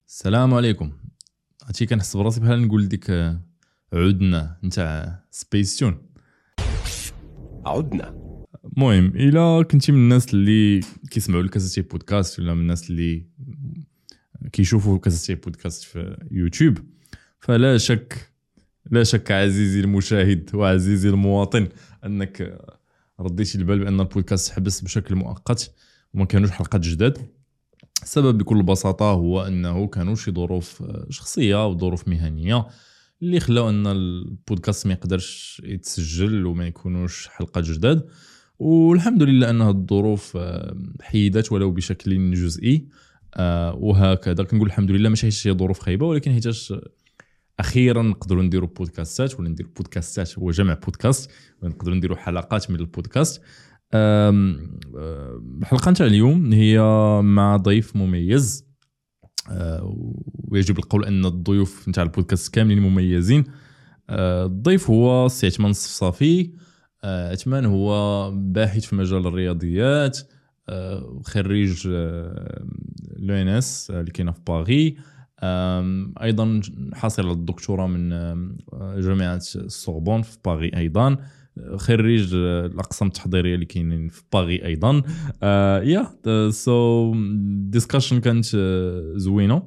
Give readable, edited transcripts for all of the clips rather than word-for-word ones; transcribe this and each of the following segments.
السلام عليكم. هادشي كنحس براسي بحال نقول ديك عدنا نتاع سبيستون. عدنا. المهم الا كنتي من الناس اللي كيسمعوا الكاسيتي بودكاست ولا من الناس اللي كيشوفوا الكاسيتي بودكاست في يوتيوب، فلا شك عزيزي المشاهد وعزيزي المواطن انك رديتي البال بان البودكاست حبس بشكل مؤقت وما كانوش حلقات جداد. السبب بكل بساطة هو أنه كانوا شي ظروف شخصية وظروف مهنية اللي خلاو أن البودكاست ما يقدرش يتسجل وما يكونوش حلقات جداد، والحمد لله أن الظروف حيدت ولو بشكل جزئي. وهكذا كنقول الحمد لله، ماشي شي ظروف خايبة، ولكن حيتاش أخيرا نقدروا نديروا بودكاستات، ولا نديروا بودكاستات هو جمع بودكاست، ونقدروا نديروا حلقات من البودكاست. الحلقة نتاع اليوم هي مع ضيف مميز، ويجب القول أن الضيوف نتاع البودكاست كاملين مميزين. الضيف هو سي عثمان الصفصافي. عثمان هو باحث في مجال الرياضيات، خريج لونس اللي كاينه في باغي، ايضا حاصل على الدكتوراه من جامعه السوربون في باغي، ايضا خريج الاقسام التحضيريه اللي كاينين في باغي ايضا. سو ديسكشن كانت زوينه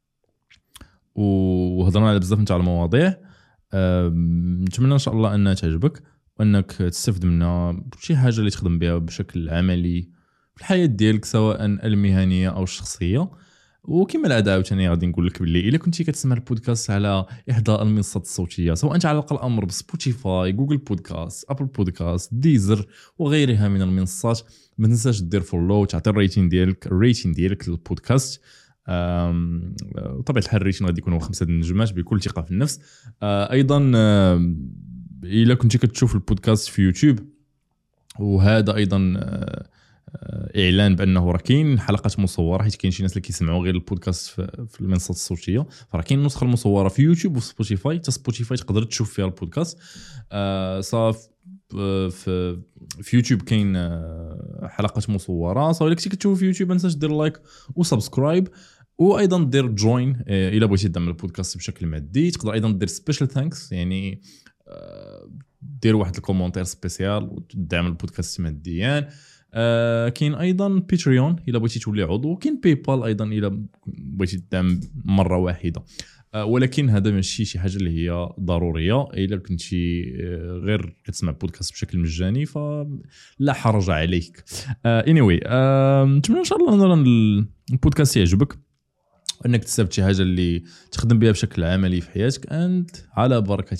وهضرنا على بزاف نتاع المواضيع. نتمنى ان شاء الله انها تعجبك وانك تستفد منها شي حاجه اللي تخدم بها بشكل عملي في الحياه ديالك، سواء المهنيه او الشخصيه. وكما العاده عاوتاني غادي نقول لك باللي الا كنتي كتسمع البودكاست على احدى المنصات الصوتيه، سواء تعلق الامر بسبوتيفاي، جوجل بودكاست، ابل بودكاست، ديزر وغيرها من المنصات، ما تنساش دير فولو، تعطي الريتين ديالك للبودكاست. طبعا الحال الريتين غادي يكونوا 5 نجمات بكل ثقه في النفس. ايضا الا كنتي كتشوف البودكاست في يوتيوب، وهذا ايضا اعلان بانه راه كاين حلقات مصوره، حيت كاين شي ناس اللي كيسمعوا غير البودكاست في المنصات الصوتيه، فراه كاين النسخه المصوره في يوتيوب وفي سبوتيفاي. حتى سبوتيفاي تقدر تشوف فيها البودكاست. صافي في يوتيوب كاين حلقات مصوره، صافي كنتي كتشوف في يوتيوب ما تنساش دير لايك وسبسكرايب، وايضا دير جوين الا بغيتي تدعم البودكاست بشكل مادي. تقدر ايضا دير سبيشال ثانكس، يعني دير واحد الكومونتير سبيسيال وتدعم البودكاست ماديا. كاين ايضا باتريون الا بغيتي تولي عضو، كاين باي بال ايضا الا بغيتي تدعم مره واحده. ولكن هذا ماشي شي حاجه اللي هي ضروريه. الا كنتي غير كتسمع بودكاست بشكل مجاني فلا حرج عليك. anyway نتمنى ان شاء الله ان البودكاست يعجبك وانك تستفد شي حاجه اللي تخدم بها بشكل عملي في حياتك. انت على بركه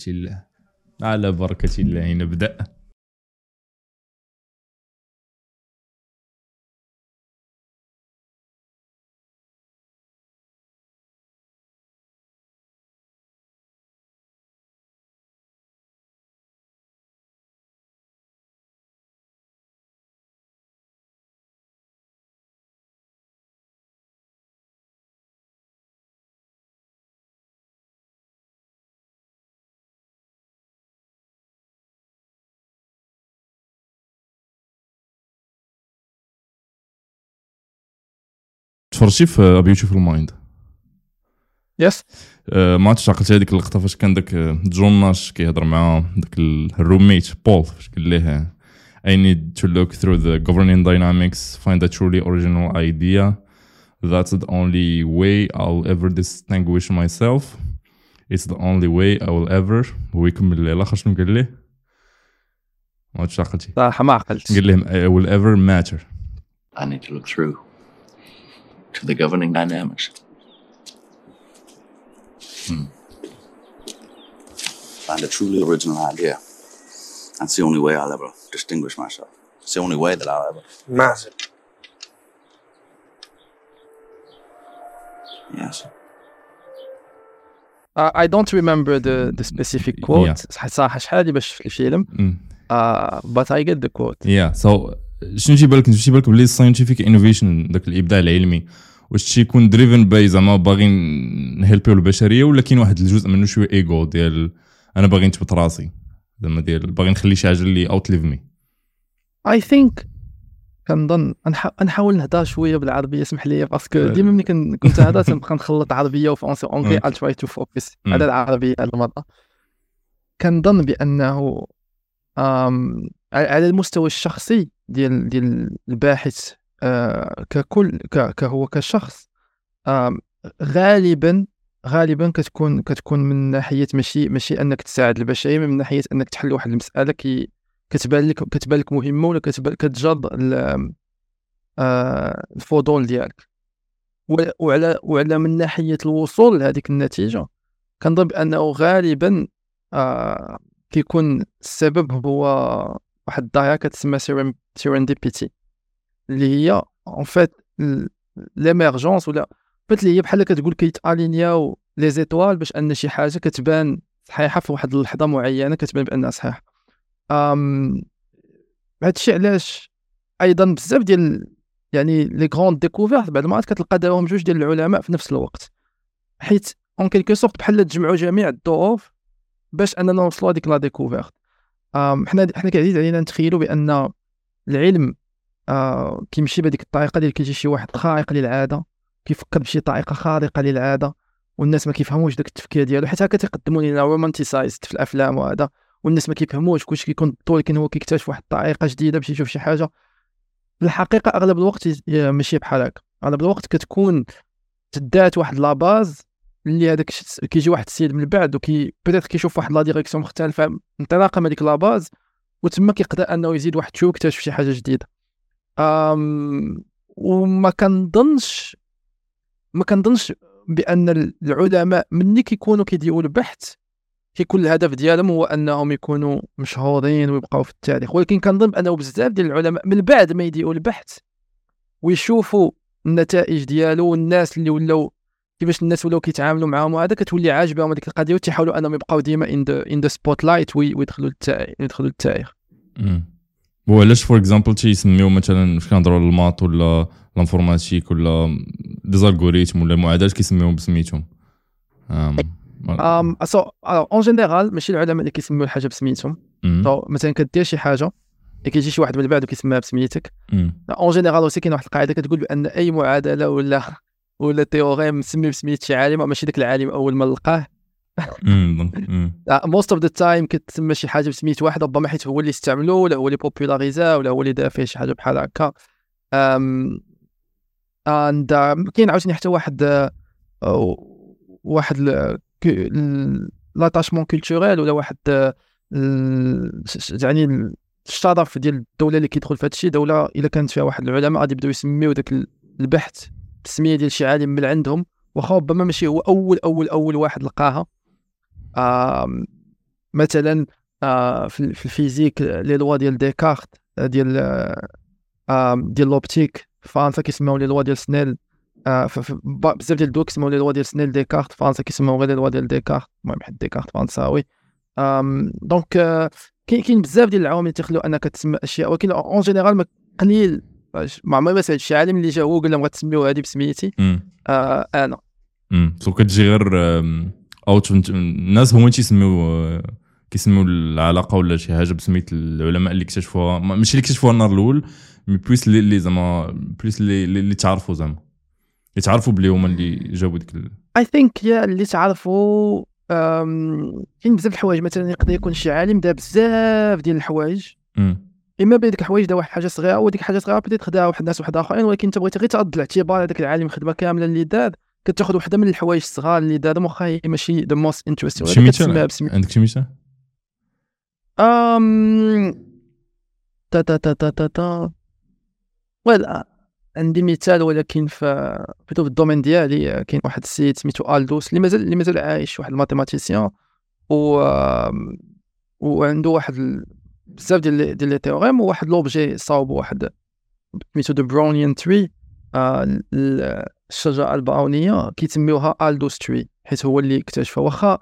الله نبدا. تفرجتي في بيوتيفول مايند؟ يس. ما تعقلت هذيك اللقطه فاش كان داك جون ناش كيهضر مع داك الروميت بول، فاش قال ليه I need to look through the governing dynamics, find a truly original idea. That's the only way I'll ever distinguish myself. It's the only way I will ever. هو يكمل ليه الاخر شنو قال ليه؟ ما تعقلتي؟ صراحه ما عقلت. قال لهم I will ever matter. I need to look through to the governing dynamics. Find a truly original idea. That's the only way I'll ever distinguish myself. It's the only way that I'll ever. Massive. Yes. I don't remember the specific quote. صراحه شحال باش في الفيلم. But I get the quote. So شنو تيبان لك بلي scientific innovation داك الابداع العلمي واش تيكون دريفن باي زعما باغيين نهلبيو البشريه، ولا كاين واحد الجزء منه شويه ايغو ديال انا باغي نثبت راسي، زعما ديال باغي نخلي شي حاجه اللي اوتليف مي. I think كنظن نحاول نهضر شويه بالعربيه، اسمح لي، باسكو ديما ملي كنت هذا تنبقى نخلط عربيه وفرنسي اونغلي. I'll try to focus على العربيه هذه المره. كنظن بانه على المستوى الشخصي ديال الباحث ككل كهو كشخص، غالبا كتكون من ناحيه ماشي انك تساعد البشريه، من ناحيه انك تحل واحد المساله كتبان لك مهمه، ولا كتجرد الفضول ديالك، وعلى من ناحيه الوصول لهذيك النتيجه كنظن بانه غالبا كيكون السبب هو واحد الظاهره كتسمى serendipity، اللي هي en fait l'émergence، ولا اللي هي بحال كتقول كيتالينياو لي زيتوال باش ان شي حاجه كتبان صحيحه في واحد اللحظه معينه، كتبان بانها صحيحه. هادشي علاش ايضا بزاف ديال يعني لي غروند ديكوفيرت بعد المرات كتلقى داهم جوج ديال العلماء في نفس الوقت، حيت اون كيلكو سورت بحال تجمعوا جميع الظروف باش اننا نوصلوا هذيك لا ديكوفيرت. حنا كعزيز علينا نتخيلوا بان العلم كيمشي بهذيك الطريقه ديال كيجي شي واحد خارق للعاده، كيفكر بشي طريقه خارقه للعاده، والناس ما كيفهموش داك التفكير ديالو، حيت هكا تيقدموا لنا رومانتيسايزد في الافلام وهذا، والناس ما كيفهموش، كلشي كيكون طول، لكن هو كيكتشف واحد الطريقه جديده باش يشوف شي حاجه. في الحقيقه اغلب الوقت ماشي بحال هكا، اغلب الوقت كتكون تدات واحد لا باز اللي هذاك كيجي واحد السيد من بعد بيتيت كيشوف واحد لا ديريكسيون مختلفه انطلاقا من ديك لا باز، وتما كيقدر انه يزيد واحد شويه يكتشف شي حاجه جديده. وما كنظنش بان العلماء ملي كيكونوا كيديروا البحث كيكون الهدف ديالهم هو انهم يكونوا مشهورين ويبقاو في التاريخ، ولكن كنظن انه بزاف ديال العلماء من بعد ما يديروا البحث ويشوفوا النتائج ديالو والناس اللي ولاو كيفاش الناس ولاو كيتعاملوا معاهم، وهذا كتولي عاجبهم هذيك القضيه، وتيحاولوا انهم يبقاو ديما ان ذا سبوت لايت ويدخلوا للتاريخ. وعلاش فور اكزامبل تيسميو مثلا فاش كنهضروا على الماط ولا الانفورماتيك ولا دي زالغوريثم ولا المعادلات كيسميوهم بسميتهم؟ اون جينيرال ماشي العلماء اللي كيسميو الحاجه بسميتهم. مثلا كدير شي حاجه كيجي شي واحد من بعد وكيسميها بسميتك. اون جينيرال اوسي كاين واحد القاعده كتقول بان اي معادله ولا تيوريم مسمي بسميت شي عالم، ماشي داك العالم اول ما لقاه. موست اوف ذا تايم كتسمى شي حاجه بسميت واحد، ربما حيت هو اللي استعملو ولا هو اللي بوبولاريزا ولا هو اللي دار فيه شي حاجه بحال هكا. كاين عاوتاني حتى واحد لاتاشمون كولتوريل ولا واحد يعني الشرف ديال الدوله اللي كيدخل في هذا الشيء. دوله الا كانت فيها واحد العلماء غادي يبداو يسميو داك البحث بالسميه ديال شي عالم من عندهم، واخا ربما ماشي هو اول واحد لقاها. مثلا في الفيزيك لي لوا ديال ديكارت ديال لوبتيك في فرنسا كيسميو لي لوا ديال سنيل. بزاف ديال الدول كيسميو لي لوا ديال سنيل ديكارت، فرنسا كيسميو غير لي لوا ديال ديكارت، المهم حيت ديكارت فرنساوي. دونك كاين بزاف ديال العوامل اللي تيخليو انك تسمى اشياء، ولكن اون جينيرال قليل ما عمري ما سمعت شي عالم اللي جا هو قال لهم غتسميو هذه بسميتي. انا سو كتجي غير اوت الناس هما كيسميو العلاقه ولا شي حاجه بسميت العلماء اللي اكتشفوها، ماشي اللي اكتشفوها النهار الاول، مي بليس اللي زعما بليس اللي تعرفوا زعما يتعرفوا بلي هما اللي جابوا ديك اي ثينك يا اللي تعرفوا. كاين بزاف الحوايج، مثلا يقدر يكون شي عالم دار بزاف ديال الحوايج، اما بين ديك الحوايج دار واحد حاجه صغيره وديك حاجه صغيره بديت خداها واحد الناس واحد اخرين، ولكن انت بغيتي غير ترد الاعتبار هذاك العالم الخدمه كامله اللي دار، كتاخذ وحده من الحوايج الصغار اللي دارهم واخا هي ماشي ذا موست انتريستين. عندك شي مثال؟ ولا عندي مثال، ولكن في الدومين ديالي كاين واحد السيد سميتو الدوس اللي مازال عايش، واحد الماتيماتيسيان، وعنده واحد بزاف ديال لي تيوريم، وواحد لوبجي صاوب واحد سميتو دو براونيان تري، الشجره البراونيه كيتسميوها الدوس تري حيت هو اللي اكتشفها. واخا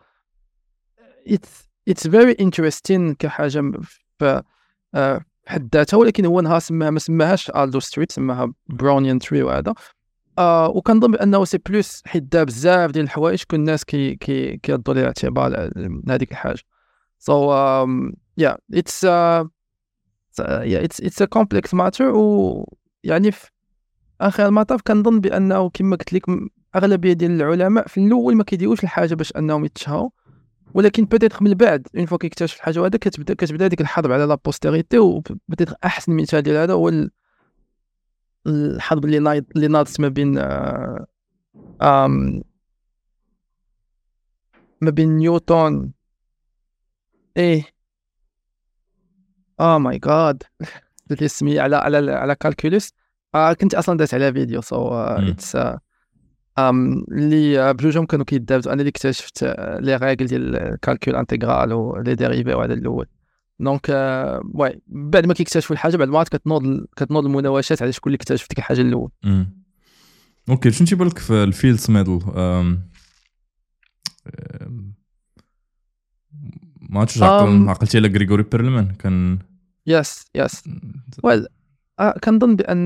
it's very interesting كحاجه في حد ذاتها، ولكن هو نهار ما سماهاش الدوس تري، سماها براونيان تري. وهذا وكنظن بانه سي بلوس حيت دار بزاف ديال الحوايج كل الناس كيردوا ليه اعتبار هذيك الحاجه. so yeah it's اتس ا كومبلكس ماتر. و يعني في اخر المطاف كنظن بانه كما قلت لك اغلبيه ديال العلماء في الاول ما كيديروش الحاجه باش انهم يتشهروا، ولكن بيتيتر من بعد اون فوا كيكتشف الحاجه هذا كتبدا ديك الحرب على لا بوستيريتي. وبيتيتر احسن مثال ديال هذا هو الحرب اللي ناضت ما بين نيوتن ماي جاد درت اسمي على كالكولوس. كنت اصلا دازت على فيديو اتس اللي بجوجهم كانوا كيدابزوا. انا اللي اكتشفت لي ريغل ديال الكالكول انتغرال ولي ديريفي وهذا الاول. دونك واي بعد ما كيكتشفوا الحاجه بعد ما كتنوض المناوشات على شكون اللي اكتشف ديك الحاجه الاول. اوكي شنو تيبان لك في الفيلدز ميدل؟ ما عرفتش عقلتي على غريغوري بيرلمان كان يس ويل كنظن بان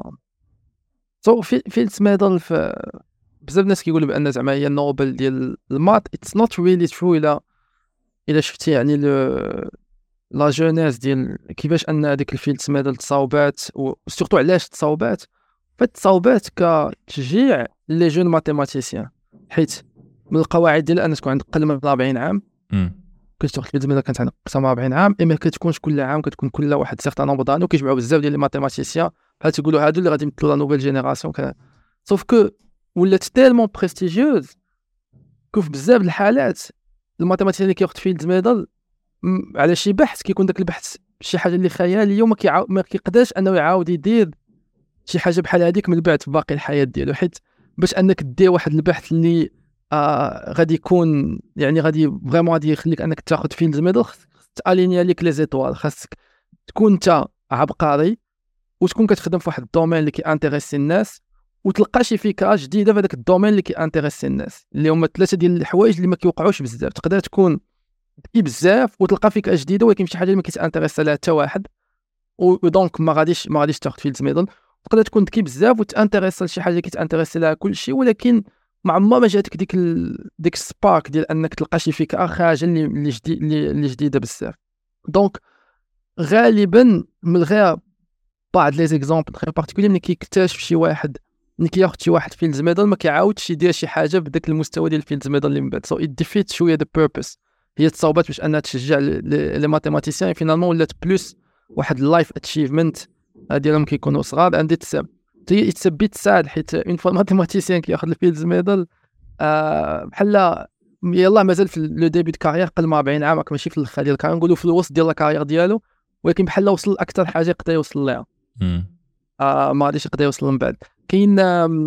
فيلدز ميدل بزاف الناس كيقولوا بان زعما هي النوبل ديال المات. اتس نوت ريلي ترو الا شفتي يعني لا جونيس ديال كيفاش ان هذيك الفيلدز ميدل تصاوبات وسورتو علاش تصاوبات. فتصاوبات كتشجيع لي جون ماتيماتيسيان، حيت من القواعد ديال ان تكون عندك اقل من 40 عام كتاخذ الفيلدز ميدل كانت عندك اقل من 40 عام. اما كتكونش كل عام كتكون كل واحد سيغتان نومبر دانو كيجمعوا بزاف ديال لي ماتيماتيسيان بحال تيقولوا هادو اللي غادي يمثلوا لا نوفيل جينيراسيون. سوف كو ولات تيلمون بريستيجيوز كوف بزاف الحالات الماتيماتيسيان اللي كياخذ فيلدز ميدل على شي بحث كيكون داك البحث شي حاجه اللي خياليه وما كيقدرش انه يعاود يدير شي حاجه بحال هذيك من بعد في باقي الحياه ديالو. حيت باش انك دير واحد البحث اللي غادي يكون يعني غادي فريمون غادي يخليك انك تاخذ فيلدز ميدل، تالينيا ليك لي زيتوال. خاصك تكون انت عبقري وتكون كتخدم في واحد الدومين اللي كيانتريسي الناس وتلقى شي فكره جديده في هذاك الدومين اللي كيانتريسي الناس، اللي هما ثلاثه ديال الحوايج اللي ما كيوقعوش بزاف. تقدر تكون ذكي بزاف وتلقى فكره جديده ولكن شي حاجه اللي ما كيتانتريسي لها حتى واحد ودونك ما غاديش تاخذ فيلدز ميدل. تقدر تكون ذكي بزاف وتانتريسي لشي حاجه كيتانتريسي لها كلشي ولكن ما عمرها ما جاتك ديك السبارك ديال انك تلقى شي فكره خارجه اللي جديده بزاف. دونك غالبا من غير بعض لي زيكزامبل غير بارتيكولي ملي كيكتشف شي واحد ملي كياخذ شي واحد فيلدز ميدل ما كيعاودش يدير شي حاجه بداك المستوى ديال الفيلدز ميدل اللي من بعد. سو ات ديفيت شويه ذا بيربوس. هي تصاوبات باش انها تشجع لي ماتيماتيسيان فينالمون ولات بلوس واحد اللايف اتشيفمنت ديالهم كيكونوا صغار عندي تسبيت ساد. حيت اون فوا ماتيماتيسيان كياخذ الفيلدز ميدل بحال يلاه مازال في لو ديبي دو كارير قل ما 40 عام ماشي في الاخر ديال الكارير نقولوا في الوسط ديال الكارير ديالو ولكن بحال وصل اكثر حاجه يقدر يوصل لها ما غاديش يقدر يوصل من بعد. كاين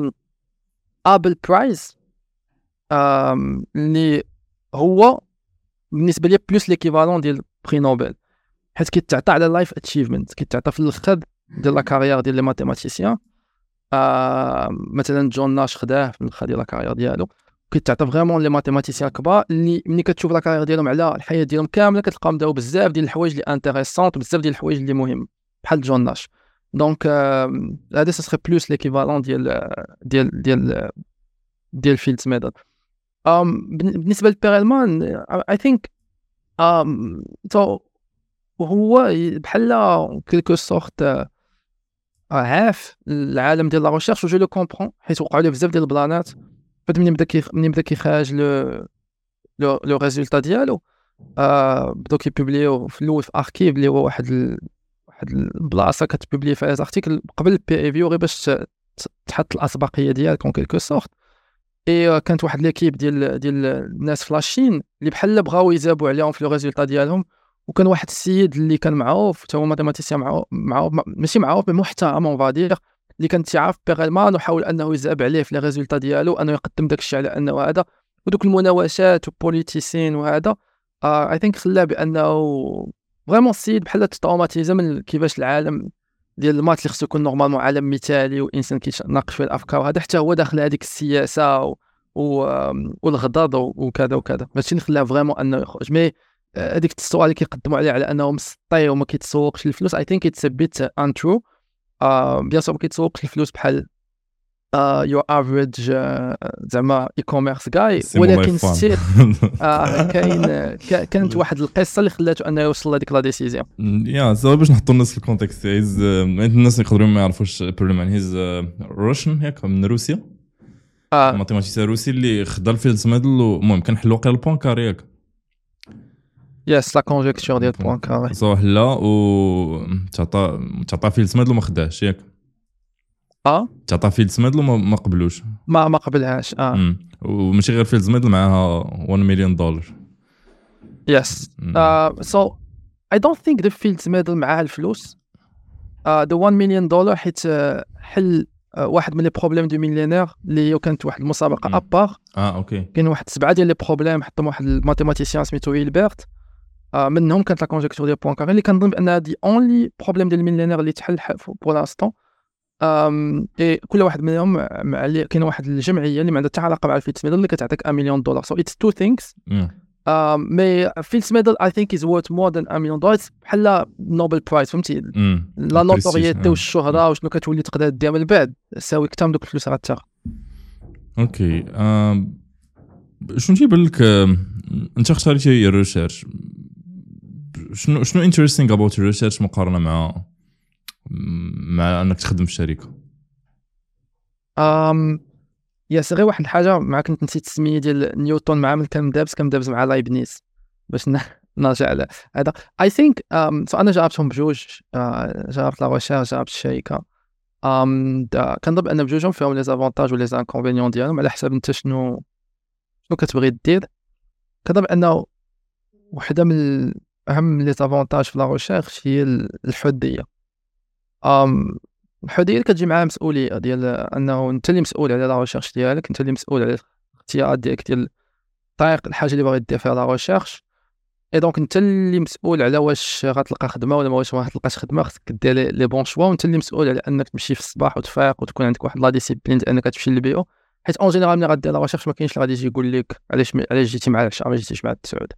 ابل برايز اللي هو بالنسبه لي بلوس ليكيفالون ديال بري نوبل حيت كيتعطى على لايف اتشيفمنت كيتعطى في الاخر ديال لا كارير ديال لي ماتيماتيسيان. مثلا جون ناش خداه في الاخر ديال لا كارير ديالو كيتعطى فريمون لي ماتيماتيسيان كبار اللي ملي كتشوف لا كارير ديالهم على الحياه ديالهم كامله كتلقاهم داو بزاف ديال الحوايج اللي انتريسونط بزاف ديال الحوايج اللي مهم بحال جون ناش. دونك هذا سي بلوس ليكيفالون ديال فيلدز ميدل. بالنسبه لبيرلمان اي ثينك هو بحال كيلكو سورت عاف العالم ديال لا ريشيرش وجو لو كومبرون حيت وقعوا ليه بزاف ديال البلانات. منين بدا كيخرج لو ريزولتا ديالو بداو كيبوبليو في الاول في اركيف اللي هو واحد البلاصه كتبوبلي فيها ارتيكل قبل البي اي فيو غير باش تحط الاسبقيه ديالك اون كيلكو سورت. كانت واحد ليكيب ديال الناس في لاشين اللي بحال بغاو يزابوا عليهم في لو ريزولتا ديالهم وكان واحد السيد اللي كان معروف حتى هو ماتيماتيسيان معروف ماشي معروف مي محترم اون فادير اللي كان تيعرف بيرلمان وحاول انه يزاب عليه في لي ريزولتا ديالو انه يقدم داك الشيء على انه هذا ودوك المناوشات وبوليتيسين وهذا اي ثينك خلاه بانه فريمون السيد بحال تروماتيزا من كيفاش العالم ديال المات اللي خصو يكون نورمالمون عالم مثالي وانسان كيتناقش في الافكار وهذا حتى هو داخل هذيك السياسه والغضاض وكذا وكذا ماشي نخلاه فريمون انه يخرج. مي هذيك التصوير اللي كيقدموا عليه على انه مسطي وما كيتسوقش الفلوس اي ثينك اتس بيت انترو. بيان سور ما كيتسوقش الفلوس بحال يو افريج زعما اي كوميرس جاي، سي مولاي ولكن فان. ستيل كانت واحد القصه اللي خلاته انه يوصل لهذيك لا ديسيزيون. يا سوا باش نحطوا الناس في الكونتكست. هيز الناس يقدروا ما يعرفوش بروبليم. هيز روشن ياك من روسيا، ماتيماتيسيان روسي اللي خدا الفيلد ميدل. المهم كان حلو قال البوانكار ياك يس لا كونجيكتور ديال بوانكار. صح لا، و تعطى فيلد ميدل وما خداش ياك. تعطى فيلد ميدل وما قبلوش. ما قبلهاش. وماشي غير فيلد ميدل، معاها $1 مليون. يس سو I don't think the Fields Medal معها الفلوس. the $1 million حيت حل واحد من لي بروبليم دو ميليونير اللي كانت واحد المسابقه ابار. اوكي. كاين واحد 7 ديال لي بروبليم حطهم واحد الماتيماتيسيان سميتو هيلبرت. منهم كانت لا كونجيكتور ديال بوانكار اللي كنظن بان هذه اونلي بروبليم ديال الميليونير اللي تحل بور لانستون. كل واحد منهم كاين واحد الجمعيه اللي ما عندها حتى علاقه مع الفيلدز ميدل اللي كتعطيك $1 مليون. so it's two things. مي فيلدز ميدل I think is worth more than $1 مليون. بحال نوبل برايز، فهمتي؟ لا نوتوريتي والشهره وشنو كتولي تقدر ديها من بعد ساوي كثر من دوك الفلوس غتاخذ. اوكي. شنو تيبان لك انت اختاريتي الريسيرش؟ شنو انتريستينغ اباوت الريسيرش مقارنه مع انك تخدم في الشركه؟ يا غير واحد الحاجه مع كنت نسيت السميه ديال نيوتن مع من كان دابز مع لايبنيز باش نرجع على هذا. اي ثينك انا جربتهم بجوج. جربت لا ريشيرش، جربت الشركه. كنظن ان بجوجهم فيهم لي زافونتاج ولي زانكونفينيون ديالهم على حسب انت شنو كتبغي دير. كنظن انه وحده من اهم لي زافونتاج في لا ريشيرش هي الحديه. الحديه اللي كتجي معها مسؤوليه ديال انه انت اللي مسؤول على لا ريشيرش ديالك، انت اللي مسؤول على الاختيارات ديالك ديال طريق الحاجه اللي باغي دير فيها لا ريشيرش. اي دونك انت اللي مسؤول على واش غتلقى خدمه ولا واش ما غتلقاش خدمه. خصك دير لي بون شوا، وانت اللي مسؤول على انك تمشي في الصباح وتفيق وتكون عندك واحد لا ديسيبلين انك تمشي للبيو. حيت اون جينيرال ملي غدير لا ريشيرش ما كاينش اللي غادي يجي يقول لك علاش جيتي مع العشاء ما جيتيش مع التسعود.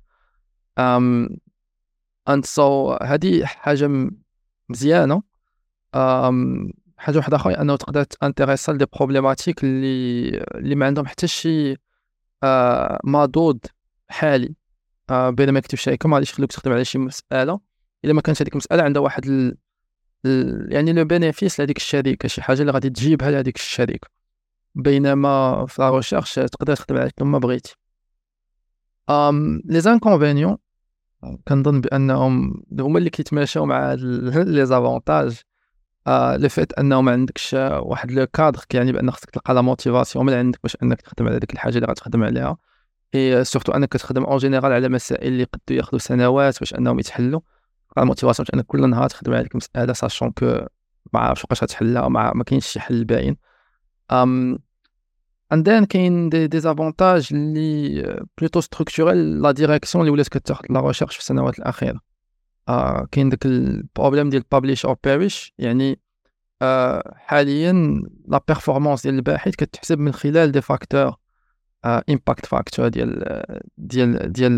اند سو هذه حاجه مزيانه. حاجه واحده اخرى انه تقدر تانتريسا لي بروبليماتيك اللي ما عندهم حتى شي مضود حالي. بينما كتب شركه ما غاديش يخلوك تخدم على شي مساله الا ما كانش هذيك المساله عندها واحد يعني لو بينيفيس لهذيك الشركه، شي حاجه اللي غادي تجيبها لهذيك الشركه. بينما في لا ريشيرش تقدر تخدم على كل ما بغيتي. لي زانكونفينيون كنظن بانهم هما اللي كيتماشاو مع لي زافونتاج. لو فيت انه ما عندكش واحد لو كادر كيعني بان خصك تلقى لا موتيفاسيون من عندك باش انك تخدم على ديك الحاجه اللي غتخدم عليها. اي سورتو انك كتخدم اون جينيرال على مسائل اللي قد ياخذوا سنوات باش انهم يتحلوا. الموتيفاسيون باش انك كل نهار تخدم على ديك المساله ساشون كو ما عارفش واش غتحلها، ما كاينش شي حل باين. عندنا كاين دي زافونتاج اللي بلوتو ستركتورال لا ديريكسيون اللي ولات كتاخذ لا ريشيرش في السنوات الاخيره. كاين داك البروبليم ديال بابليش او بيريش، يعني حاليا لا بيرفورمانس ديال الباحث كتحسب من خلال دي فاكتور امباكت فاكتور ديال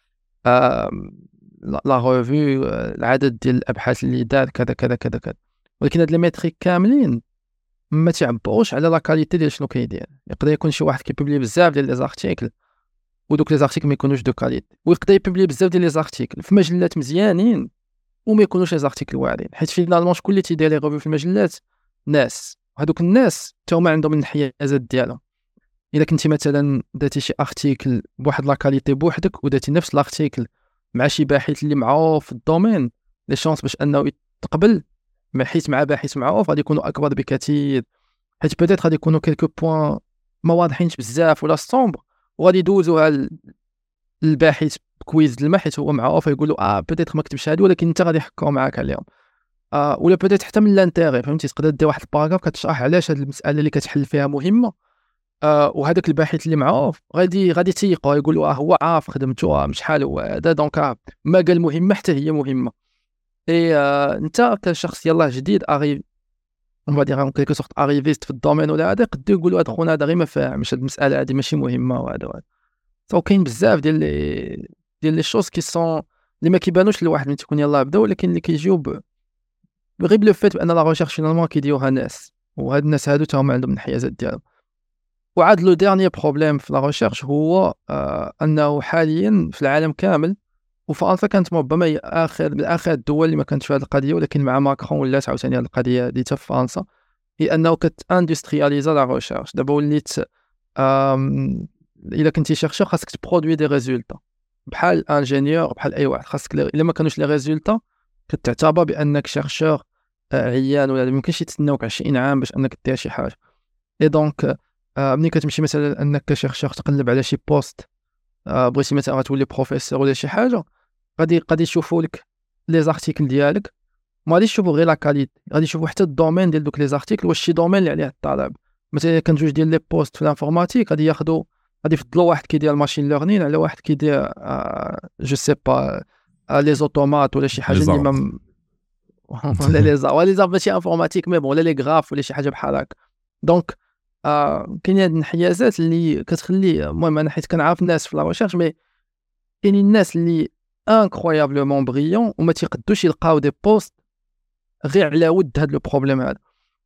لا ريفيو، العدد ديال الابحاث اللي دار كذا كذا كذا كذا. ولكن هاد لي ميتريك كاملين ما تعبروش على لا كاليتي ديال شنو كيدير. يقدر يكون شي واحد كيبوبلي بزاف ديال لي زارتيكل ودوك لي زارتيكل ما يكونوش دو كاليتي، ويقدر يبوبلي بزاف ديال لي زارتيكل في مجلات مزيانين وما يكونوش لي زارتيكل واعرين. حيت فينالمون شكون اللي تيدير لي ريفيو في المجلات؟ ناس، وهذوك الناس حتى هما عندهم الانحيازات ديالهم. الا كنتي مثلا درتي شي ارتيكل بواحد لا كاليتي بوحدك ودرتي نفس الارتيكل مع شي باحث اللي معروف في الدومين، لي شانس باش انه يتقبل حيت مع باحث معروف غادي يكونوا اكبر بكثير. حيت بيتيت غادي يكونوا كيلكو بوين ما واضحينش بزاف ولا ستومبر، وغادي يدوزوها الباحث كويز ديال حيت هو معروف يقولوا بيتيت ما كتبش هادي، ولكن انت غادي يحكوا معاك عليهم. ولا بيتيت حتى من لانتيغي، فهمتي؟ تقدر دير واحد الباراغراف كتشرح علاش هاد المساله اللي كتحل فيها مهمه. وهذاك الباحث اللي معروف غادي تيقوا يقولوا هو عارف خدمته مش حال هو هذا، دونك ما قال مهمه حتى هي مهمه. اي انت كشخص يلاه جديد اغي اون دير اون كيلكو سورت اريفيست في الدومين ولا هذا، قد يقولوا هذا خونا هذا غير ما فاهمش هاد المساله هذه ماشي مهمه وهذا. سو كاين بزاف ديال لي شوز كي سون اللي ما كيبانوش لواحد من تيكون يلاه بدا، ولكن اللي كيجيو غير بلو فيت بان لا ريشيرش فينالمون كيديروها ناس وهاد الناس هادو تاهم عندهم الانحيازات ديالهم. وعاد لو ديرني بروبليم في لا ريشيرش هو انه حاليا في العالم كامل، وفرنسا كانت ربما هي من اخر الدول اللي ما كانتش في هذه القضيه، ولكن مع ماكرون ولات عاوتاني هذه القضيه هذه في فرنسا، هي انه كتاندسترياليزا لا ريشيرش. دابا وليت الا كنتي شيرشور خاصك تبرودوي دي ريزولتا بحال انجينيور بحال اي واحد، خاصك الا ما كانوش لي ريزولتا كتعتبر بانك شيرشور عيان، ولا ما يمكنش يتسناوك 20 عام باش انك دير شي حاجه. اي دونك ملي كتمشي مثلا انك كشيرشور تقلب على شي بوست، بغيتي مثلا غتولي بروفيسور ولا شي حاجه، غادي يشوفوا لك لي زارتيكل ديالك، ما غاديش يشوفوا غير لا كاليتي، غادي يشوفوا حتى الدومين ديال دوك لي زارتيكل، واش شي دومين اللي عليه الطلب. مثلا كان جوج ديال لي بوست في الانفورماتيك غادي يفضلوا واحد كيدير الماشين ليرنين على واحد كيدير جو سي با لي زوتومات ولا شي حاجه اللي ما ولا لي زار ماشي انفورماتيك مي بون، ولا لي غراف ولا شي حاجه بحال هكا. دونك كاين هاد الانحيازات اللي كتخلي، المهم انا حيت كنعرف الناس في لا ريشيرش، مي كاينين الناس اللي انكرويابلومون بريون وما تيقدوش يلقاو دي بوست غير على ود هاد لو بروبليم هذا.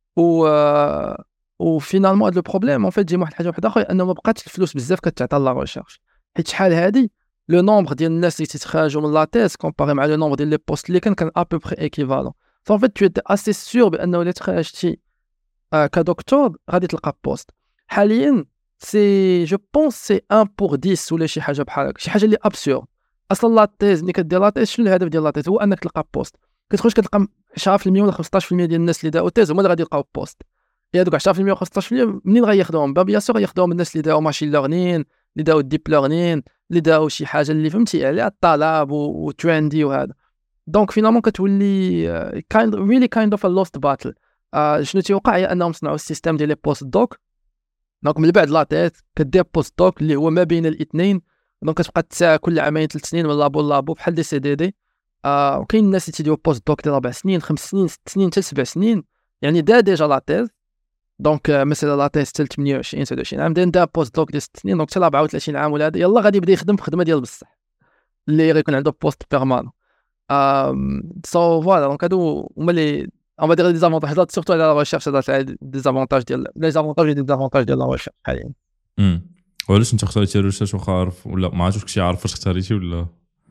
و فينالمون هاد لو بروبليم اون فيت جي واحد الحاجه واحده اخرى، انه ما بقاتش الفلوس بزاف كتعطى لا ريشيرش، حيت شحال هادي لو نومبر ديال الناس اللي تيتخرجوا من لا تيز كومباري مع لو نومبر ديال لي بوست اللي كان ا بو بري ايكيفالون. فون فيت تو اسي سور بانه الا تخرجتي كدكتور غادي تلقى بوست. حاليا سي جو بونس سي 1 بور 10 ولا شي حاجه بحال هكا، شي حاجه اللي ابسور. اصلا لا تيز ملي كدير لا تيز، شنو الهدف ديال لا تيز؟ هو انك تلقى بوست. كتخرج كتلقى 10% ولا 15% ديال الناس اللي داو تيز هما اللي غادي يلقاو بوست. هي هذوك 10% و 15% منين غياخذوهم؟ بيان سور غياخذوهم الناس اللي داو ماشين ليرنين، اللي داو ديب ليرنين، اللي داو شي حاجه اللي فهمتي عليها الطلب وتريندي وهذا. دونك فينالمون كتولي كايند اوف ا لوست باتل. شنو تيوقع هي انهم صنعوا السيستم ديال لي بوست دوك. دونك من بعد لا تيت كدير بوست دوك اللي هو ما بين الاثنين، دونك كتبقى تساعة كل عامين 3 سنين من لابو بحال دي سي دي دي. وكاين الناس اللي تيديروا بوست دوك ديال 4 سنين 5 سنين 6 سنين حتى 7 سنين، يعني ديجا لا تيز. دونك مثلا لا تيز حتى 28 29 عام دا بوست دوك ديال 6 سنين، دونك حتى 34 عام ولا هذا يلاه غادي يبدا يخدم في خدمه ديال بصح اللي غيكون عنده بوست بيرمانون. سو فوالا دونك هادو هما لي on va dire des avantages surtout à la recherche des avantages ديال les avantages et des avantages ديال la recherche حاليا. وعلاش انت اختاريتي الريسيرش واخا عارف ولا ما عرفتش كشي عارف فاش اختاريتي ولا؟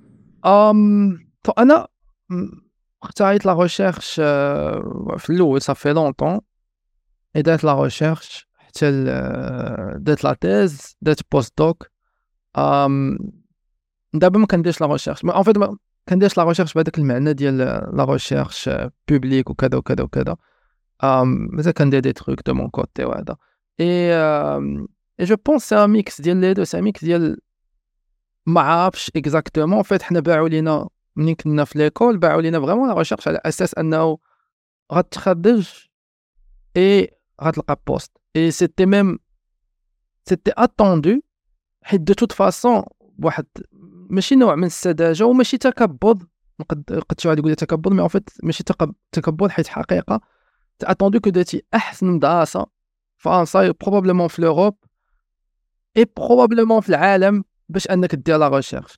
انا اختاريت لا ريشيرش في الاول صافي لونطون، درت لا ريشيرش حتى درت لا تيز، درت بوست دوك. دابا ما كنديرش لا ريشيرش، ان فيت ما كنديرش لا ريشيرش بهذاك المعنى ديال لا ريشيرش بوبليك وكذا وكذا وكذا. مازال كندير دي تروك دو مون كوتي وهذا. اي جو بونس سي ان ميكس ديال لي دو، سي ان ميكس ديال ما عارفش اكزاكتومون. فيت حنا باعوا لينا ملي كنا في ليكول، باعوا لينا فريمون لا ريشيرش على اساس انه غتخرج اي غتلقى بوست. اي سيتي ميم سيتي اتوندو، حيت دو توت فاصون واحد ماشي نوع من السذاجه وماشي تكبر. قد شي واحد يقول تكبر، مي ان فيت ماشي تكبر، حيت حقيقه اتوندو كو درتي احسن مدرسه فرنسا بروبابلمون في لوروب اي بروبابلمون في العالم باش انك دير لا ريشيرش.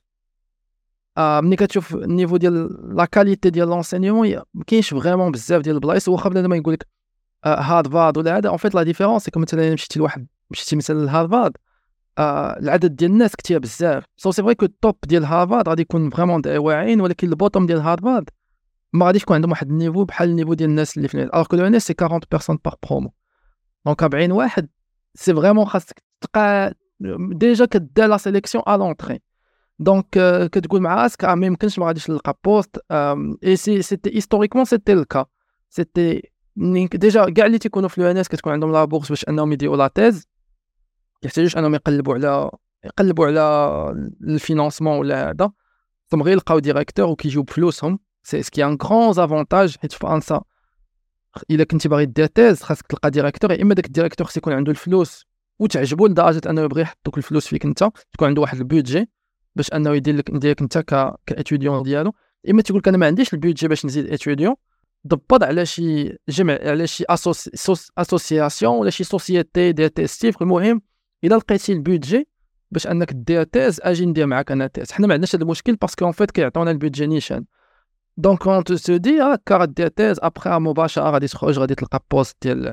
ملي كتشوف النيفو ديال لا كاليتي ديال لونسينيومون ما كاينش فريمون بزاف ديال البلايص. واخا بنادم يقول لك هارفارد ولا هذا، ان فيت لا ديفيرونس كما مثلا مشيتي مثلا لهارفارد، العدد ديال الناس كثير بزاف. سي فري كو التوب ديال هارفارد غادي يكون فريمون واعرين، ولكن البوتوم ديال هارفارد ما غاديش يكون عندهم واحد النيفو بحال النيفو ديال الناس اللي في الوغ كو لو ناس سي 40 بيرسون بار برومو. دونك 40 واحد سي فريمون خاصك تبقى ديجا كدير لا سيليكسيون ا لونطري. دونك كتقول مع راسك ما يمكنش ما غاديش نلقى بوست. اي سيتي هيستوريكمون سيتي الكا، سيتي ديجا كاع اللي تيكونوا في لو ان اس كتكون عندهم لا بورس باش انهم يديروا لا تيز، يحتاجوش انهم يقلبوا على الفينانسمون ولا هذا، ثم غير يلقاو ديريكتور وكيجيو بفلوسهم. سي سكي ان غران افونتاج، حيت في فرنسا الا كنتي باغي دير تيز خاصك تلقى ديريكتور، يا اما داك الديريكتور خص يكون عنده الفلوس وتعجبو لدرجه انه يبغي يحط دوك الفلوس فيك انت، تكون عنده واحد البودجي باش انه يديرك انت كاتوديون ديالو، اما تيقول لك انا ما عنديش البودجي باش نزيد اتوديون، ضبط على شي جمع، على شي اسوسياسيون ولا شي سوسيتي ديال تيستيف. المهم الا لقيتي البودجي باش انك دير تيز، اجي ندير معاك انا تيز. حنا ما عندناش هذا المشكل باسكو اون فيت كيعطيونا البودجي نيشان. دونك اون تو دي هكا غدير تيز ابخي مباشره غادي تخرج غادي تلقى بوست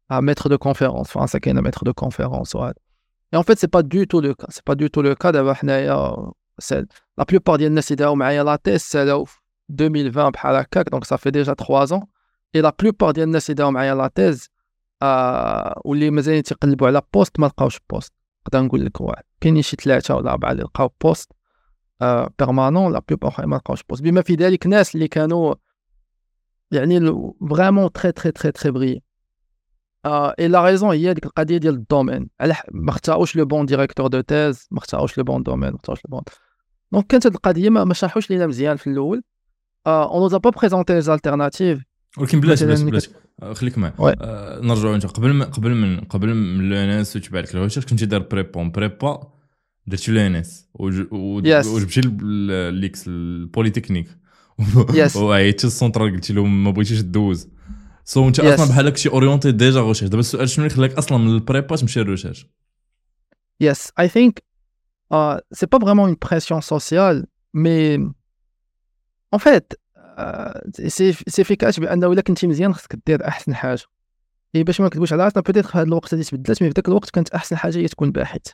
maître de conférence فرنسا كاين maître de conférence وهذا. Et en fait c'est pas du tout le cas, c'est pas du tout le cas. دابا حنايا la plupart ديال الناس اللي داو معايا لا تيست سالاو 2020 بحال هكاك، donc ça fait déjà 3 ans. Et la plupart ديال الناس اللي داو معايا لا تيز واللي مازال تيقلبوا على بوست ما لقاوش بوست. نقدر نقول لك واحد كاينين شي 3 ولا 4 اللي لقاو بوست بيرمانون، لا بلوبار ما لقاوش بوست، بما في ذلك ناس اللي كانوا يعني فريمون تري تري تري تري بري. اي لا ريزون هي ديك القضيه ديال الدومين، على ما اختاروش لو بون ديريكتور دو تيز، ما اختاروش لو بون دومين، ما اختاروش لو بون. دونك كانت هاد القضيه ما شرحوش لينا مزيان في الاول. اون نوزا با بريزونتي لي الالتيرناتيف. ولكن بلاش خليك معايا. نرجعوا انت قبل من الانس تبع لك الريسيرش كنتي داير بريبا درتي الانس وجبتي ليكس البوليتكنيك وعيطتي للسونترال قلتي لهم ما بغيتيش دوز. سو انت اصلا بحال هكشي اورينتي ديجا ريسيرش. دابا السؤال شنو اللي خلاك اصلا من البريبا تمشي للريسيرش؟ Yes, I think c'est pas vraiment une pression sociale, mais en fait سي فيكاش بانه الا كنتي مزيان خصك دير احسن حاجه. اي باش ما نكذبوش على راسنا بيتيت في هذا الوقت هذه تبدلات، مي في ذاك الوقت كانت احسن حاجه هي تكون باحث.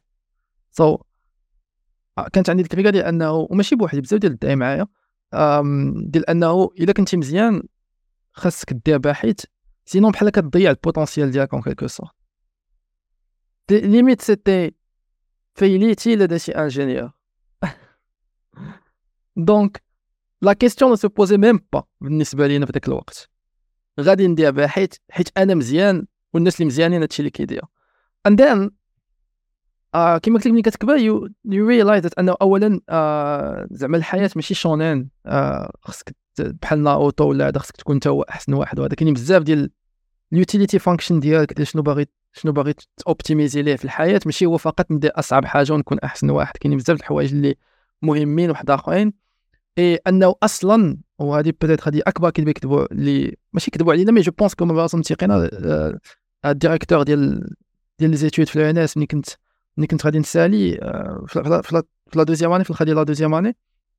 كانت عندي الفكره ديال انه وماشي بوحدي، بزاف ديال الدعاء معايا ديال انه الا كنتي مزيان خاصك دير باحث، سينون بحال كتضيع البوتونسيال ديالك اون كيلكو سورت. ليميت سيتي فايليتي الا درتي انجينيور. دونك لا كيستيون سو بوزي ميم با بالنسبه لينا في ذاك الوقت. غادي ندير باحث حيت انا مزيان والناس اللي مزيانين هادشي اللي كيدير. and then كيما قلت لك ملي كتكبر you realize انه اولا زعما الحياه ماشي شونين خصك بحال ناروتو ولا هذا خصك تكون انت هو احسن واحد، وهذا كاين بزاف ديال اليوتيليتي فانكشن ديالك ديال شنو باغي اوبتيميزي ليه في الحياه، ماشي هو فقط ندير اصعب حاجه ونكون احسن واحد. كاين بزاف د الحوايج اللي مهمين وحد اخرين. اي انه اصلا وهذه بدات هذه اكبر كذبه يكذبوا اللي ماشي كذبوا علينا، مي جو بونس كوم راسهم تيقينا الديريكتور ديال لي زيتود في الانس ملي كنت غادي نسالي في لا دوزيام اني، في الخدي لا دوزيام اني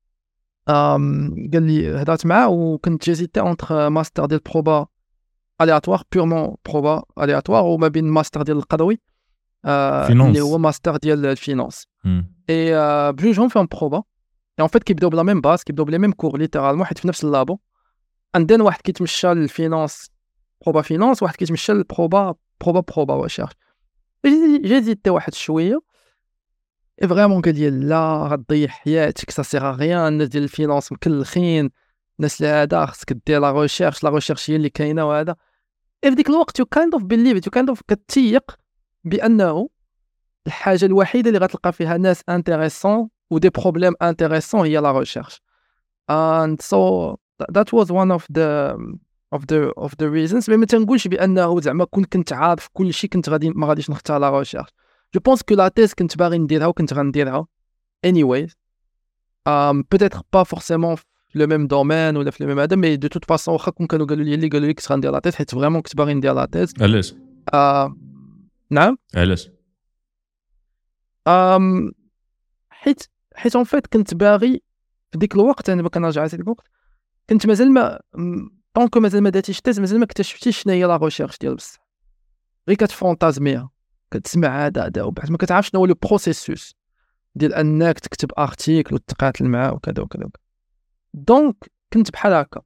قال لي هضرت معاه وكنت جيزيتي اونتر ماستر ديال بروبا الياتوار بيرمون بروبا الياتوار وما بين ماستر ديال القروي اللي هو ماستر ديال الفينانس. اي بجوجهم فيهم بروبا en fait كيبداو بلا ميم باس، كيبداو بلا ميم كور ليترالمون حيت في نفس اللابو. عندنا واحد كيتمشى للفينانس بروبا فينانس، واحد كيتمشى للبروبا وشارج. جيزيتي واحد شويه اي فريمون قال لي لا غتضيع حياتك سا سيغ غيان، الناس ديال الفينانس مكلخين، الناس اللي هذا خصك دير لا ريشيرش هي اللي كاينه وهذا. في ديك الوقت يو كايند اوف بيليف يو كايند اوف كتيق بانه الحاجه الوحيده اللي غتلقى فيها ناس انتريسون و دي بروبليم انتريسون هي لا ريشيرش. and so that was one of the reasons. ما تنقولش بانه زعما كنت عارف كل شيء كنت ما غاديش نختار لا ريشيرش. جو بونس كو لا تيز كنت باغي نديرها وكنت غنديرها anyways. peut-être pas forcément في لو ميم دومين ولا في لو ميم هذا، مي دو توت فاصون واخا كون كانوا قالوا لي كنت غندير لا تيز حيت فريمون كنت باغي ندير لا تيز. علاش؟ نعم علاش؟ حيت اون فيت كنت باغي في ديك الوقت، انا كنرجع لذيك الوقت كنت مازال ما طونكو مازال ما درتيش تيز، مازال ما اكتشفتيش شنو هي لا ريشيرش ديال بصح، غير كتفونتازميها كتسمع هذا وبعد ما كتعرفش شنو هو لو بروسيسوس ديال انك تكتب ارتيكل وتقاتل معاه وكذا وكذا. دونك كنت بحال هكا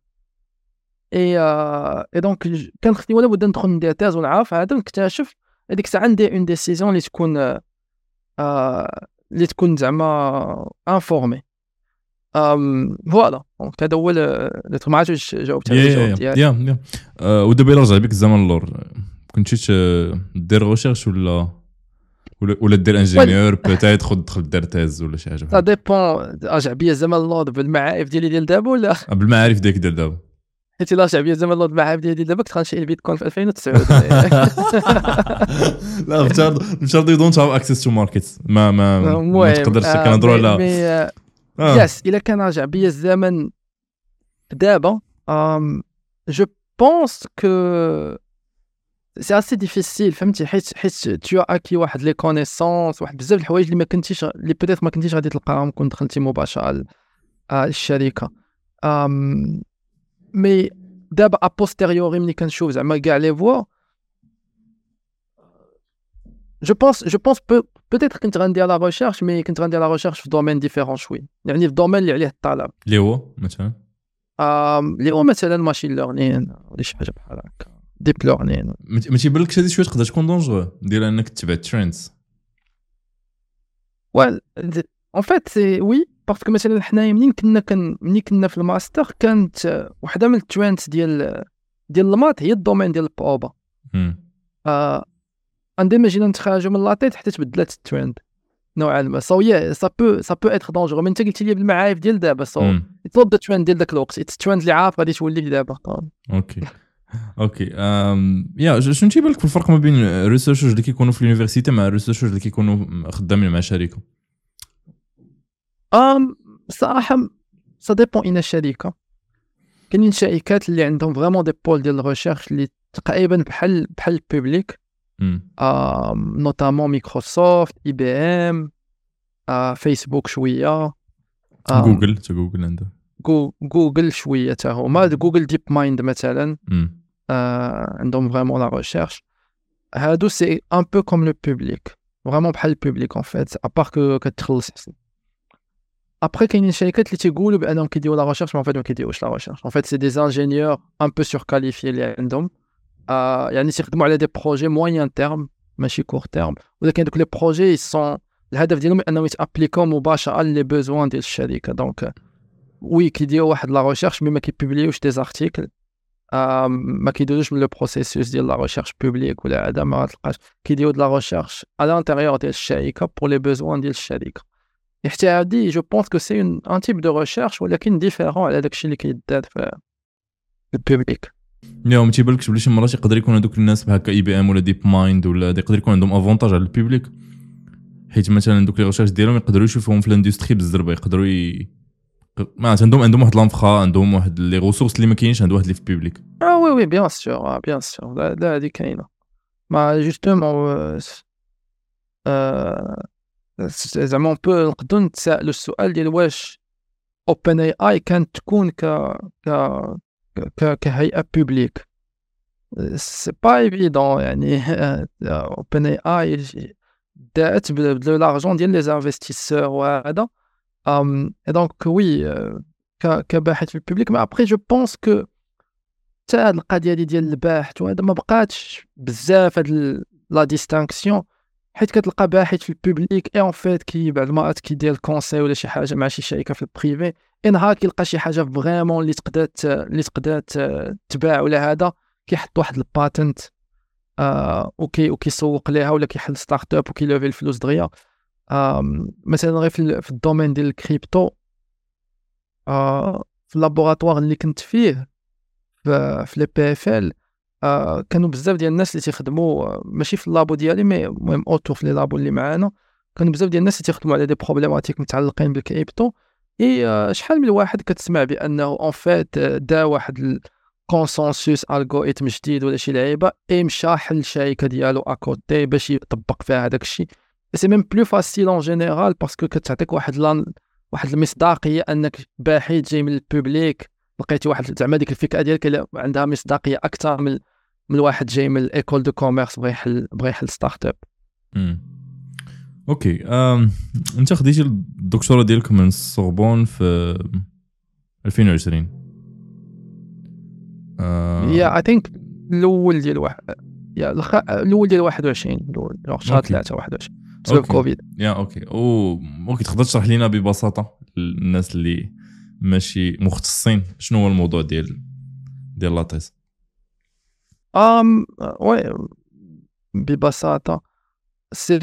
اي دونك كان خصني ولا بد ندخل ندير تيز ونعرف هذا ونكتشف هذيك الساعه ندير اون ديسيزيون اللي تكون زعما انفورمي. فوالا دونك هذا هو اللي ما عرفتش جاوبت على الجواب ديالك. ودابا الا رجع بك الزمن اللور كنتي دير ريشيرش ولا دير انجينيور بوتيت تدخل دير تيز ولا شي حاجه؟ سا ديبون. رجع بيا الزمن اللور بالمعارف ديالي دابا ولا بالمعارف ديالك ديال دابا؟ حيت الا رجع بيا الزمن اللور بالمعارف ديالي دابا كنت غنشري البيتكوين في 2009. لا نفترض يو دونت هاف اكسس تو ماركت ما تقدرش كنهضروا على يس. الا كان رجع بيا الزمن دابا جو بونس كو سي اسي ديفيسيل فهمتي، حيت تو اكي واحد لي كونيسونس واحد بزاف د الحوايج اللي بيتيت ما كنتيش غادي تلقاهم كون دخلتي مباشره للشركه. مي دابا ابوستيريوري ملي كنشوف زعما كاع لي فوا جو بونس peut-être كنت غندير لا ريشيرش مي كنت غندير لا ريشيرش في دومين ديفيرون شوي يعني في الدومين اللي عليه الطلب اللي هو مثلا اللي هو مثلا ماشين ليرنين ولا شي حاجه بحال هكا ديب ليرنين ما تيبانلكش هذه شويه تقدر تكون دونجو ديال انك تتبع تريندز وال en fait c'est oui parce que مثلا حنايا ملي كنا في الماستر كانت وحده من التريندز ديال المات هي الدومين ديال البروبا عندما جينا نتخرجوا من لاطيت حتى تبدلات الترند نوعا ما سو سا بو اتر دونجور من انت قلتي لي بالمعارف ديال دابا سو يطلب الترند ديال داك الوقت الترند اللي عارف غادي تولي دابا اوكي يا شنو تيبان لك في الفرق ما بين الريسيرشرز اللي كيكونوا في اليونيفرسيتي مع الريسيرشرز اللي كيكونوا خدامين مع شركه صراحه سا ديبون ان الشركه كاينين شركات اللي عندهم فريمون دي بول ديال الريسيرش اللي تقريبا بحال البوبليك نوتامون مايكروسوفت اي بي ام فيسبوك شويه جوجل عنده جوجل شويه حتى هما جوجل ديب مايند مثلا عندهم فريمون لا ريشيرش هادو سي ان بو كوم لو بوبليك فريمون بحال البوبليك ان فيت ابار كتخلص حسن ابري كاينين شركات اللي تيقولوا بانهم كيديروا لا ريشيرش ما فات ما كيديروش لا ريشيرش ان فيت سي دي انجينيور ان بو سور كاليفي اللي عندهم يعني تيخدموا على دي بروجي موين تيرم ماشي كور تيرم ولكن دوك لي بروجي سون الهدف ديالهم انهم يتابليكو مباشره لي بوزوان ديال الشركه دونك وي كيديروا واحد لا ريشيرش مي ما كيبوبليوش دي زارتيكل ما كيديروش من لو بروسيسوس ديال لا ريشيرش بوبليك ولا هذا ما تلقاش كيديروا د لا ريشيرش على الانتيريور ديال الشركه بور لي بوزوان ديال الشركه حتى هادي جو بونس كو سي ان تيب دو ريشيرش ولكن ديفيرون على داكشي اللي كيدار في البوبليك ما تيبانلكش بلي شي مرات يقدر يكون هذوك الناس بهكا اي بي ام ولا ديب مايند ولا يقدر يكون عندهم افونتاج على البوبليك حيت مثلا دوك لي ريشيرش ديالهم يقدروا يشوفوهم في الاندستري بالزربه يقدروا ما عندهم واحد لانفخا عندهم واحد لي ريسورس اللي ما كاينش عند واحد اللي في البوبليك وي بيان سور لا هذه كاينه ما جوستومون زعما اون بو نقدروا نتسائلوا السؤال ديال واش اوبن اي كانت تكون كهيئه بوبليك سي با ايفيدون يعني اوبن اي دات بلو لارجون ديال لي انفستيسور وهذا دونك وي كباحث في البوبليك ما ابري جو بونس كو حتى هاد القضيه ديال الباحث وهذا ما بقاتش بزاف هاد لا ديستانكسيون حيت كتلقى باحث في البوبليك اي اون فيت كي بعض المرات كيدير الكونساي ولا شي حاجه مع شي شركه في البريفي نهار كيلقى شي حاجه فريمون اللي تقدر تباع ولا هذا كيحط واحد الباتنت وكيسوق ليها ولا كيحل ستارت اب وكيلوفي الفلوس دغيا مثلا غير في الدومين ديال الكريبتو في اللابوراتوار اللي كنت فيه في لي بي اف ال كانوا بزاف ديال الناس اللي تيخدموا ماشي في اللابو ديالي مي المهم اوتور في لي لابو اللي معانا كانوا بزاف ديال الناس اللي تيخدموا على دي بروبليماتيك متعلقين بالكريبتو شحال من واحد كتسمع بانه اون فيت دا واحد الكونسنسوس الغوريثم جديد ولا شي لعيبه مشى حل الشركه ديالو اكوتي باش يطبق فيها هذاك الشيء سي ميم بلو فاسيل اون جينيرال باسكو كتعطيك واحد المصداقيه انك باحث جاي من البوبليك لقيتي واحد زعما ديك الفكره ديالك عندها مصداقيه اكثر من واحد جاي من الايكول دو كوميرس بغى يحل ستارت اب. اوكي انت خديتي الدكتوراه ديالك من السوربون في 2020 اي ثينك الاول ديال الاول ديال 21 الاول شهر 3 21 بسبب كوفيد. اوكي تقدر تشرح لينا ببساطه الناس اللي ماشي مختصين شنو هو الموضوع ديال لاطيس؟ وي ببساطه سي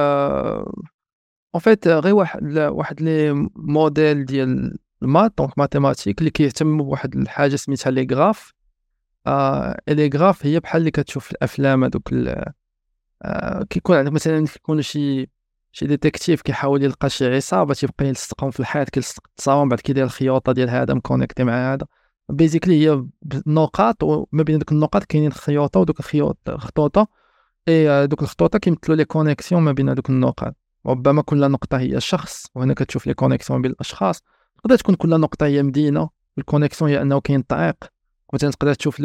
ان فيت غير واحد لي موديل ديال المات دونك ماتيماتيك اللي كيهتم بواحد الحاجه سميتها لي غراف. لي غراف هي بحال اللي كتشوف في الافلام هذوك كيكون عندك مثلا كيكون شي ديتيكتيف كيحاول يلقى شي عصابه تيبقى يلصقهم في الحيط كيلصق التصاوم بعد كيدير الخيوطه ديال هذا مكونيكتي مع هذا بيزيكلي هي نقاط وما بين دوك النقاط كاينين خيوطه ودوك خطوطه دوك الخطوطه كيمثلوا لي كونيكسيون ما بين دوك النقاط. ربما كل نقطه هي شخص وهنا كتشوف لي كونيكسيون بين الاشخاص. تقدر تكون كل نقطه هي مدينه والكونيكسيون هي انه كاين طريق مثلا تقدر تشوف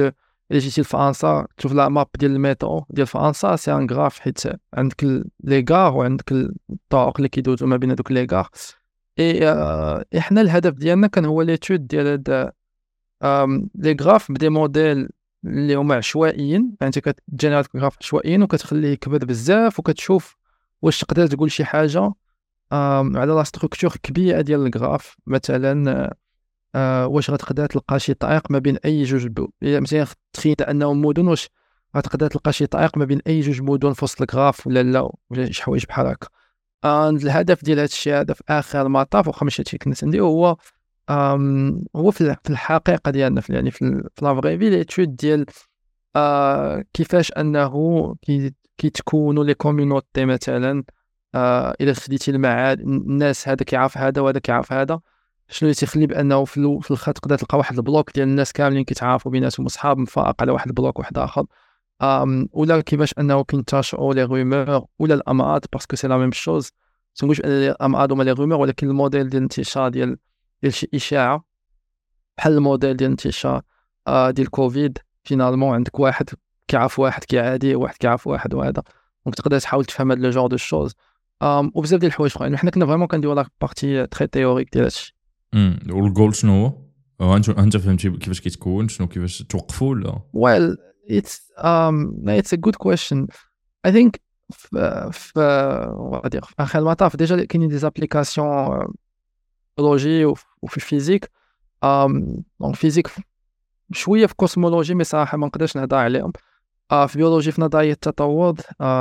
الا جيتي لفرنسا تشوف لا ماب ديال الميترو ديال فرنسا سي ان غراف، حيت عندك لي غار وعندك الطرق اللي كيدوزو ما بين هذوك لي غار. اي حنا الهدف ديالنا كان هو ليتود ديال هاد لي غراف بدي موديل اللي هما عشوائيين، يعني انت كتجينيريت غراف عشوائيين وكتخليه يكبر بزاف وكتشوف واش تقدر تقول شي حاجه على لا ستركتور كبيره ديال الغراف. مثلا واش غتقدر تلقى شي طريق ما بين اي جوج مثلا تخيل انهم مدن، واش غتقدر تلقى شي طريق ما بين اي جوج مدن في وسط الغراف ولا لا، ولا شي حوايج بحال هكا. الهدف ديال هذا الشيء هذا في اخر المطاف، واخا ماشي هادشي كنا نديرو، هو في الحقيقه ديالنا يعني في لا فري في ليتود ديال كيفاش انه كيتكونوا لي كوميونيتي. مثلا الا خديتي المعاد الناس هذا كيعرف هذا وهذا كيعرف هذا، شنو اللي تيخلي بانه في الخط تقدر تلقى واحد البلوك ديال الناس كاملين كيتعارفوا بيناتهم اصحاب مفارق على واحد البلوك واحد اخر. ولا كيفاش انه كينتشروا لي رومور ولا الامراض، باسكو سي لا ميم شوز. تنقولش ان الامراض هما لي رومور، ولكن الموديل ديال الانتشار ديال شي اشاعه بحال الموديل ديال الانتشار ديال كوفيد. فينالمون عندك واحد كيعرف واحد كيعادي، واحد كيعرف واحد، وهذا دونك تقدر تحاول تفهم هاد لو جور دو شوز. وبزاف ديال الحوايج اخرين. حنا كنا فريمون كنديرو لا بارتي تري تيوريك ديال هادشي. والجول شنو هو؟ انت فهمتي كيفاش كيتكون، شنو كيفاش توقفوا ولا؟ Well, it's a good question. I think في اخر المطاف ديجا كاينين دي زابليكاسيون بيولوجي وفي الفيزيك. دونك فيزيك شويه في كوسمولوجي، مي صراحه ما نقدرش نهضر عليهم. في بيولوجي في نظريه التطور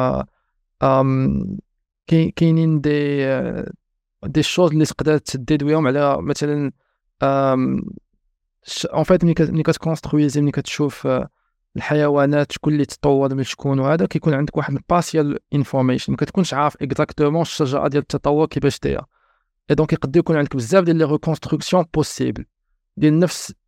كاينين دي شوز اللي تقدر تديدويهم على مثلا اون فيت ملي كتكونسترويزي، ملي كتشوف الحيوانات شكون اللي تطور من شكون، وهذا كيكون عندك واحد الباسيال انفورميشن، ما كتكونش عارف اكزاكتومون الشجره ديال التطور كيفاش دايره. اي دونك يقدر يكون عندك بزاف ديال لي ريكونستركسيون بوسيبل ديال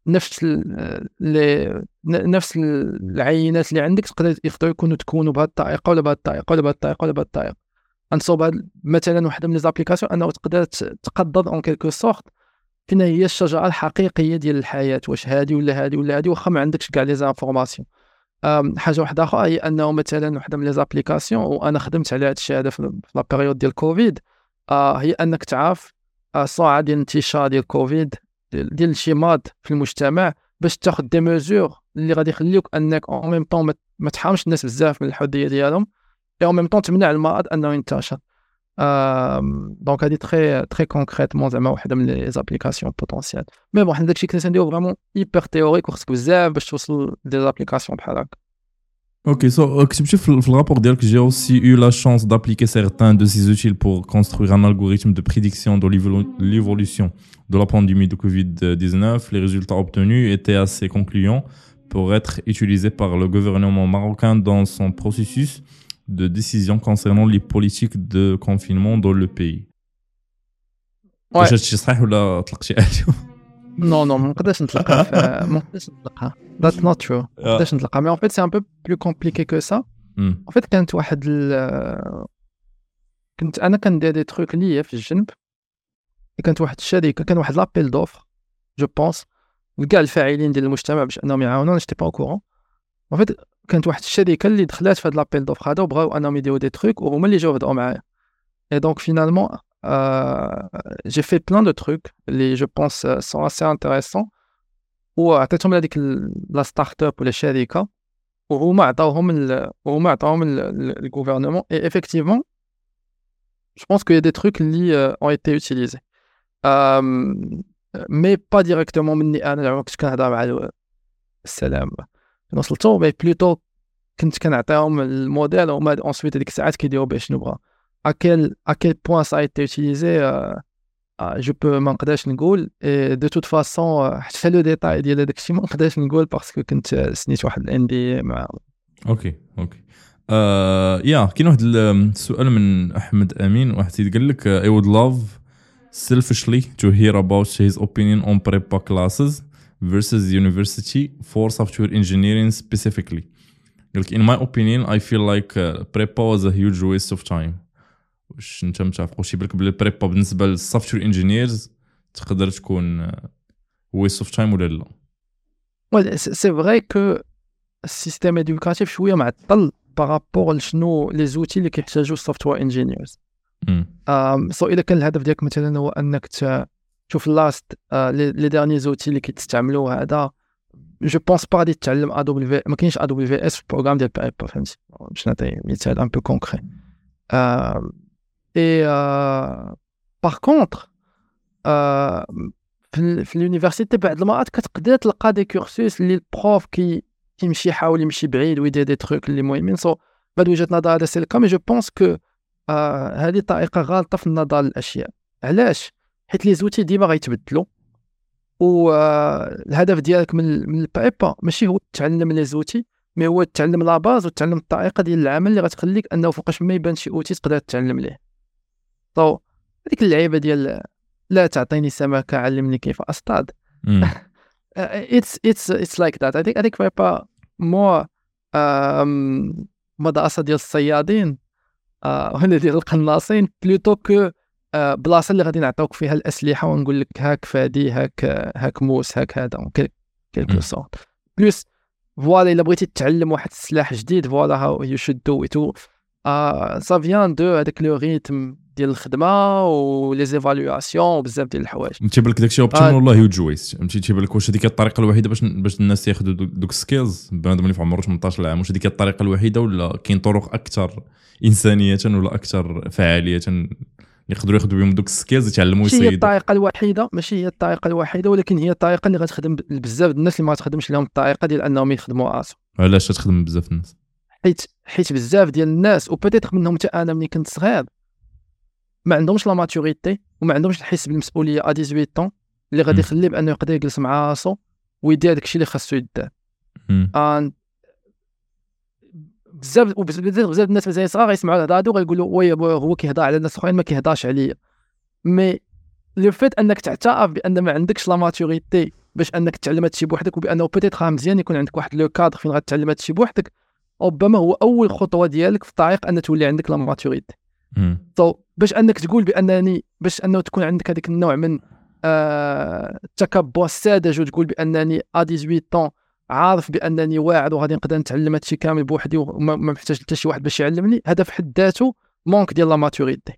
نفس العينات اللي عندك، يقدروا يكونوا تكونوا بهذه الطريقه ولا بهذه الطريقه ولا بهذه الطريقه ولا بهذه الطريقه. انصوب مثلا واحده من لي زابليكاسيون انه تقدر تقدر اون كيلكو سورت فين هي الشجره الحقيقيه ديال الحياه، واش هذه ولا هذه ولا هذه، واخا ما عندكش كاع لي زانفورماسيون. حاجه واحده اخرى هي انه مثلا واحده من لي زابليكاسيون، وانا خدمت على هذا الشيء هذا في لا بيريود ديال كوفيد، هي انك تعرف السرعه ديال الانتشار ديال كوفيد ديال شي مرض في المجتمع، باش تاخذ دي ميزور اللي غادي يخليوك انك اون ميم طون ما تحرمش الناس بزاف من الحديه ديالهم، اون ميم طون تمنع المرض انه ينتشر. دونك هادي تري كونكريتمون زعما واحده من لي زابليكاسيون بوتونسيال. مي بون حنا داكشي كنا نديرو فريمون هيبر تيوريك، وخصك بزاف باش توصل دي زابليكاسيون بحال هكا. Ok, so كتبتي في le rapport ديالك j'ai aussi eu la chance d'appliquer certains de ces outils pour construire un algorithme de prédiction de l'évolution de la pandémie de Covid-19. Les résultats obtenus étaient assez concluants pour être utilisés par le gouvernement marocain dans son processus de décision concernant les politiques de confinement dans le pays. واش هادشي صحيح ولا طلقتي عليه؟ نو ما نقدرش نطلقها، ما نقدرش نطلقها. That's not true. ما نقدرش نطلقها، مي en fait c'est un peu plus compliqué que ça. En fait كانت واحد كنت انا كندير دي تروك ليا في الجنب، كانت واحد الشركه، كان واحد لابيل دوفر جو بونس لكاع الفاعلين ديال المجتمع باش انهم يعاونونا. جيتي با او كورون. en fait كانت واحد الشركه اللي دخلات في هاد لابيل دوفر هذا وبغاو انهم يديروا دي تروك، وهما اللي جاو بداو معايا. Et donc finalement, j'ai fait plein de trucs اللي je pense sont assez intéressants، وعطيتهم لهذيك لا ستارت اب ولا الشركه، وهما عطاوهم الغوفرنمون. Et effectivement, je pense qu'il y a des trucs اللي ont été utilisés, mais pas directement مني انا كنت كنهضر مع السلام وصلتو، mais plutôt كنت كنعطيهم الموديل وما ensuite هذيك الساعات كيديروا به شنو بغا. à quel point ça a été utilisé, je peux ما نقدرش نقول. de toute façon حتى لو ديتاي ديال هذاك الشيء ما نقدرش نقول باسكو كنت سنيت واحد الاندي مع. اوكي كاين واحد السؤال من احمد امين، واحد قال لك I would love selfishly to hear about his opinion on prepa classes versus university for software engineering specifically. قال لك in my opinion I feel like prepa was a huge waste of time. واش انت متفق شي بالك بلي بريبا بالنسبه للسوفتوير انجينيرز تقدر تكون ويست اوف تايم ولا لا؟ وي سي فري كو السيستم ادوكاتيف شويه معطل بارابور لشنو لي زوتي اللي كيحتاجو السوفتوير انجينيرز. سو الا كان الهدف ديالك مثلا هو انك تشوف لاست لي ديرني زوتي اللي كيتستعملوا هذا جو بونس با غادي تتعلم AWS. ما كاينش AWS في البروغرام ديال بايبر فهمتي باش نعطي مثال ان بو كونكري. اي باغ كونطخ في اليونيفرسيتي بعض المرات كتقدر تلقى دي كورسوس اللي البروف كيمشي يحاول يمشي بعيد ويدير دي تروك اللي مهمين. سو بعد وجهة نظر هذا سي الكا، مي جو بونس كو هذه طريقه غلطه في النظر للاشياء. علاش؟ حيت لي زوتي ديما غيتبدلوا، والهدف ديالك من البايبا ماشي هو تعلم لي زوتي، مي هو تعلم لا باز وتعلم الطريقه ديال العمل اللي غتخليك انه فوقاش ما يبان شي اوتي تقدر تتعلم ليه. طو هذيك اللعيبه ديال لا تعطيني سمكه علمني كيف اصطاد. it's like that. I think بايبا مور مدرسه ديال الصيادين ولا ديال القناصين بلوتو كو بلاصه اللي غادي نعطيوك فيها الاسلحه ونقول لك هاك فادي هاك موس هاك هذا كيلكو سورت بلوس. فوالا الا بغيتي تتعلم واحد السلاح جديد فوالا هاو يو شود دو ات سا فيان دو هذاك لو ريتم ديال الخدمه ولي زيفالواسيون وبزاف ديال الحوايج. تيبان لك داكشي اوبشن والله هيوج ويست. تيبان لك واش هذيك الطريقه الوحيده باش الناس ياخذوا دوك السكيلز بنادم اللي في عمره 18 عام، واش هذيك الطريقه الوحيده ولا كاين طرق اكثر انسانيه ولا اكثر فعاليه يقدروا ياخذوا بهم دوك السكيلز يتعلموا يصيدوا؟ ماشي هي الطريقه الوحيده، ماشي هي الطريقه الوحيده، ولكن هي الطريقه اللي غتخدم بزاف الناس اللي ما غتخدمش لهم الطريقه ديال انهم يخدموا راسهم. علاش تخدم بزاف الناس؟ حيت بزاف ديال الناس وبيتيتر منهم حتى انا ملي كنت صغير ما عندهمش لا ماتوريتي وما عندهمش الحس بالمسؤوليه ا 18 طون اللي غادي يخليه بانه يقدر يجلس مع راسو ويدير داكشي اللي خاصو يدير. بزاف الناس مازال صغار يسمعوا الهضره هادو غيقولوا وي هو كيهضر على الناس اخرين ما كيهضرش عليا. مي لو فيت انك تعترف بان ما عندكش لا ماتوريتي باش انك تعلم هادشي بوحدك، وبانه بيتيتر مزيان يكون عندك واحد لو كادر فين غتعلم هادشي بوحدك، ربما هو اول خطوه ديالك في الطريق ان تولي عندك لا ماتوريتي. باش انك تقول بانني باش انه تكون عندك هذيك النوع من التكبر الساذج وتقول بانني ا 18 طون عارف بانني واعر وغادي نقدر نتعلم هادشي كامل بوحدي وما محتاج حتى شي واحد باش يعلمني، هذا في حد ذاته مونك ديال لا ماتوريتي.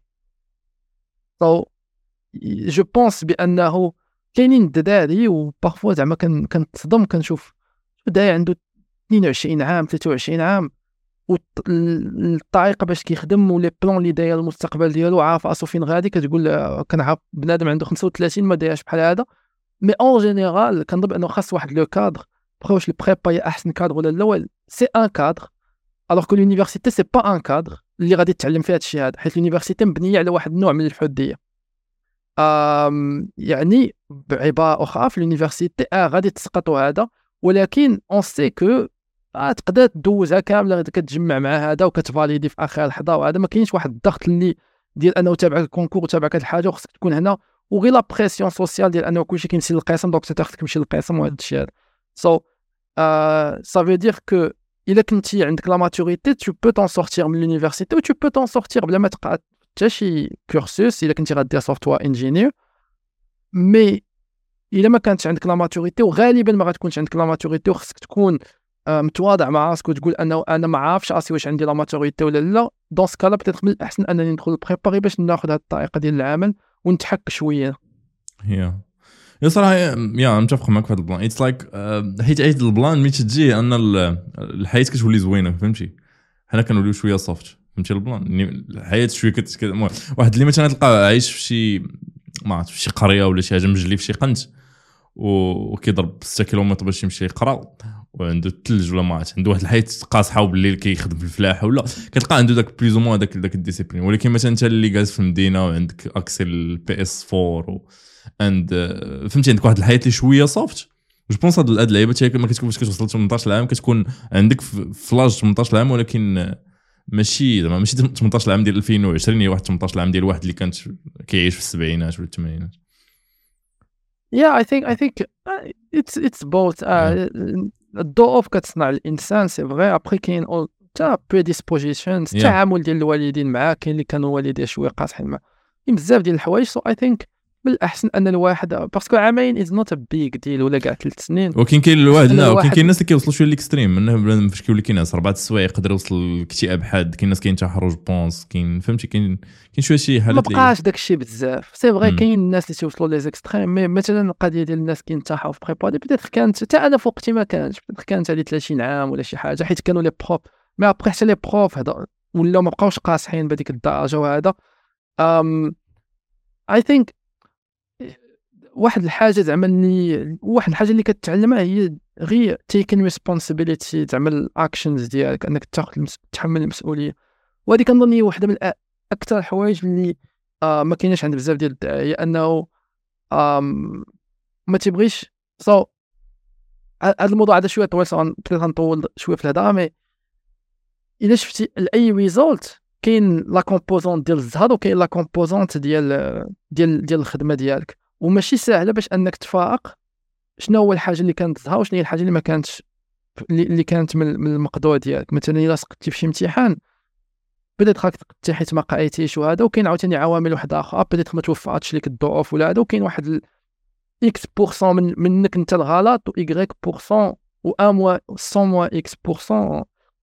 جو بونس بانه كاينين الدراري وبارفوا زعما كنتصدم كنشوف داير عنده 22 عام 23 عام والطريقه باش كيخدم ولي بلان اللي داير المستقبل ديالو عارف راسو فين غادي، كتقول كنعرف بنادم عنده 35 ما دايرش بحال هذا. مي اون جينيرال كنظن انه خاص واحد لو كادر بغاوش البريبا هي احسن كادر ولا الاول سي ان كادر، الوغ كو لونيفرسيتي سي با ان كادر اللي غادي تتعلم فيها هادشي هذا، حيت لونيفرسيتي مبنيه على واحد النوع من الحديه. يعني بعباره اخرى في لونيفرسيتي غادي تسقطوا هذا، ولكن اون سي كو تقدر تدوزها كامله كتجمع مع هذا وكتفاليدي في اخر لحظه، وهذا ما كاينش واحد الضغط اللي ديال انه تابعك الكونكور وتابعك هاد الحاجه وخصك تكون هنا، وغير لا بريسيون سوسيال ديال انه كلشي كيمشي للقسم دونك تاخذك تمشي للقسم وهذا الشيء هذا. سو سا في دير كو الا كنتي عندك لا ماتوريتي تو بو تون سورتير من لونيفرسيتي و تو بو تون سورتير بلا ما تقعد حتى شي كورسوس الا كنتي غادير سوفتوير انجينير. مي الا ما كانتش عندك لا ماتوريتي، وغالبا ما غتكونش عندك لا ماتوريتي، وخصك تكون متواضع مع راسك وتقول انه انا ما عارفش راسي واش عندي لا ماتوريتي ولا لا، دون سكالا بتيت من الاحسن انني ندخل بريباري باش ناخذ هذه الطريقه ديال العمل ونتحك شويه. يا صراحه يا متفق معك في هذا البلان. اتس لايك حيت عيد البلان ملي تجي ان الحياه كتولي زوينه فهمتي، حنا كنوليو شويه صافت فهمتي البلان الحياه شويه واحد اللي مثلا تلقى عايش في شي ما عرفت في شي قريه ولا شي حاجه مجلي في شي قنت وكيضرب 6 كيلومتر باش يمشي يقرا وعنده الثلج ولا ما عرفت عنده واحد الحياه قاصحه وبالليل كيخدم في الفلاحه ولا كتلقى عنده داك بليز او موان داك الديسيبلين. ولكن مثلا انت اللي جالس في المدينه وعندك اكسل البي اس 4 اند فهمتي عندك واحد الحياه اللي شويه صافت. جو بونس هاد اللعيبه ما كتكونش كتوصل 18 عام كتكون عندك في لاج 18 عام، ولكن ماشي 18 عام ديال 2020 هي واحد 18 عام ديال واحد اللي كانت كيعيش في السبعينات ولا الثمانينات. I think it's both. الضعف كتصنع الانسان سي فغي، ابري كاين تا بريديسبوزيشن التعامل ديال الوالدين معاه، كاين اللي كانوا والديه شويه قاصحين معاه، كاين بزاف ديال الحوايج. سو اي ثينك بالاحسن ان الواحد باسكو عامين از نوت ا بيج ديل ولا كاع 3 سنين. ولكن كاين الواحد لا الواحد- كاين الناس اللي كيوصلوا شويه ليكستريم منه فاش كيولي كاين ناس 4 السوايع يقدر يوصل الاكتئاب حاد. كاين ناس كينتحروا بونس كاين فهمتي كاين شويه شي ما حالات اللي بقاش داكشي بزاف سي فغي. مم. كاين الناس اللي تيوصلوا لي زيكستريم مي مثلا القضيه ديال الناس كينتحوا في بريبا بيتيتر كانت حتى انا في وقتي ما كانش بيتيتر كانت على 30 عام ولا شي حاجه حيت كانوا لي بروف مي ابري حتى لي بروف هذا ولاو ما بقاوش قاصحين بهذيك الدرجه. وهذا اي ثينك واحد الحاجه زعما واحد الحاجه اللي كتعلمها هي غير تيكن ريسبونسابيلتي زعما الاكشنز ديالك انك تحمل المسؤوليه. وهذه كنظن هي واحده من اكثر الحوايج اللي ما كايناش عند بزاف ديال الدعايه انه ما تيبغيش هذا الموضوع هذا شويه طويل غنطول شويه في الهضره. مي الا شفتي اي ريزولت كاين لا كومبوزونت ديال الزهر وكاين لا كومبوزونت ديال الخدمه ديالك. وماشي سهله باش انك تفارق شنو هو الحاجه اللي كانت تظهر وشنو هي الحاجه اللي ما كانتش اللي كانت من المقدور ديالك. مثلا الا سقطتي في شي امتحان بدات خاك تقتي حيت ما قريتيش وهذا وكاين عاوتاني عوامل واحده اخرى بدات ما توفقاتش لك الظروف ولا هذا وكاين واحد اكس بورسون منك انت الغلط و ايغريك بورسون و ان موا 100 موا اكس بورسون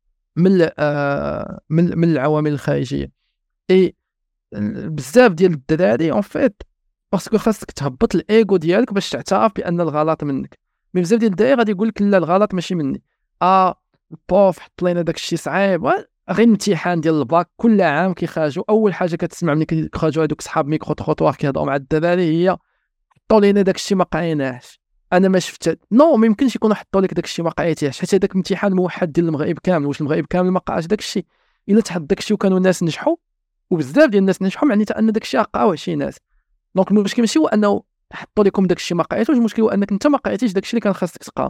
من العوامل الخارجيه. اي بزاف ديال الدراري اون فيت باسكو خاصك تهبط الايغو ديالك باش تعترف بان الغلط منك. مي بزاف ديال الدراري غادي يقول لك لا الغلط ماشي مني. البروف حط لينا داك الشيء صعيب غير امتحان ديال الباك كل عام كيخرجوا اول حاجه كتسمع ملي كيخرجوا هذوك صحاب ميكرو تروطوار كيهضروا مع الدراري هي حطوا لينا داك الشيء ما قريناهش. انا ما شفت ما يمكنش يكونوا حطوا لك داك الشيء ما قريتيهش حيت هذاك الامتحان موحد ديال المغرب كامل. واش المغرب كامل ما قراش داك الشيء؟ الا تحط داك الشيء وكانوا الناس نجحوا وبزاف ديال الناس نجحوا معناتها ان داك الشيء قراوه شي ناس. دونك المشكل ماشي هو انه حطوا لكم داك الشيء ما قريتوش المشكل هو انك انت ما قريتيش داك الشيء اللي كان خاصك تقرا.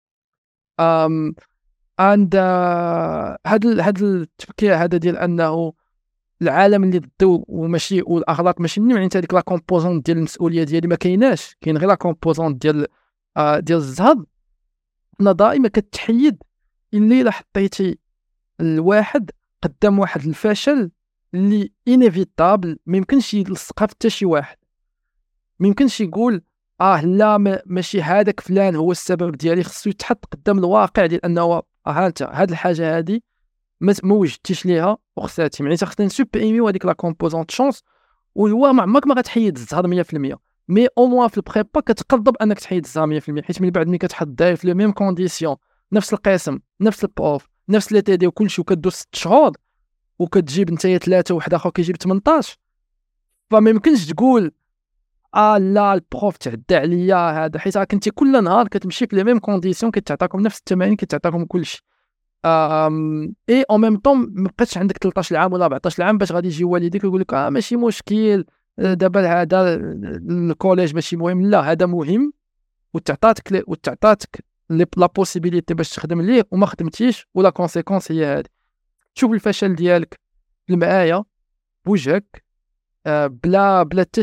عند هاد التفكير هذا ديال انه العالم اللي ضدو وماشي والاغلاط ماشي مني معناتها هذيك لا كومبوزونت ديال المسؤوليه ديالي ما كايناش. كاين غير لا كومبوزونت ديال الزهد. انا دائما كتحيد الا حطيتي الواحد قدام واحد الفشل اللي انيفيتابل ما يمكنش يلصقها حتى شي واحد. ما يمكنش يقول لا ماشي هذاك فلان هو السبب ديالي. خصو يتحط قدام الواقع ديال انه انت هاد الحاجه هادي ما وجدتيش ليها وخسرتي. معناتها خصنا نسوبريميو هذيك لا كومبوزونت شونس. وهو عمرك ما غتحيد الزهر 100% مي او موان في البريبا كتقرب انك تحيد الزهر 100% حيت من بعد ملي كتحط داير في لو ميم كونديسيون نفس القسم نفس البروف نفس لي تي دي وكلشي وكدوز 6 شهور وكتجيب نتايا 3 وواحد اخر كيجيب 18 فما يمكنش تقول لا البروف تعدى عليا هذا حيت كنتي كل نهار كتمشي في لي ميم كونديسيون كتعطاكم نفس التمارين كتعطاكم كلشي. اي او ميم طون ما بقاش عندك 13 عام ولا 14 عام باش غادي يجي والديك ويقول لك ماشي مشكل دابا هذا الكوليج ماشي مهم. لا هذا مهم وتعطاتك لا بوسيبيليتي باش تخدم ليه وما خدمتيش ولا كونسيكونس هي هذه. تشوف الفشل ديالك في المرايه بوجهك بلا حتى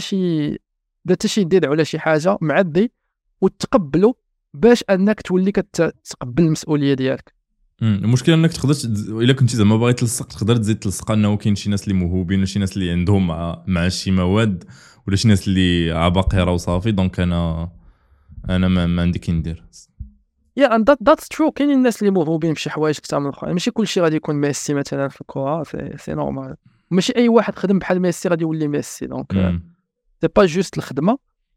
شي دير على شي حاجه معدي وتقبله باش انك تولي كتقبل المسؤوليه ديالك. المشكله انك تقدر الا كنتي زعما باغي تلصق تقدر تزيد تلصق انه كاين شي ناس اللي موهوبين وشي ناس اللي عندهم مع شي مواد ولا شي ناس اللي عباقره وصافي. دونك انا ما عندي كي ندير ذاتس ترو. كاين الناس اللي موهوبين بشي حوايج كثر من الاخرين. ماشي كلشي غادي يكون ميسي مثلا في الكره سي نورمال. ماشي اي واحد خدم بحال ميسي غادي يولي ميسي. دونك سي با جوست الخدمه.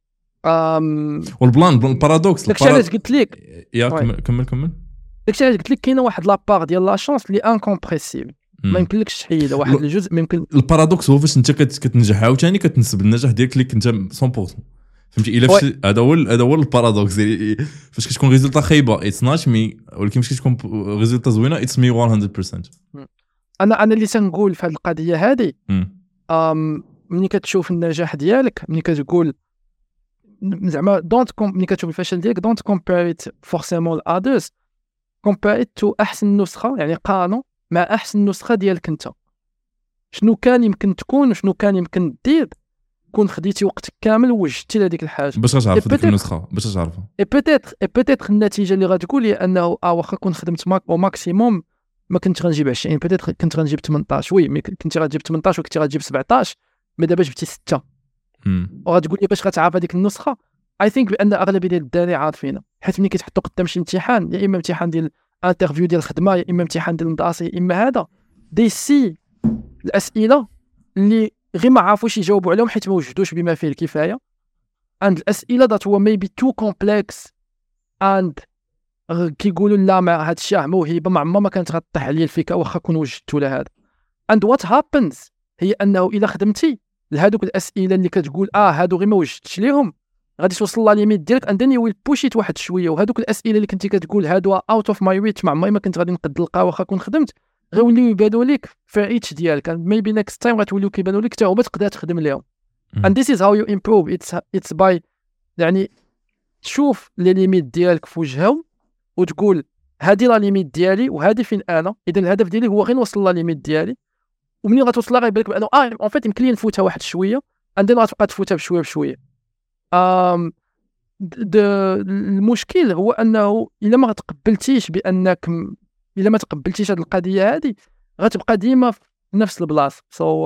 والبلان البارادوكس داكشي علاش قلت لك يا كمل داكشي علاش قلت لك كاينه واحد لابار ديال لا شونس اللي انكومبريسيبل ما يمكنلكش تحيدها. واحد الجزء ما يمكن. البارادوكس هو فاش انت كتنجح عاوتاني كتنسب النجاح ديالك اللي كنت 100% فهمتي. الا هذا هو البارادوكس فاش كتكون ريزولتا خايبه اتس ناش مي ولكن فاش كتكون ريزولتا زوينه اتس مي 100%. انا اللي تنقول في هذه القضيه هذه ملي كتشوف النجاح ديالك ملي كتقول زعما ملي كتشوف الفشل ديالك دونت كومبير ات فورسيمون لاذرز كومبير ات تو احسن نسخه. يعني قارنوا مع احسن نسخه ديالك انت. شنو كان يمكن تكون وشنو كان يمكن دير كون خديتي وقتك كامل ووجدتي لهذيك الحاجه باش تعرف ديك النسخه باش تعرفها. اي بيتيتر النتيجه اللي غتقول هي انه واخا كون خدمت او ماكسيموم ما كنت غنجيب 20 بيتيتر كنت غنجيب 18 وي مي كنتي غتجيب 18 وكنتي غتجيب 17 مي دابا جبتي 6 وغتقول لي باش غتعرف هذيك النسخه. اي ثينك بان اغلبيه ديال الدراري عارفينها، حيت ملي كيتحطوا قدام شي امتحان، يا اما امتحان ديال انترفيو ديال الخدمه، يا اما امتحان ديال المدرسه، يا اما هذا دي سي الاسئله اللي غير ما عرفوش يجاوبوا عليهم حيت ما وجدوش بما فيه الكفايه. عند الاسئله ذات هو ميبي تو كومبلكس اند كيقولوا لا ما هذا الشيء موهبه ما كانت غطيح عليا الفكره واخا كون وجدت ولا هذا. اند وات هابنز هي انه الا خدمتي لهذوك الاسئله اللي كتقول هادو غير ما وجدتش ليهم، غادي توصل لا ليميت ديالك اند ذن يو ويل بوشيت واحد شويه. وهذوك الاسئله اللي كنتي كتقول هادو اوت اوف ماي ريتش، ما عمري ما كنت غادي نقد نلقاها واخا كون خدمت، غيوليو يبانوا لك في ريتش ديالك. ميبي نيكست تايم غتوليو كيبانوا لك حتى هما تقدر تخدم ليهم. and this is how you improve. it's by يعني تشوف لي ليميت ديالك في وجههم وتقول هذه لا ليميت ديالي وهذه فين انا، اذا الهدف ديالي هو غير نوصل لا ليميت ديالي. ومنين غتوصل لها غيبان لك بانه اون فيت يمكن لي نفوتها واحد شويه عندنا غتبقى تفوتها بشويه بشويه. المشكل هو انه الا ما تقبلتيش بانك الا ما تقبلتيش هذه القضيه هذه غتبقى ديما في نفس البلاصه.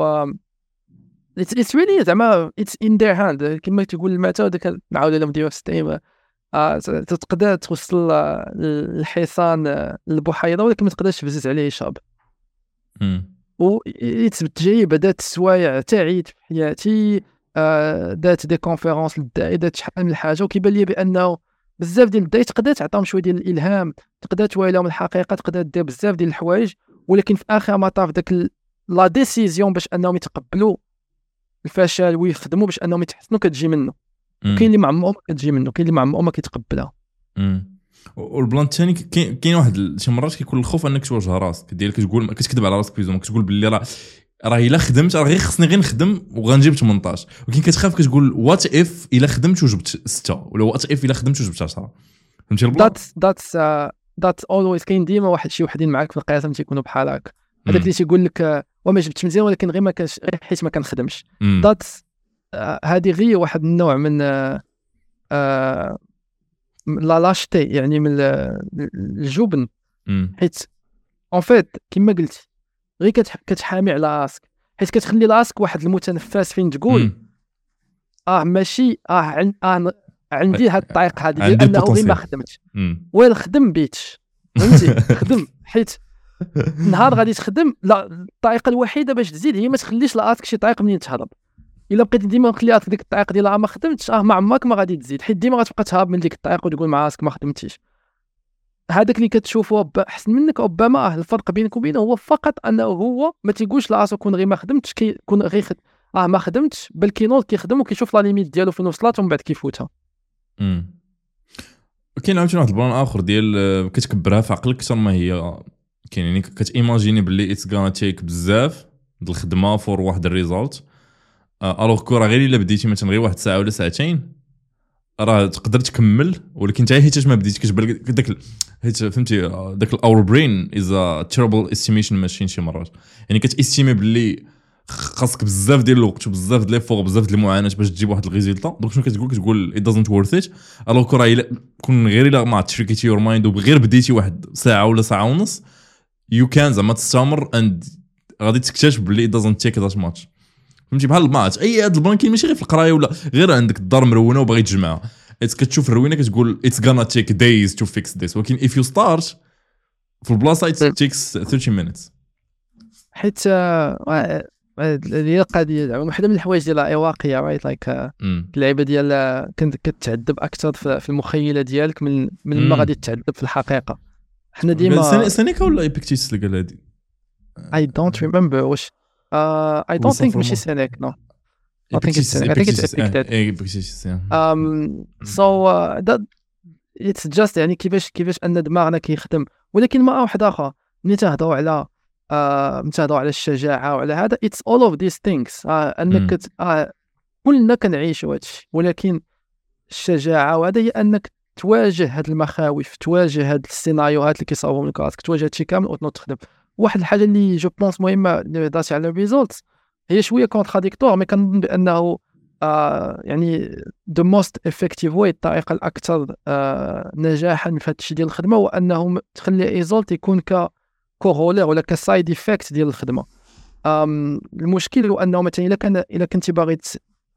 it's really زعما it's in their hand كما تقول المثل داك نعاود لهم ديما في ستيم. تقدر توصل الحصان للبحيره ولكن ما تقدرش تفزز عليه شاب. و تجربه دات السوايع تعيد في حياتي، دات دي كونفيرونس للداعي، دات شحال من حاجه، وكيبان لي بانه بزاف ديال الداعي تقدر تعطيهم شويه ديال الالهام، تقدر توالي لهم الحقيقه، تقدر دير بزاف ديال الحوايج، ولكن في اخر مطاف داك لا ديسيزيون باش انهم يتقبلوا الفشل ويخدموا باش انهم يتحسنوا كتجي منه. كاين اللي مع عمهم كتجي منه، كاين اللي مع عمهم ما كيتقبلها. والبلان الثاني كاين واحد شي مرات كيكون الخوف انك تواجه راسك ديالك، كتقول كتكذب على راسك بيزوم، كتقول باللي راه الا خدمت راه غير خصني غير نخدم وغنجيب 18، ولكن كتخاف كتقول وات اف الا خدمت وجبت 6 ولا وات اف الا خدمت وجبت 10. فهمتي البلان؟ that's always كاين ديما واحد شي وحدين معاك في القسم تيكونوا بحال هكا، هذاك اللي تيقول لك وما جبت مزيان ولكن غير ما كانش حيت ما كنخدمش. هذه غير واحد النوع من لا لاشتي، يعني من الجبن، حيت اون فيت كما قلتي غير كتحامي على راسك، حيت كتخلي راسك واحد المتنفس فين تقول ماشي عندي هاد الطريق هذه ديال انه غير ما خدمتش وين خدم بيتش، فهمتي؟ خدم، حيت نهار غادي تخدم لا الطريقه الوحيده باش تزيد هي ما تخليش لراسك شي طريق منين تهرب. الا بقيتي ديما مخلي راسك ديك الطريق ديال ما خدمتش ما عمرك ما غادي تزيد، حيت ديما غتبقى تهرب من ديك الطريق وتقول مع راسك ما خدمتيش. هذاك اللي كتشوفه احسن منك ربما الفرق بينك وبينه هو فقط انه هو ما تيقولش لراسو كون غير ما خدمتش، كيكون غير ما خدمتش، بل كينوض كيخدم وكيشوف لا ليميت ديالو فين وصلات ومن بعد كيفوتها. كاين عاوتاني واحد البلان اخر ديال كتكبرها في عقلك اكثر ما هي كاين، يعني كتيماجيني باللي اتس غانا تيك بزاف د الخدمه فور واحد الريزولت، الوغ كو راه غير الا بديتي مثلا غير واحد ساعه ولا ساعتين راه تقدر تكمل، ولكن حتى حيت ما بديتي كتبان داك حيت فهمتي داك الاور برين از ا تيربل استيميشن ماشين شي مرات، يعني كتاستيمي باللي خاصك بزاف ديال الوقت وبزاف ديال ليفور بزاف ديال المعاناه باش تجيب واحد الريزلت. دونك شنو كتقول it doesn't worth it، الوغ كو راه كون غير الا ما تشريكيتي يور مايند وغير بديتي واحد ساعه ولا ساعه ونص يو كان زعما تستمر اند غادي تكتشف باللي it doesn't take that much. فهمتي بحال الماتش اي هاد البلان كاين ماشي غير في القرايه ولا غير عندك الدار مرونه وباغي تجمعها، كتشوف الروينه كتقول it's gonna take days to fix this، ولكن if you start في البلاصه it takes 30 minutes. حيت هي القضيه زعما واحده من الحوايج ديال الاواقيه رايت لايك اللعيبه ديال كنت كتعذب اكثر في المخيله ديالك من ما غادي تتعذب في الحقيقه. حنا ديما سينيكا ولا ايبيكتيتس اللي قال هادي I don't remember واش I don't think ماشي سينيك no I think it's Epictetus. So that it's just يعني كيفاش ان دماغنا كيخدم. ولكن ما واحد اخر ملي تهضروا على الشجاعه وعلى هذا it's all of these things انك كلنا كنعيشوا هادشي، ولكن الشجاعه وهذا هي انك تواجه هاد المخاوف، تواجه هاد السيناريوهات اللي كيصاوبوا لك راسك، تواجه هادشي كامل وتنوض تخدم. واحد الحاجه اللي جو بونس مهمه اللي هضرتي على الريزولتس هي شويه كونتراديكتور، مي كنظن بانه يعني the most effective way الطريقه الاكثر نجاحا في هذا الشيء ديال الخدمه هو انه تخلي ريزولت يكون كورولير ولا كسايد ايفيكت ديال الخدمه. المشكل هو انه مثلا الا كنتي باغي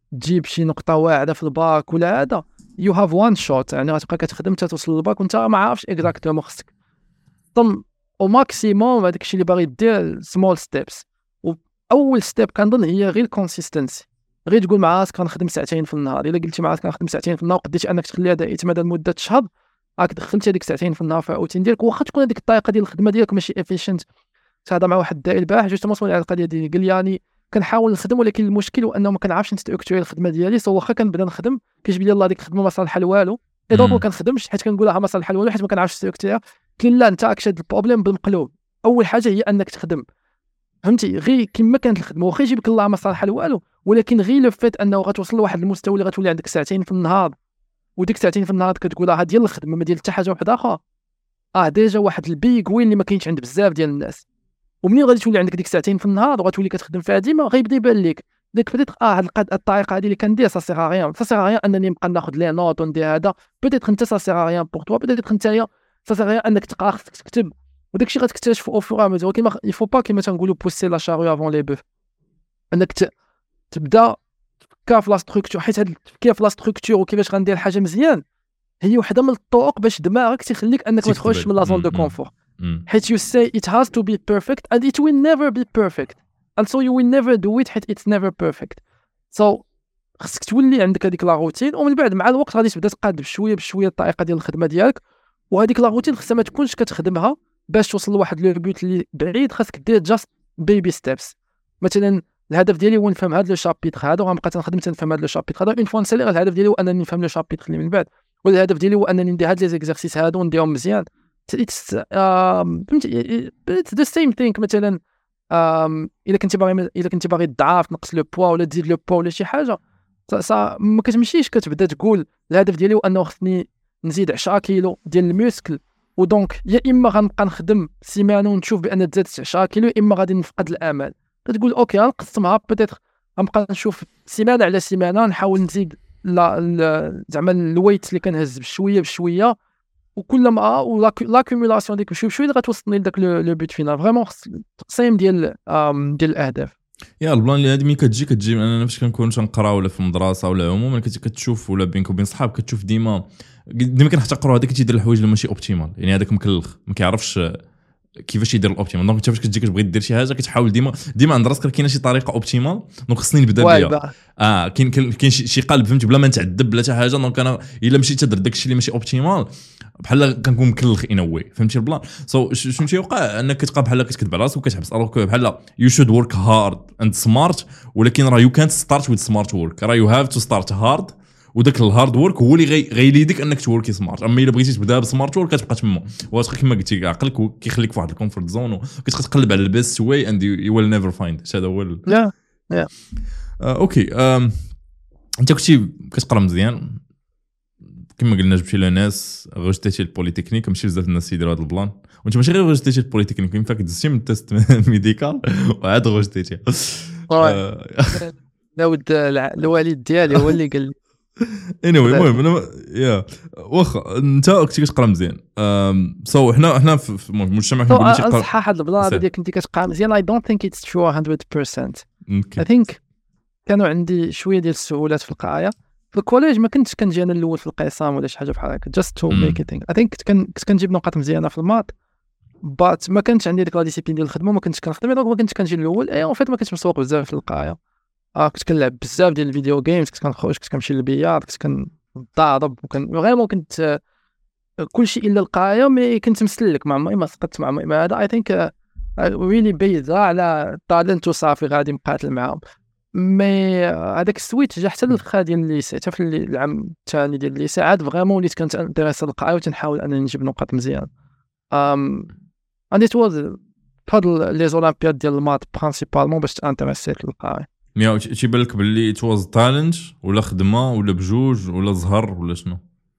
تجيب شي نقطه واعده في الباك ولا هذا يو هاف وان شوت، يعني غتبقى كتخدم حتى توصل للباك وانت ما عارفش اكزاكتومون خصك طم او ماكسيموم. هذاك الشيء اللي باغي دير سمول ستيبس. واول ستيب كنظن هي غير الكونسيستنسي، غير تقول مع راسك كنخدم ساعتين في النهار. الا قلتي مع راسك كنخدم ساعتين في النهار وقدرتي انك تخليها دائما مدى لمده شهر، راك دخلتي هذيك ساعتين في النهار في الروتين ديالك. واخا تكون هذيك الطريقه ديال الخدمه ديالك ماشي افيشنت. هذا مع واحد الدائي البارح جوستومون سولي على القضيه ديالي، قال لي يعني كنحاول نخدم ولكن المشكل هو انه ما كنعرفش نستركتوري الخدمه ديالي. سو واخا كنبدا نخدم كيجيب لي الله ديك الخدمه ما صالحه لوالو، اي دونك ما كنخدمش حيت كنقولها ما صالحه لوالو حيت ما كنعرفش نستركتوريها. قال لا انت راك شاد البروبليم بالمقلوب. اول حاجه هي انك تخدم، فهمتي؟ غير كما كانت الخدمه واخا يجيبك الله ما صالحه لوالو، ولكن غير لو فيت انه غتوصل لواحد المستوى اللي غتولي عندك ساعتين في النهار، وديك ساعتين في النهار كتقول ها ديال الخدمه ما ديال حتى حاجه واحده اخرى. ديجا واحد البيك وين اللي ما كاينش عند بزاف ديال الناس. ومنين غادي تولي عندك ديك ساعتين في النهار وغتولي كتخدم فيها ديما، غيبدا يبان لك ديك بديت هاد الطريقه هذه اللي كندير سا سيغ ريان، سا سيغ ريان انني نبقى ناخذ لي نوت وندير هذا. بديت انت سا سيغ ريان بور توا، بديت نتايا سا سيغ ريان انك تقرا، خصك تكتب، وداك الشيء غتكتشفوا او فور ميزور. ولكن يفو با كيما تنقولوا بوسي لا شارو افون لي بوف، انك تبدا تفكر في لا ستركتور. حيت هاد التفكير في لا ستركتور وكيفاش غندير الحاجه مزيان هي وحده من الطرق باش دماغك تخليك انك ما تخرجش من لا زون دو كونفور. حيت you say it has to be perfect and it will never be perfect and so you will never do it حيت it's never perfect. so خصك تولي عندك هذيك لا روتين، ومن بعد مع الوقت غادي تبدا تقاد بشويه بشويه الطريقه ديال الخدمه ديالك. وهذيك لا روتين خصها ما تكونش كتخدمها باش توصل لواحد لو بوت اللي بعيد، خاصك دير جاست بيبي ستيبس. مثلا الهدف ديالي هو نفهم هذا لو شابيتر هذا وغنبقى تنخدم تنفهم هذا لو شابيتر هذا. اون فوا نسالي الهدف ديالي هو انني نفهم لو شابيتر اللي من بعد، ولا الهدف ديالي هو انني ندير هاد لي زيكزارسيس هادو ونديرهم مزيان. فهمتي؟ اتس ذا سيم ثينك. مثلا الا كنتي باغي تضعف تنقص لو بوا ولا تزيد لو بوا ولا شي حاجه، ما كتمشيش كتبدا تقول الهدف ديالي هو انه خصني نزيد 10 كيلو ديال الميسكل، ودونك يا اما غنبقى نخدم سيمانه ونشوف بان تزادت 10 كيلو، يا اما غادي نفقد الامل. كتقول اوكي غنقسمها، بدات غنبقى نشوف سيمانه على سيمانه نحاول نزيد زعما الويت اللي كنهز بشويه بشويه، وكل ما لاكومولاسيون ديك بشويه بشويه غتوصلني لذاك لو بوت فينال. فريمون التقسيم ديال الاهداف. يا البلان اللي هادي ملي كتجي من انا فاش كنكون تنقرا ولا في المدرسه ولا عموما كتشوف ولا بينك وبين صحاب كتشوف ديما كنحتقروا هذاك كيدير الحوايج اللي ماشي اوبتيمال، يعني هذاك مكلخ ما كيعرفش كيفاش يدير الاوبتيمال. دونك انت فاش كتجي كتبغي دير شي حاجه كتحاول ديما عند راسك كاينه شي طريقه اوبتيمال، دونك خصني نبدا بها. كاين شي قلب فهمتي بلا ما نتعذب بلا حتى حاجه. دونك انا الا مشيت تدير داك الشيء اللي ماشي اوبتيمال بحال كنكون مكلخ انوي، فهمتي البلان. شنو تيوقع انك كتبقى بحال كتكذب على راسك وكتحبس الوغ بحال يو شود ورك هارد اند سمارت، ولكن راه يو كانت ستارت ويز سمارت ورك، راه يو هاف تو ستارت هارد، وداك الهارد ورك هو اللي غيليدك انك توركي سمارت. اما الا بغيتي تبدا بسمارت ورك كتبقى تما واش كما قلتي عقلك كيخليك في واحد الكومفورت زون وكتبقى تقلب على البيست واي اند يو ويل نيفر فايند. هذا هو لا اوكي. انت كنتي كتقرا مزيان كما قلنا، جبتي لناس غوجتيتي البوليتكنيك، ماشي بزاف الناس يديروا هذا البلان، وانت ماشي غير غوجتيتي البوليتكنيك، ينفع دزتي من التيست ميديكال وعاد غوجتيتي. ناود الوالد ديالي هو اللي قال لي المهم انا يا واخا انت كنتي كتقرا مزيان. سو حنا في المجتمع كنقول شي قرا صح. هاد البلان ديالك كنتي كتقرا مزيان I don't think it's true 100%. I think كانوا عندي شويه ديال السهولات في القرايه في الكوليج. ما كنتش كنجي انا الاول في القسم ولا شي حاجه بحال هكا just to make it thing. I think كنت كنجيب نقاط مزيانه في المات، بات ما كانش عندي ديك لا ديسيبلين ديال الخدمه، ما كنتش كنخدم، دونك ما كنتش كنجي الاول. اون فيت ما كنتش مسوق بزاف في القرايه. كنت كنلعب بزاف ديال الفيديو جيمز، كنت كنخرج، كنت كنمشي للبيار، كنت كنضارب، غير كنت كل شيء الا القرايه. مي كنت مسلك مع ما سقطت مع ما هذا. I think really بيزا على طالنت وصافي غادي مقاتل معاهم. مي هذاك السويتش جا حتى للخا ديال الليسي، حتى في العام الثاني ديال الليسي عاد فريمون وليت كنت انتريسي القرايه وتنحاول انني نجيب نقاط مزيان. and it was بحال لي زولامبياد ديال المات برينسيبالمون باش تانتريسيت للقرايه. مي تيبان لك باللي it was talent ولا خدمه ولا بجوج ولا زهر ولا شنو؟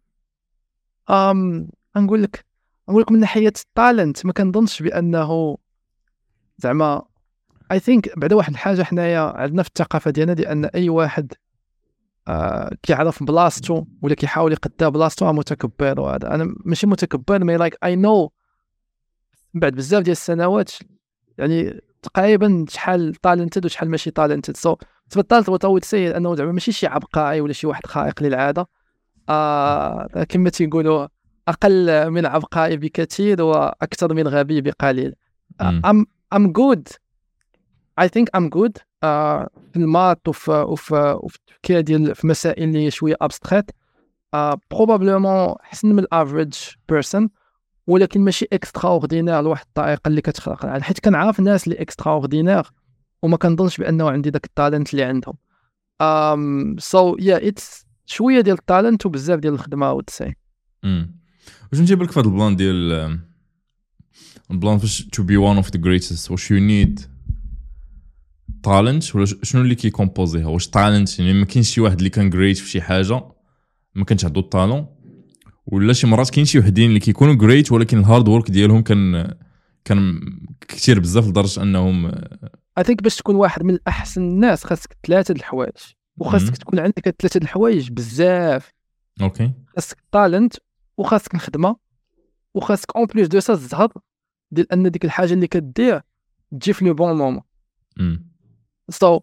نقول لك من ناحيه التالنت ما كنظنش بانه زعما I think بعدا واحد الحاجه حنايا عندنا في الثقافه ديالنا دي ان اي واحد كيعرف بلاصتو ولا كيحاول يقدا بلاصتو متكبر. وهذا انا ماشي متكبر، مي لايك I know بعد بزاف ديال السنوات يعني تقريبا شحال تالنتد وشحال ماشي تالنتد. سو تبطلت وتوت سي انه زعما ماشي شي عبقري ولا شي واحد خارق للعاده، كما تيقولوا اقل من عبقري بكثير واكثر من غبي بقليل. I'm good. I think I'm good في المات وفي التفكير ديال في مسائل اللي شويه ابستريت، بروبابلومون حسن من الافريج بيرسون، ولكن ماشي اكسترا اوردينير لواحد الطريقه اللي كتخلق العالم، حيت كنعرف الناس اللي اكسترا اوردينير وما كنظنش بانه عندي داك التالنت اللي عندهم. سو يا اتس شويه ديال التالنت وبزاف ديال الخدمه وتسي. واش نجيب لك في هذا البلان ديال البلان فاش to be one of the greatest، واش you need talent ولا شنو اللي كيكومبوزيها؟ واش talent يعني ما كاينش شي واحد اللي كان great في شي حاجه ما كانش عنده الطالون، ولا شي مرات كاين شي وحدين اللي كيكونوا great ولكن الهارد وورك ديالهم كان كثير بزاف لدرجه انهم I think باش تكون واحد من الاحسن الناس خاصك 3 د الحوايج، وخاصك تكون عندك 3 د الحوايج بزاف. اوكي، خاصك التالنت وخاصك الخدمه وخاصك اون بليس دو سا الزهر ديال ان ديك الحاجه اللي كدير تجي في لو بون مومون. So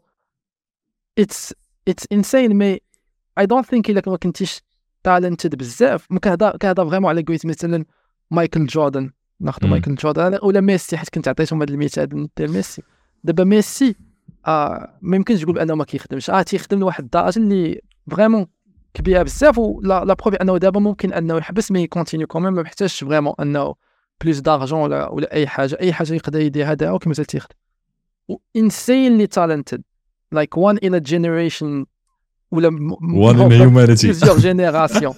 it's insane. مي I don't think إلا ما كنتيش talented بزاف، ما كنهضر فريمون على قويت مثلا مايكل جوردن، ناخذ مايكل جوردن ولا ميسي، حيت كنت عطيتهم هذا المثال ديال ميسي. دابا ميسي ما يمكنش تقول بانه ما كيخدمش، تيخدم لواحد الدرجه اللي فريمون كبيره بزاف، ولا لا بروبي انه دابا ممكن انه يحبس مي كونتينيو كوميم، ما محتاجش فريمون انه بلوس دارجون ولا اي حاجه يقدر يدير هذا وكما تيخدم. insanely talented like one in a generation ولا one in humanity plusieurs générations.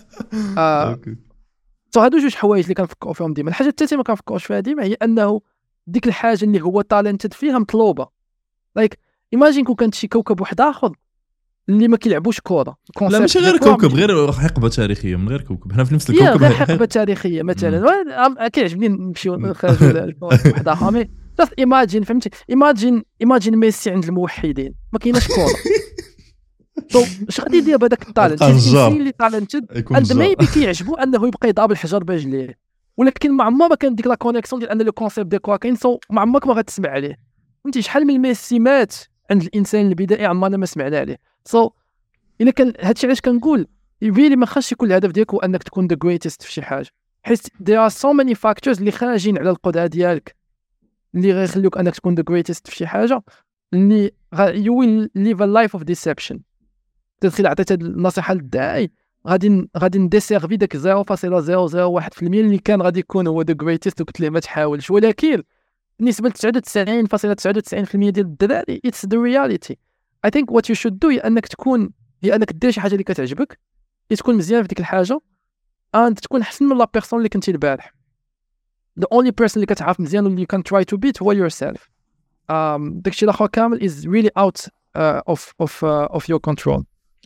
هادو جوج حوايج اللي كنفكروا فيهم ديما. الحاجه الثالثه ما كنفكروش فيها ديما هي انه ديك الحاجه اللي هو talented فيها مطلوبه. like imagine كون كانت شي كوكب واحد اخر اللي ما كيلعبوش كره، لا ماشي غير كوكب، غير حقبه تاريخيه من غير كوكب، حنا في نفس الكوكب، غير حقبه تاريخيه مثلا. كيعجبني نمشيو نخرجوا واحد اخر just imagine فهمتي، imagine ميسي عند الموحدين ما كايناش كره. اش غادي يدير بهذاك التالنت اللي تالنتد عند ميبي كيعجبو انه يبقى يضرب الحجر برجليه، ولكن ما عمرها ما كان ديك لا كونيكسيون ديال ان لو كونسيبت دي كوا كاين، ما عمرك ما غتسمع عليه. فهمتي شحال من ميسي مات عند الانسان البدائي عمرنا ما سمعنا عليه. الا كان هادشي علاش كنقول يبيلي ما خاصش يكون الهدف ديالك هو انك تكون ذا جريتست في شي حاجه، حيت there are so many factors اللي خارجين على القدره ديالك اللي غيخليوك انك تكون ذا جريتست في شي حاجه، اللي you will live a life of deception. تدخل عطيت هاد النصيحه للداعي غادي نديسيرفي داك 0.001% اللي كان غادي يكون هو ذا جريتست، وقلت ليه ما تحاولش، ولكن بالنسبه ل 99.99% ديال الدراري it's the reality. I think what you should do هي انك دير شي حاجه اللي كتعجبك، تكون مزيان في ديك الحاجه، تكون احسن من لا بيرسون اللي كنتي البارح. the only person اللي كتعرف مزيان واللي you can try to beat هو yourself. داكشي الاخر كامل is really out of your control.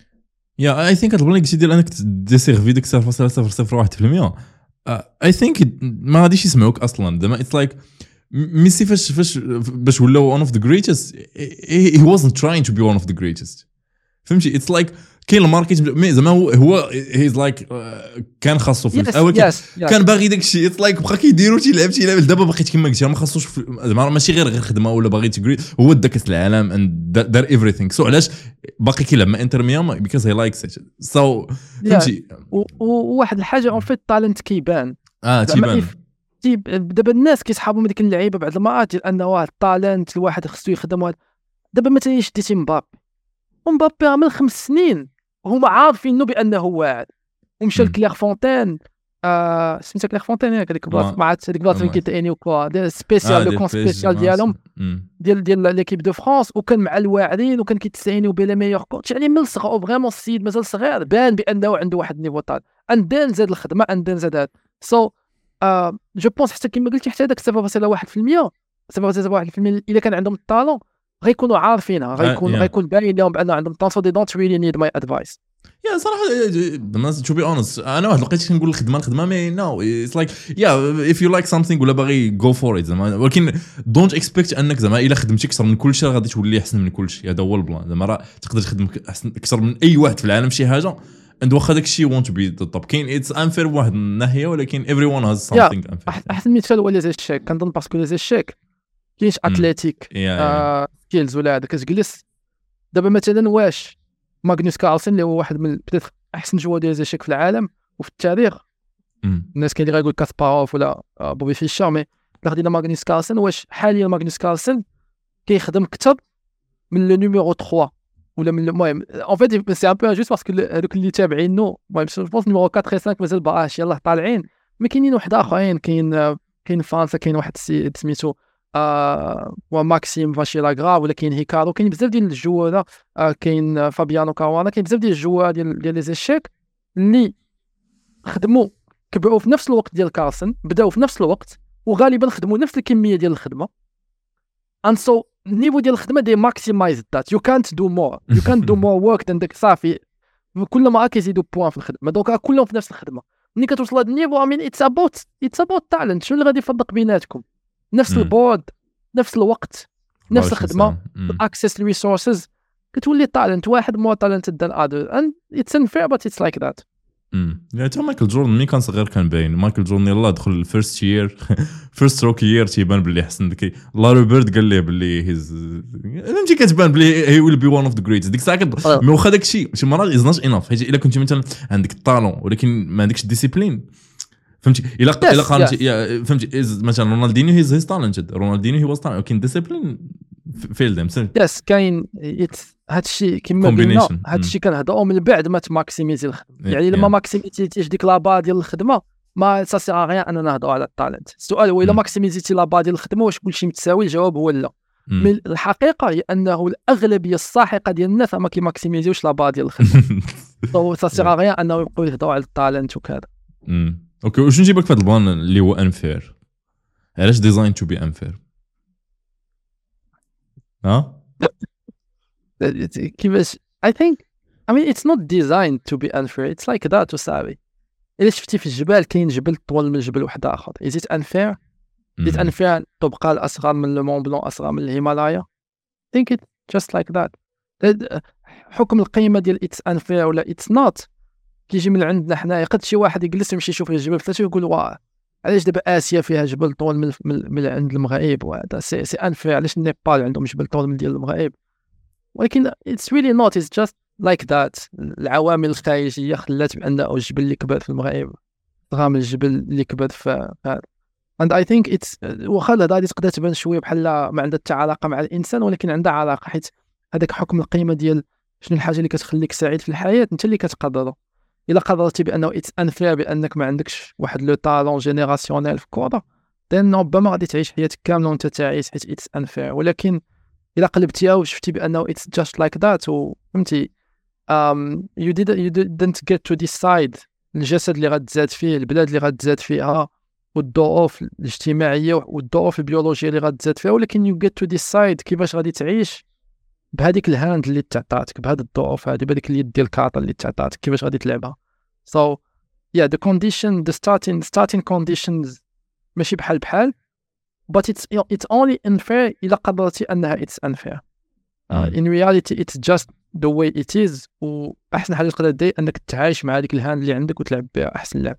I think البلان اللي ديال انك ديسيرفي ديك 0.001%. I think ما غاديش يسمعوك اصلا. زعما it's like ميسي فاش باش ولا one of the greatest he wasn't trying to be one of the greatest. فهمتي it's like كاين الماركت زعما هو هيز لايك كان خاصو في الاول كان باغي داك الشيء it's like بقى كيديروا تيلعب دابا بقيت كما قلتي ما خاصوش زعما ماشي غير خدمه ولا باغي تجري، هو دا كاس العالم and دار everything. سو علاش باقي كيلعب مع انتر ميامي because he likes it. so فهمتي وواحد الحاجه اون فيت التالنت كيبان تيبان دابا الناس كيسحابوا من ديك اللعيبه بعض المرات ديال انه واحد التالنت الواحد خصو يخدم. دابا مثلا شديتي مبابي من 5 سنين هما عارفينه بانه واعد، ومشى لكلير فونتين سميتها كلير فونتين هذيك البلاصه مع هذيك البلاصه اللي كيتعيني وكوا ديال سبيسيال لو كون سبيسيال ديالهم ديال ليكيب دو فرانس، وكان مع الواعرين وكان كيتساينيو بلا ميور كوتش. يعني من الصغر فريمون السيد مازال صغير بان بانه عنده واحد النيفو طال اندين زاد الخدمه اندين زاد هذا. سو جو بونس حتى كما قلتي حتى داك 0.1% الا كان عندهم الطالون غيكونوا عارفينها، غيكون باين لهم بان عندهم طالون. they don't really need my advice. يا صراحه to be honest انا واحد لقيت كنقول الخدمه مي نو it's like if you like something ولا باغي go for it زعما، ولكن don't expect انك زعما الا خدمتي اكثر من كل شيء غادي تولي احسن من كل شيء. هذا هو البلان. زعما راه تقدر تخدم احسن اكثر من اي واحد في العالم شي حاجه and واخا داك الشيء want to be the top. كاين it's unfair بواحد الناحيه، ولكن everyone has something unfair. احسن مثال هو لي زيشيك. كنظن باسكو لي زيشيك كاينش اتليتيك سكيلز ولا هذا. كتجلس دابا مثلا واش ماغنوس كارلسن اللي هو واحد من بدات احسن جوار ديال زيشيك في العالم وفي التاريخ، الناس كاين اللي غايقول كاسباروف ولا بوبي فيشر، مي لا خدينا ماغنوس كارلسن، واش حاليا ماغنوس كارلسن كيخدم اكثر من لو نيميرو 3 ولا من المهم اون فيت سي ان بو انجوست باسكو هذوك اللي تابعينو المهم جو بونس نيميرو 4 و 5 مازال باش يلاه طالعين، مي كاينين واحد اخرين، كاين فرنسا كاين واحد السيد سميتو وماكسيم فاشيلاغرا، ولا كاين هيكارو، كاين بزاف ديال الجواره، كاين فابيانو كاروانا، كاين بزاف ديال الجواره ديال لي زيشيك اللي خدموا كبروا في نفس الوقت ديال كارلسن، بداو في نفس الوقت وغالبا خدموا نفس الكميه ديال الخدمه. and so النيفو ديال الخدمه دي ماكسيمايز ذات يو كانت دو مور ورك ذان داك صافي، كل ما كيزيدوا بوان في الخدمه دونك كلهم في نفس الخدمه. ملي كتوصل لهذا النيفو امين اتس اباوت تالنت، شنو اللي غادي يفرق بيناتكم؟ نفس البورد، نفس الوقت، نفس الخدمه، اكسس للريسورسز، كتولي تالنت واحد مور تالنتد ذان اذر and it's unfair but it's like that. يعني تا مايكل جوردن ملي كان صغير كان باين مايكل جوردن يلاه دخل الفيرست يير فيرست روكي يير تيبان باللي حسن ديك لاري بيرد قال ليه باللي هيز فهمتي كتبان باللي هي ويل بي وان اوف ذا جريتس ديك الساعه مي واخا داك الشيء شي مرات از نوت انف، حيت الا كنتي مثلا عندك الطالون ولكن ما عندكش الديسيبلين، فهمتي الا قارنتي فهمتي مثلا رونالدينيو هيز تالنتد، رونالدينيو هي واز تالنت ولكن ديسيبلين فيل ديم يس كاين هادشي كيما قلنا هادشي كنهضروا من بعد ما تماكسيميزي الخدمه، يعني لما ماكسيميزيتيش ديك لابا ديال الخدمه ما سا سيغ غيان اننا نهضروا على التالنت. السؤال هو الا ماكسيميزيتي لابا ديال الخدمه واش كلشي متساوي؟ الجواب هو لا. من الحقيقه هي انه الاغلبيه الساحقه ديال الناس ما كيماكسيميزيوش لابا ديال الخدمه سو سا سيغ غيان انه يبقاو يهضروا على التالنت وكذا. اوكي واش نجيبك في هذا البلان اللي هو انفير؟ علاش ديزاين تو بي انفير؟ كيفاش I mean it's not designed to be unfair, it's like that وصافي. إلا شفتي في الجبال كاين جبل طول من جبل واحد آخر، is it unfair؟ is it unfair تبقى الأصغر من المون بلون أصغر من الهيمالايا؟ think it just like that. حكم القيمة ديال it's unfair ولا it's not كيجي من عندنا حنايا. قد شي واحد يجلس يمشي يشوف الجبل فاش يقول واه علاش دابا آسيا فيها جبل طول من عند المغرب وهذا سي unfair، علاش النيبال عندهم جبل طول من ديال المغرب؟ ولكن it's really not, it's just like that. العوامل الخارجية خلات بأنه الجبل اللي كبر في المغرب أصغر من الجبل اللي كبر في هذا. and I think it's واخا هذا غادي تقدر تبان شوية بحال ما عندها حتى علاقة مع الإنسان، ولكن عندها علاقة، حيت هذاك حكم القيمة ديال شنو الحاجة اللي كتخليك سعيد في الحياة أنت اللي كتقرره. إلا قررتي بأنه it's unfair بأنك ما عندكش واحد لو طالون جينيراسيونيل في الكورة then ربما غادي تعيش حياتك كاملة وأنت تعيس حيت it's unfair. ولكن إلا قلبتيها وشفتي بأنه it's just like that وفهمتي you didn't get to decide الجسد اللي غتزاد فيه، البلاد اللي غتزاد فيها، والظروف الاجتماعية والظروف البيولوجية اللي غتزاد فيها، ولكن you get to decide كيفاش غادي تعيش بهذيك الهاند اللي تعطاتك، بهذه الظروف هذه، بهذيك اليد ديال الكارطة اللي تعطاتك، كيفاش غادي تلعبها. so yeah the condition the starting conditions ماشي بحال but it's only unfair إلا قدرتي أنها it's unfair. in reality it's just the way it is. وأحسن حاجة تقدر دير أنك تعايش مع هذيك الهاند اللي عندك وتلعب بها أحسن لعبة.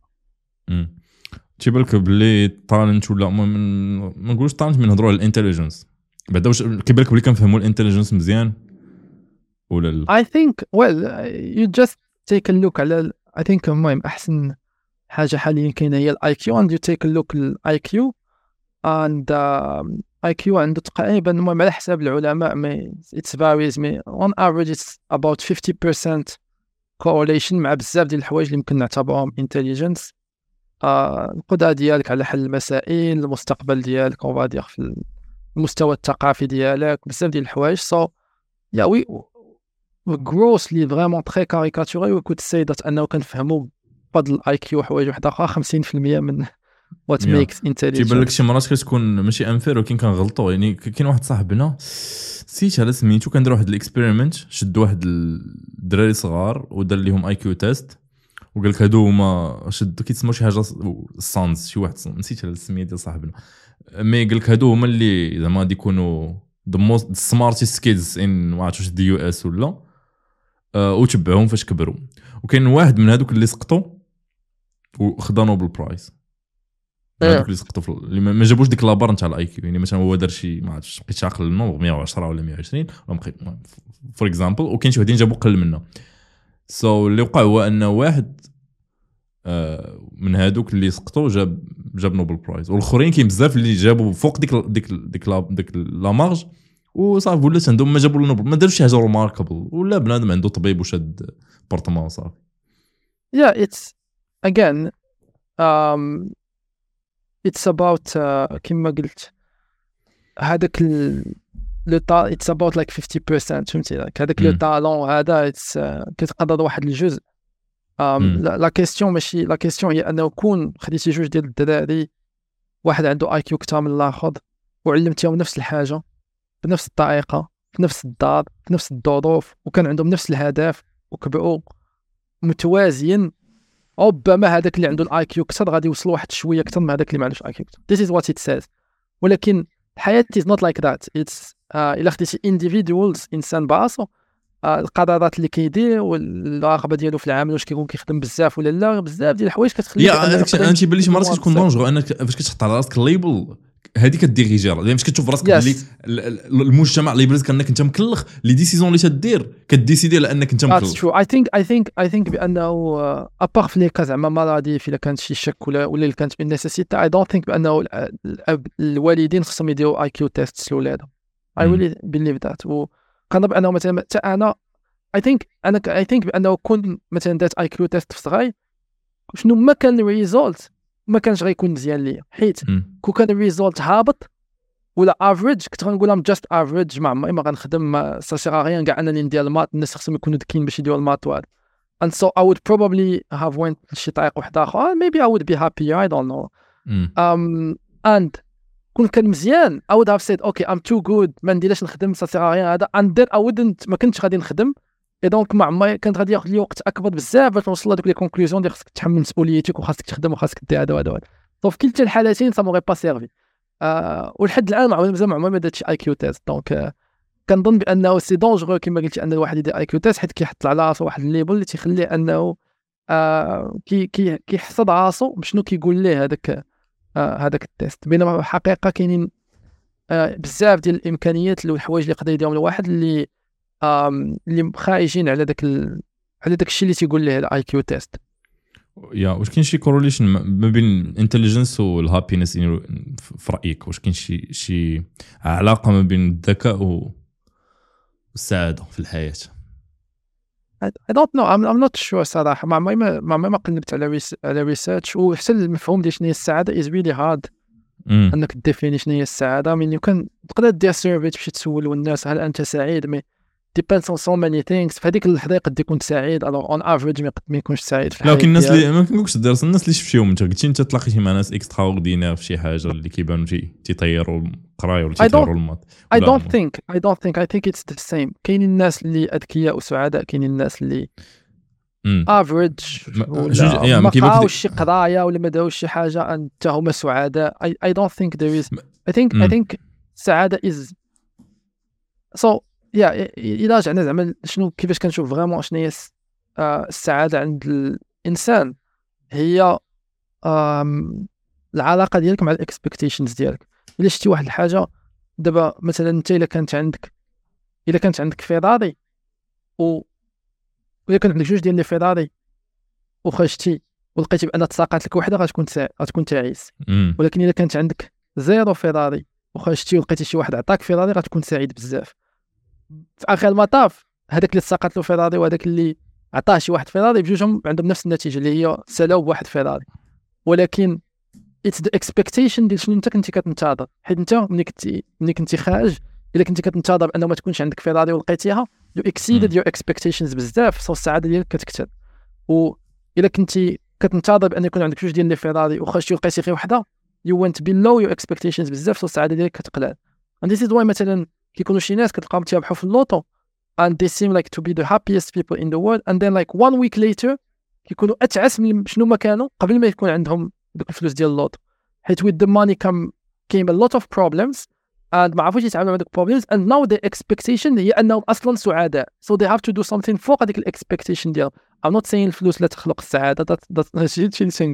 تيبالك بلي طالنت ولا ما نقولش طالنت، من نهضروا على الانتليجنس بعدا، واش كيبالك بلي كنفهموا الانتليجنس مزيان ولا لا؟ I think well you just take a look على I think المهم أحسن حاجة حاليا كاينة هي ال IQ and you take a look ال IQ and IQ عنده تقريبا المهم على حساب العلماء it's varies on average it's about 50% correlation مع بزاف ديال الحوايج اللي ممكن نعتبرهم intelligence. القدرة ديالك على حل المسائل، المستقبل ديالك on va dire في المستوى الثقافي ديالك، بزاف ديال الحوايج. so yeah we grossly vraiment très caricaturé we could say that أنه كنفهموا بفضل IQ حوايج واحدة أخرى 50% من what makes intelligence. تيبان لك شي مرات كتكون ماشي انفير ولكن كنغلطوا. يعني كاين واحد صاحبنا نسيت على سميتو، كان دار واحد الاكسبيريمنت، شد واحد الدراري صغار ودار لهم اي كيو تيست وقال لك هادو هما شدوا كيتسموا شي حاجه سانز، شي واحد نسيت على السميه ديال صاحبنا، مي قال لك هادو هما اللي زعما غادي يكونوا the most smartest kids in ما عرفتش دي يو اس ولا وتبعهم فاش كبروا. وكاين واحد من هادوك اللي سقطوا وخدا نوبل برايز. هذوك اللي سقطوا اللي ما جابوش ديك لابار نتاع الاي كيو. يعني مثلا هو دار شي ما عرفتش بقيت عاقل النومبر 110 ولا 120 ولا بقيت فور اكزامبل، وكاين شي وحدين جابوا قل منه. اللي وقع هو ان واحد من هادوك اللي سقطوا جاب نوبل برايز، والاخرين كاين بزاف اللي جابوا فوق ديك لا مارج وصافي ولا عندهم ما جابوا النوبل، ما داروش شي حاجه روماركابل، ولا بنادم عنده طبيب وشاد بورتمان صافي. it's again it's about كما قلت هذاك لو تا it's about like 50% فهمتي هذاك لو تالون هذا كتقدر واحد الجزء. لا كيسيون ماشي لا كيسيون هي انه كون خديتي جوج ديال الدراري، واحد عنده اي كيو كثر من الاخر وعلمتيهم نفس الحاجه بنفس الطريقه في نفس الدار في نفس الظروف وكان عندهم نفس الهدف وكبروا متوازيين، ربما هذاك اللي عنده الاي كيو كثر غادي يوصل واحد شويه اكثر من هذاك اللي ما عندوش اي كيو. This is what it says. ولكن الحياه is not like that. It's الا خديتي individuals انسان براسو القرارات اللي كيدير والرغبه ديالو في العمل واش كيكون كيخدم بزاف ولا لا، بزاف ديال الحوايج كتخليك انت تيبان لي شي مرات كتكون دونجرو انك فاش كتحط على راسك الليبل هذيك كديريجي راه فاش كتشوف راسك بلي المجتمع اللي يبرزك انك انت مكلخ لي ديسيزون اللي تدير كديسيدي على انك انت مكلخ. I think بانه ابار في لي كاز زعما مرضي الا كانت شي شك ولا اللي كانت من نيسيتي I don't think بانه الوالدين خصهم يديروا اي كيو تيست لولادهم. I really believe that. وكنظن بانه مثلا انا I think بانه كون مثلا دات اي كيو تيست في صغير شنو ما كان الريزولت ما كانش غيكون مزيان ليا، حيت كون كان الريزولت هابط ولا افريج كنت غنقول ام جاست افريج ما غنخدم ساشيغا كاع انني ندير المات. الناس خصهم يكونوا ذكيين باش يديروا المات وهذا. and so I would probably have went لشي طريق واحد اخر maybe I would be happier I don't know. and كون كان مزيان I would have said okay I'm too good ما نديرش نخدم ساشيغا هذا and then I wouldn't ما كنتش غادي نخدم. دونك ما عمري كانت غادي ياخذ لي وقت اكبر بزاف باش نوصل لهذوك لي كونكلوزيون ديال خاصك تحمل مسؤوليتك وخاصك تخدم وخاصك دير هذا وهذا. في كلتا الحالتين سا موغي با سيرفي. ولحد الان مازال ما عمري ما درتش اي كيو تيست. دونك كنظن بانه سي دونجرو كما قلتي ان الواحد يدير اي كيو تيست حيت كيحط على راسو واحد الليبل اللي تيخليه انه كيحصد راسو بشنو كيقول ليه هذاك التيست. بينما الحقيقه كاينين بزاف ديال الامكانيات والحوايج اللي يقدر يديرهم الواحد اللي خارجين على داك الشيء اللي تيقول ليه الاي كيو تيست. واش كاين شي كورليشن ما بين الانتليجنس والهابينس في رايك؟ واش كاين شي علاقه ما بين الذكاء والسعاده في الحياه؟ I don't know I'm not sure صراحه. ما قلبت على ريسيرش وحتى المفهوم ديال شنو هي السعاده is really hard انك تديفيني شنو هي السعاده. من يمكن تقدر دير سيرفي تمشي تسول الناس هل انت سعيد مي depends on so many things. في هذيك اللحظه قد يكون سعيد alors on average ما يكونش سعيد في الحياه. لكن الناس اللي ما كنقولش الناس اللي شفتيهم انت قلتي انت تلاقيتي مع ناس اكسترا اوردينير في شي حاجه اللي كيبانوا تيطيروا القرايه ولا تيطيروا المات. I don't think it's the same. كاين الناس اللي اذكياء وسعداء، كاين الناس اللي افريج ولا ما قراوش شي قرايه ولا ما داوش شي حاجه انت هما سعداء. I don't think there is I think السعاده is so إلا رجعنا زعما شنو كيفاش كنشوف فريمون شنو هي السعاده عند الانسان هي العلاقه ديالك مع الاكسبكتيشنز ديالك. الا شتي واحد الحاجه دابا مثلا انت الا كانت عندك فيراري وإلا كانت عندك جوج ديال لي فيراري وخرجتي ولقيتي بان تساقط لك وحده غتكون تعيس. ولكن الا كانت عندك زيرو فيراري وخرجتي ولقيتي شي واحد عطاك فيراري غتكون سعيد بزاف. في اخر المطاف هذاك اللي تساقط له فيراري وهذاك اللي عطاه شي واحد فيراري بجوجهم عندهم نفس النتيجه اللي هي سلاو بواحد فيراري. ولكن اتس ذا اكسبكتيشن ديال شنو انت كنتي كتنتظر. حيت انت ملي كنتي خارج الا كنتي كتنتظر انه ما تكونش عندك فيراري ولقيتيها يو اكسيدد يور اكسبكتيشنز بزاف سو السعاده ديالك كتكثر. والا كنتي كتنتظر بان يكون عندك جوج ديال لي فيراري وخرجتي ولقيتي غير وحده يو وينت بيلو يور اكسبكتيشنز بزاف سو السعاده ديالك كتقلال. and this is why مثلا كيكونوا شي ناس كتلقاهم تيربحوا في اللوطو and they seem like to be the happiest people in the world and then like 1 week later كيكونوا اتعس من شنو ما كانوا قبل ما يكون عندهم ديك الفلوس ديال اللوطو. حيت with the money came a lot of problems and ما عرفوش يتعاملوا مع ديك problems and now the expectation هي انهم اصلا سعداء so they have to do something فوق هذيك الاكسبكتيشن ديالهم. I'm not saying الفلوس لا تخلق السعاده، هادشي اللي تنقول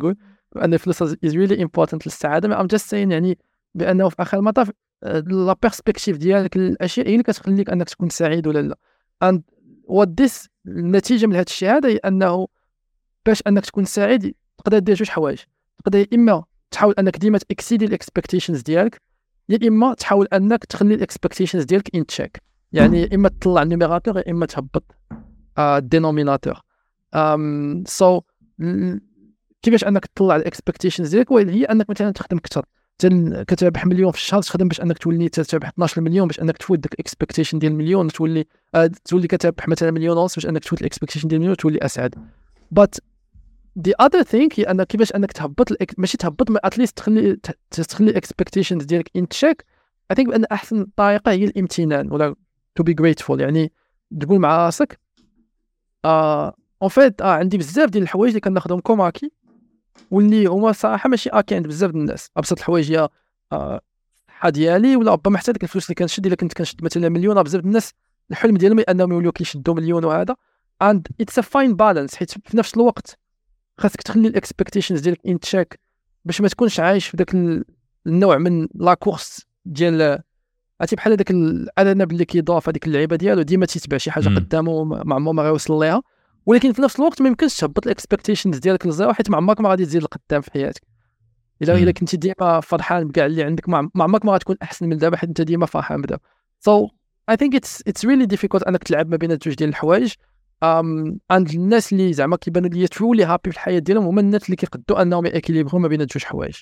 ان الفلوس is really important للسعاده. I'm just saying يعني بانه في اخر المطاف لا بيرسبكتيف ديالك الاشياء هي اللي كتخليك انك تكون سعيد ولا لا. and what this النتيجه من هذا الشيء هذا هي انه باش انك تكون سعيد تقدر دير جوج حوايج. تقدر اما تحاول انك ديما تاكسيدي الاكسبكتيشنز ديالك، يا اما تحاول انك تخلي الاكسبكتيشنز ديالك ان تشيك. يعني اما تطلع النيميراتور يا اما تهبط الدينوميناتور. سو كيفاش انك تطلع الاكسبكتيشنز ديالك؟ هي انك مثلا تخدم اكثر، كتربح مليون في الشهر تخدم باش انك تولي تربح 12 مليون باش انك تفوت داك الاكسبكتيشن ديال المليون، تولي كتربح مثلا مليون ونص باش انك تفوت الاكسبكتيشن ديال المليون تولي اسعد. but the other thing هي انك كيفاش انك تهبط ماشي تهبط، اتليست تخلي الاكسبكتيشنز ديالك ان تشيك. I think بان احسن طريقه هي الامتنان ولا to be grateful. يعني تقول مع راسك en fait عندي بزاف ديال الحوايج اللي كناخذهم كوماكي واللي هما صراحه ماشي اكي عند بزاف ديال الناس. ابسط الحوايج هي الصحه ديالي، ولا ربما حتى ديك الفلوس اللي كنشد. الا كنت كنشد مثلا مليون، بزاف الناس الحلم ديالهم انهم يوليو كيشدوا مليون وهذا. and it's a fine balance، حيت في نفس الوقت خاصك تخلي الاكسبكتيشنز ديالك ان تشيك باش ما تكونش عايش في داك النوع من لا كورس ديال عرفتي بحال هذاك الارنب اللي كيدور في هذيك اللعيبه ديالو ديما تيتبع شي حاجه قدامه ما عمره ما غيوصل ليها. ولكن في نفس الوقت ما يمكنش تهبط الاكسبكتيشنز ديالك للزيرو، حيت ما عمرك ما غادي تزيد لقدام في حياتك. الا كنتي ديما فرحان بكاع اللي عندك ما عمرك ما غتكون احسن من دابا، حيت انت ديما فرحان بدابا. so I think it's really difficult انك تلعب ما بين جوج ديال الحوايج. عند الناس اللي زعما كيبانوا لي ترولي هابي في الحياه ديالهم هما الناس اللي كيقدوا انهم ياكيليبرو ما بين جوج حوايج.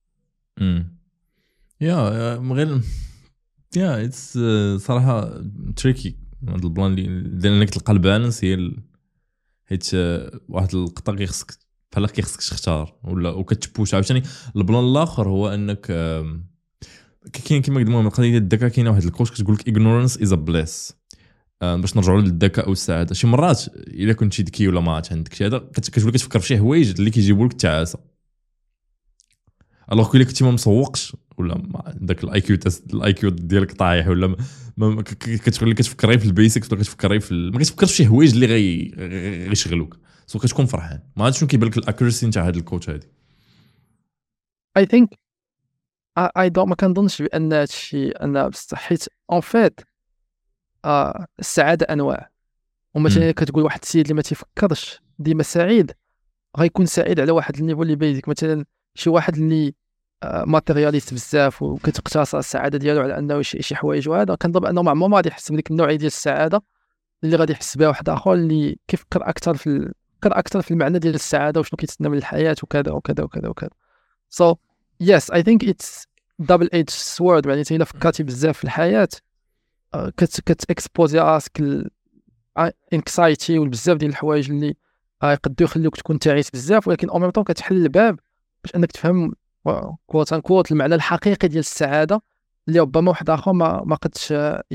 غير اتس صراحه تريكي هذا البلان اللي انك تلقى البالانس هي حيت واحد القطه كيخصك بحال كيخصك تختار ولا وكتبوش. عاوتاني البلان الاخر هو انك كاين كما قلنا من القضيه ديال الذكاء. كاينه واحد الكوش كتقول لك ignorance is a bliss. باش نرجعوا للذكاء والسعاده، شي مرات الا كنتي ذكي ولا ما عندك شي هذا كتولي كتفكر في شي حوايج اللي كيجيبوا لك التعاسه. الوغ كي كنتي ما مسوقش ولا داك الاي كيو ديالك طايح ولا كتولي كتفكري في البيسكس ولا كتفكري ما كتفكرش في شي حوايج اللي غيشغلوك، سو كتكون فرحان. ما عرفتش شنو كيبان لك الاكوريسي نتاع هذا الكوتش هذه. I think ما كنظنش بان هادشي انا حيت اون فيت السعاده انواع. ومثلا كتقول واحد السيد اللي ما تيفكرش ديما سعيد غيكون سعيد على واحد النيفو اللي بيزك. مثلا شي واحد اللي ماتيرياليست بزاف وكتقتصر السعاده ديالو على انه شي حوايج وهذا، كنظن انه ما غادي يحس بديك النوعيه ديال السعاده اللي غادي يحس بها واحد اخر اللي كيفكر اكثر في المعنى ديال السعاده وشنو كيتسنى من الحياه وكذا وكذا وكذا وكذا. so yes I think it's double edged sword. يعني الا فكرتي بزاف في الحياه كتاكسبوزي راسك الانكسايتي وبزاف ديال الحوايج اللي يقدروا يخليوك تكون تعيس بزاف، ولكن او ميم طون كتحل الباب باش انك تفهم كوت ان كوت المعنى الحقيقي ديال السعاده اللي ربما واحد اخر ما قدش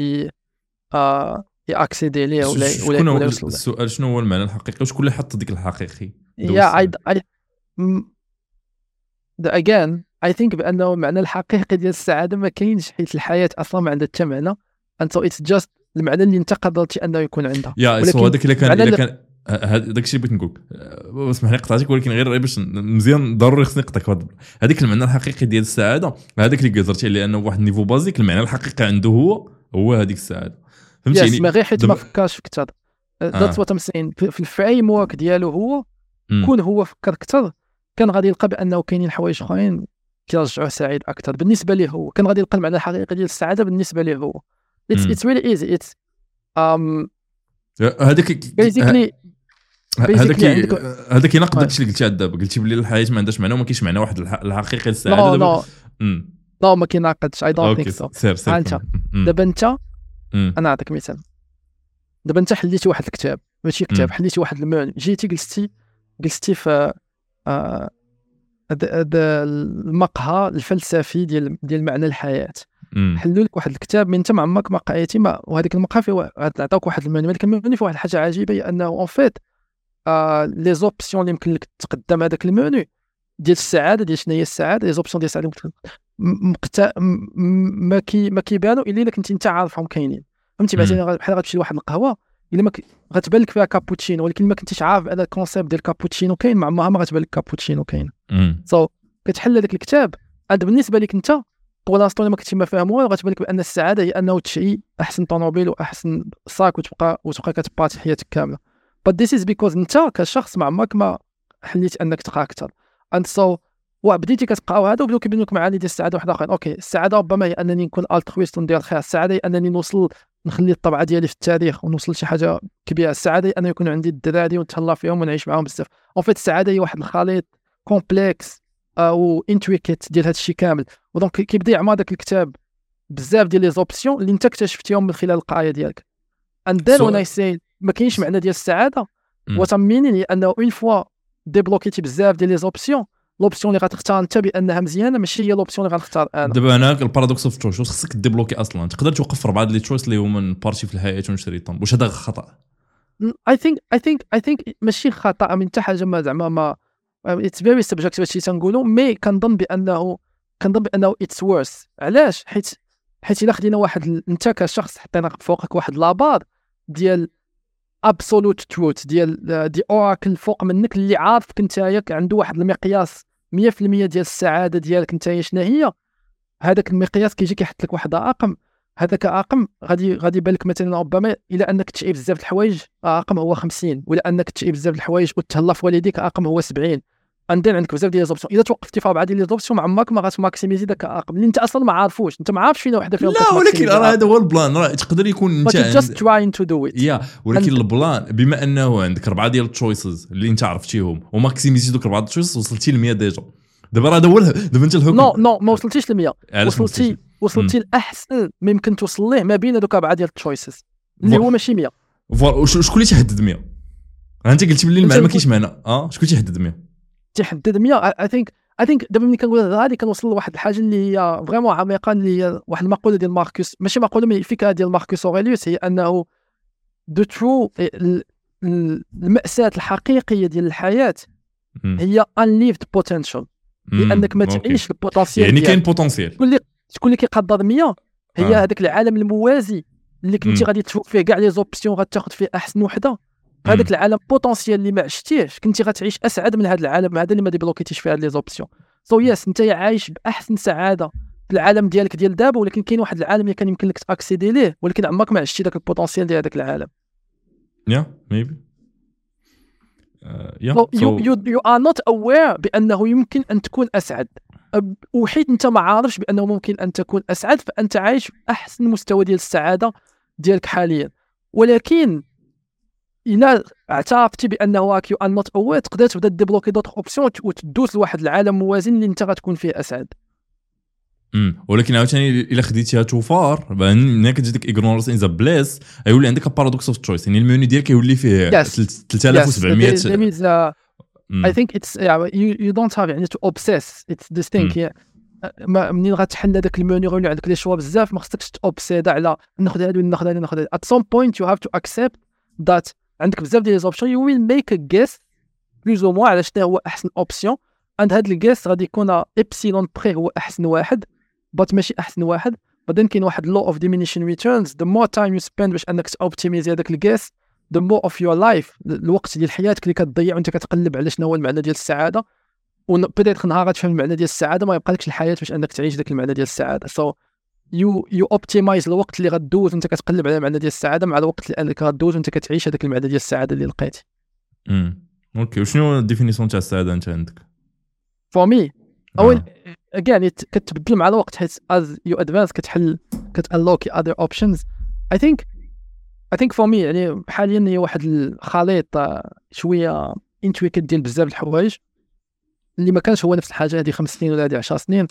ياكسيدي ليه ولا يوصل. السؤال شنو هو المعنى الحقيقي واش كل حط ديك الحقيقي؟ again I think بانه المعنى الحقيقي ديال السعاده ما كاينش، حيت الحياه اصلا ما عندها حتى معنى. انت اتس جاست المعنى اللي انت قدرتي انه يكون عندها. ولكن هذاك الا كان داك الشيء بغيت نقول اسمح لي قطعتك، ولكن غير باش مزيان ضروري خصني نقطعك. هذيك المعنى الحقيقي ديال السعاده هذاك اللي قدرتي عليه انه واحد النيفو بازيك المعنى الحقيقي عنده هو هذيك السعاده. فهمتيني؟ ما غير حيت ما فكرش في كثر. ذاتس وات ام سين في الفريم ورك ديالو هو كون هو فكر كثر كان غادي يلقى بانه كاينين حوايج اخرين كيرجعوه سعيد اكثر بالنسبه ليه هو. كان غادي يلقى المعنى الحقيقي ديال السعاده بالنسبه ليه هو. it's really easy. it's هذاك يناقض داكشي اللي قلتي دابا. قلتي بلي الحياه ما عندهاش معنى وما كاينش معنى واحد الحقيقي للسعاده. لا ما كيناقضش. I don't think so. انت دابا انت انا نعطيك مثال. دابا انت حليتي واحد الكتاب، ماشي كتاب، حليتي واحد المعنى، جيتي جلستي في هذا المقهى الفلسفي ديال معنى الحياه. حلوا لك واحد الكتاب من انت ما عمرك ما قريتي وهذيك المقهى فيه عطاوك واحد المعنى، ولكن المعنى فيه واحد الحاجه عجيبه هي انه اون فيت لي زوبسيون اللي يمكن لك تقدم هذاك المعنى ديال السعاده، ديال شنو هي السعاده، لي زوبسيون ديال السعاده ما كيبانوا الا كنتي انت عارفهم كاينين. فهمتي؟ مثلا بحال غتمشي لواحد القهوه الا ما غتبان لك فيها كابوتشينو ولكن ما كنتيش عارف ان الكونسيبت ديال كابوتشينو كاين مع ما غتبان لك كابوتشينو كاين كتحل هذاك الكتاب. عند بالنسبه لك انت بولانستون ما كنتي ما فاهم والو غتبان لك بان السعاده هي انه تشري احسن طوموبيل واحسن ساك وتبقى كتبارتي حياتك كامله. but this is because انت كشخص ما عمرك ما حليت انك تقرا اكثر and so وبديتي كتقراو هذا وبداو كيبينوا لك معاني ديال السعاده واحد اخرين. اوكي السعاده ربما هي انني نكون الترويست وندير الخير، السعاده هي انني نوصل نخلي الطبعه ديالي في التاريخ ونوصل لشي حاجه كبيره، السعاده هي ان يكون عندي الدراري ونتهلا فيهم ونعيش معاهم بزاف. اون فيت السعاده هي واحد الخليط كومبلكس او انتريكيت ديال هذا الشيء كامل. ودونك كيبدا يعمر داك الكتاب بزاف ديال لي زوبسيون اللي انت اكتشفتيهم من خلال القرايه ديالك. and then when I say ما كاينش معنى ديال السعاده وتميني هي انه اون فوا ديبلوكيتي بزاف ديال لي زوبسيون، لوبسيون اللي غتختار انت بانها مزيانه ماشي هي لوبسيون اللي غنختار انا. دابا هناك البارادوكس اوف تشويس، واش خصك ديبلوكي اصلا تقدر توقف في 4 لي تشويس اللي هما من بارتي في الحياه ونشريطهم، واش هذا خطا؟ I think ماشي خطا من حتى حاجه ما زعما ما it's very subjective هادشي تنقولوا، مي كنظن بانه it's worse. علاش؟ حيت الا خدينا واحد انت كشخص حطينا فوقك واحد لابار ديال absolute truth دي اوراكل فوق منك اللي عارفك نتايا عنده واحد المقياس 100% ديال السعاده ديالك نتايا شنو هي، هذاك المقياس كيجي كيحط لك واحد رقم، هذاك رقم غادي يبان لك مثلا ربما الى انك تشعي بزاف د الحوايج رقم هو 50، ولا انك تشعي بزاف د الحوايج وتهلا في والديك رقم هو 70. عندنا عندك بزاف ديال ليزوبسيون، اذا توقفتي في 4 ديال ليزوبسيون ما عمرك ما غاتماكسيميزي داك الرقم اللي انت اصلا ما عارفوش، انت ما عارفش فينا وحده فيهم. لا ولكن راه هذا هو البلان، راه تقدر يكون انت just trying to do it. ولكن البلان بما انه عندك 4 ديال التشويسز اللي انت عرفتيهم وماكسيميزي دوك 4 التشويسز وصلتي ل 100 ديجا. دابا راه دابا انت الحكم نو ما وصلتيش ل 100، وصلتي الاحسن ما يمكن توصل ليه ما بين دوك 4 ديال التشويسز اللي هو ماشي 100. شكون اللي تحدد 100؟ انت قلتي بلي المعنى ما كاينش معنى. شكون تيحدد 100؟ تحدد 100 I think دابا ملي كنقول هذه كنوصل لواحد الحاجه اللي هي فريمون عميقه، اللي هي واحد المقوله ديال ماركوس، ماشي مقوله مي الفكره ديال ماركوس اوريليوس، هي انه the true المأساة الحقيقيه ديال الحياه هي unlived potential، لانك ما تعيش البوتنسيال. يعني كاين بوتنسيال. شكون اللي كيقدر 100 هي هذاك العالم الموازي اللي كنتي غادي تشوف فيه كاع لي زوبسيون غتاخذ فيه احسن وحده. هذاك العالم بوتنسيال اللي ما عشتيهش كنتي غتعيش اسعد من هذا العالم هذا اللي ما ديبلوكيتيش فيه هاد لي زوبسيون. سو يس انت عايش باحسن سعاده في العالم ديالك ديال دابا، ولكن كاين واحد العالم اللي كان يمكن لك تاكسيدي ليه ولكن عمرك ما عشتي داك البوتنسيال ديال هذاك العالم. maybe you are not aware بانه يمكن ان تكون اسعد، وحيت انت ما عارفش بانه ممكن ان تكون اسعد فانت عايش باحسن مستوى ديال السعاده ديالك حاليا. ولكن إلا اعترفتي بانه راك يو ان نوت اوير تقدر تبدا ديبلوكي دوطخ اوبسيون وتدوز لواحد العالم موازن اللي انت غتكون فيه اسعد. ولكن عاوتاني الا خديتيها توفار ملي كتجي ديك اغنورنس ان ذا بليس يولي عندك بارادوكس اوف تشويس، يعني الميني ديالك يولي فيه 3700. I think it's you don't have يعني to obsess it's this thing. منين غتحل هذاك الموني غيولي عندك لي شوا بزاف، ما خصكش تأوبسيد على ناخذ هذا وناخذ هذا ناخذ هذا. at some point you have to accept that عندك بزاف ديال لي زوبسيون you will make a guess بلوز او موان على شنو هو احسن اوبسيون، عند هاد الجيس غادي يكون ابسيلون بري هو احسن واحد بات ماشي احسن واحد. بعدين كاين واحد law of diminishing returns، the more time you spend باش انك اوبتيميزي هذاك الجيس the more of your life، الوقت ديال حياتك اللي كتضيع وانت كتقلب على شنو هو المعنى ديال السعاده، وبدات نهار غتفهم المعنى ديال السعاده ما يبقى لكش الحياه باش انك تعيش داك المعنى ديال السعاده. so you optimize الوقت اللي غدوز وانت كتقلب على المعنى ديال السعاده مع الوقت اللي غدوز وانت كتعيش هذاك المعنى ديال السعاده اللي لقيتي. اوكي وشنو الديفينيسيون تاع السعاده انت عندك؟ for me اول again كتبدل مع الوقت حيت as you advance كتunlock other options. I think for me يعني حاليا هي واحد الخليط شويه intricate ديال بزاف الحوايج اللي ما كانش هو نفس الحاجه هذه 5 سنين ولا هذه 10 سنين.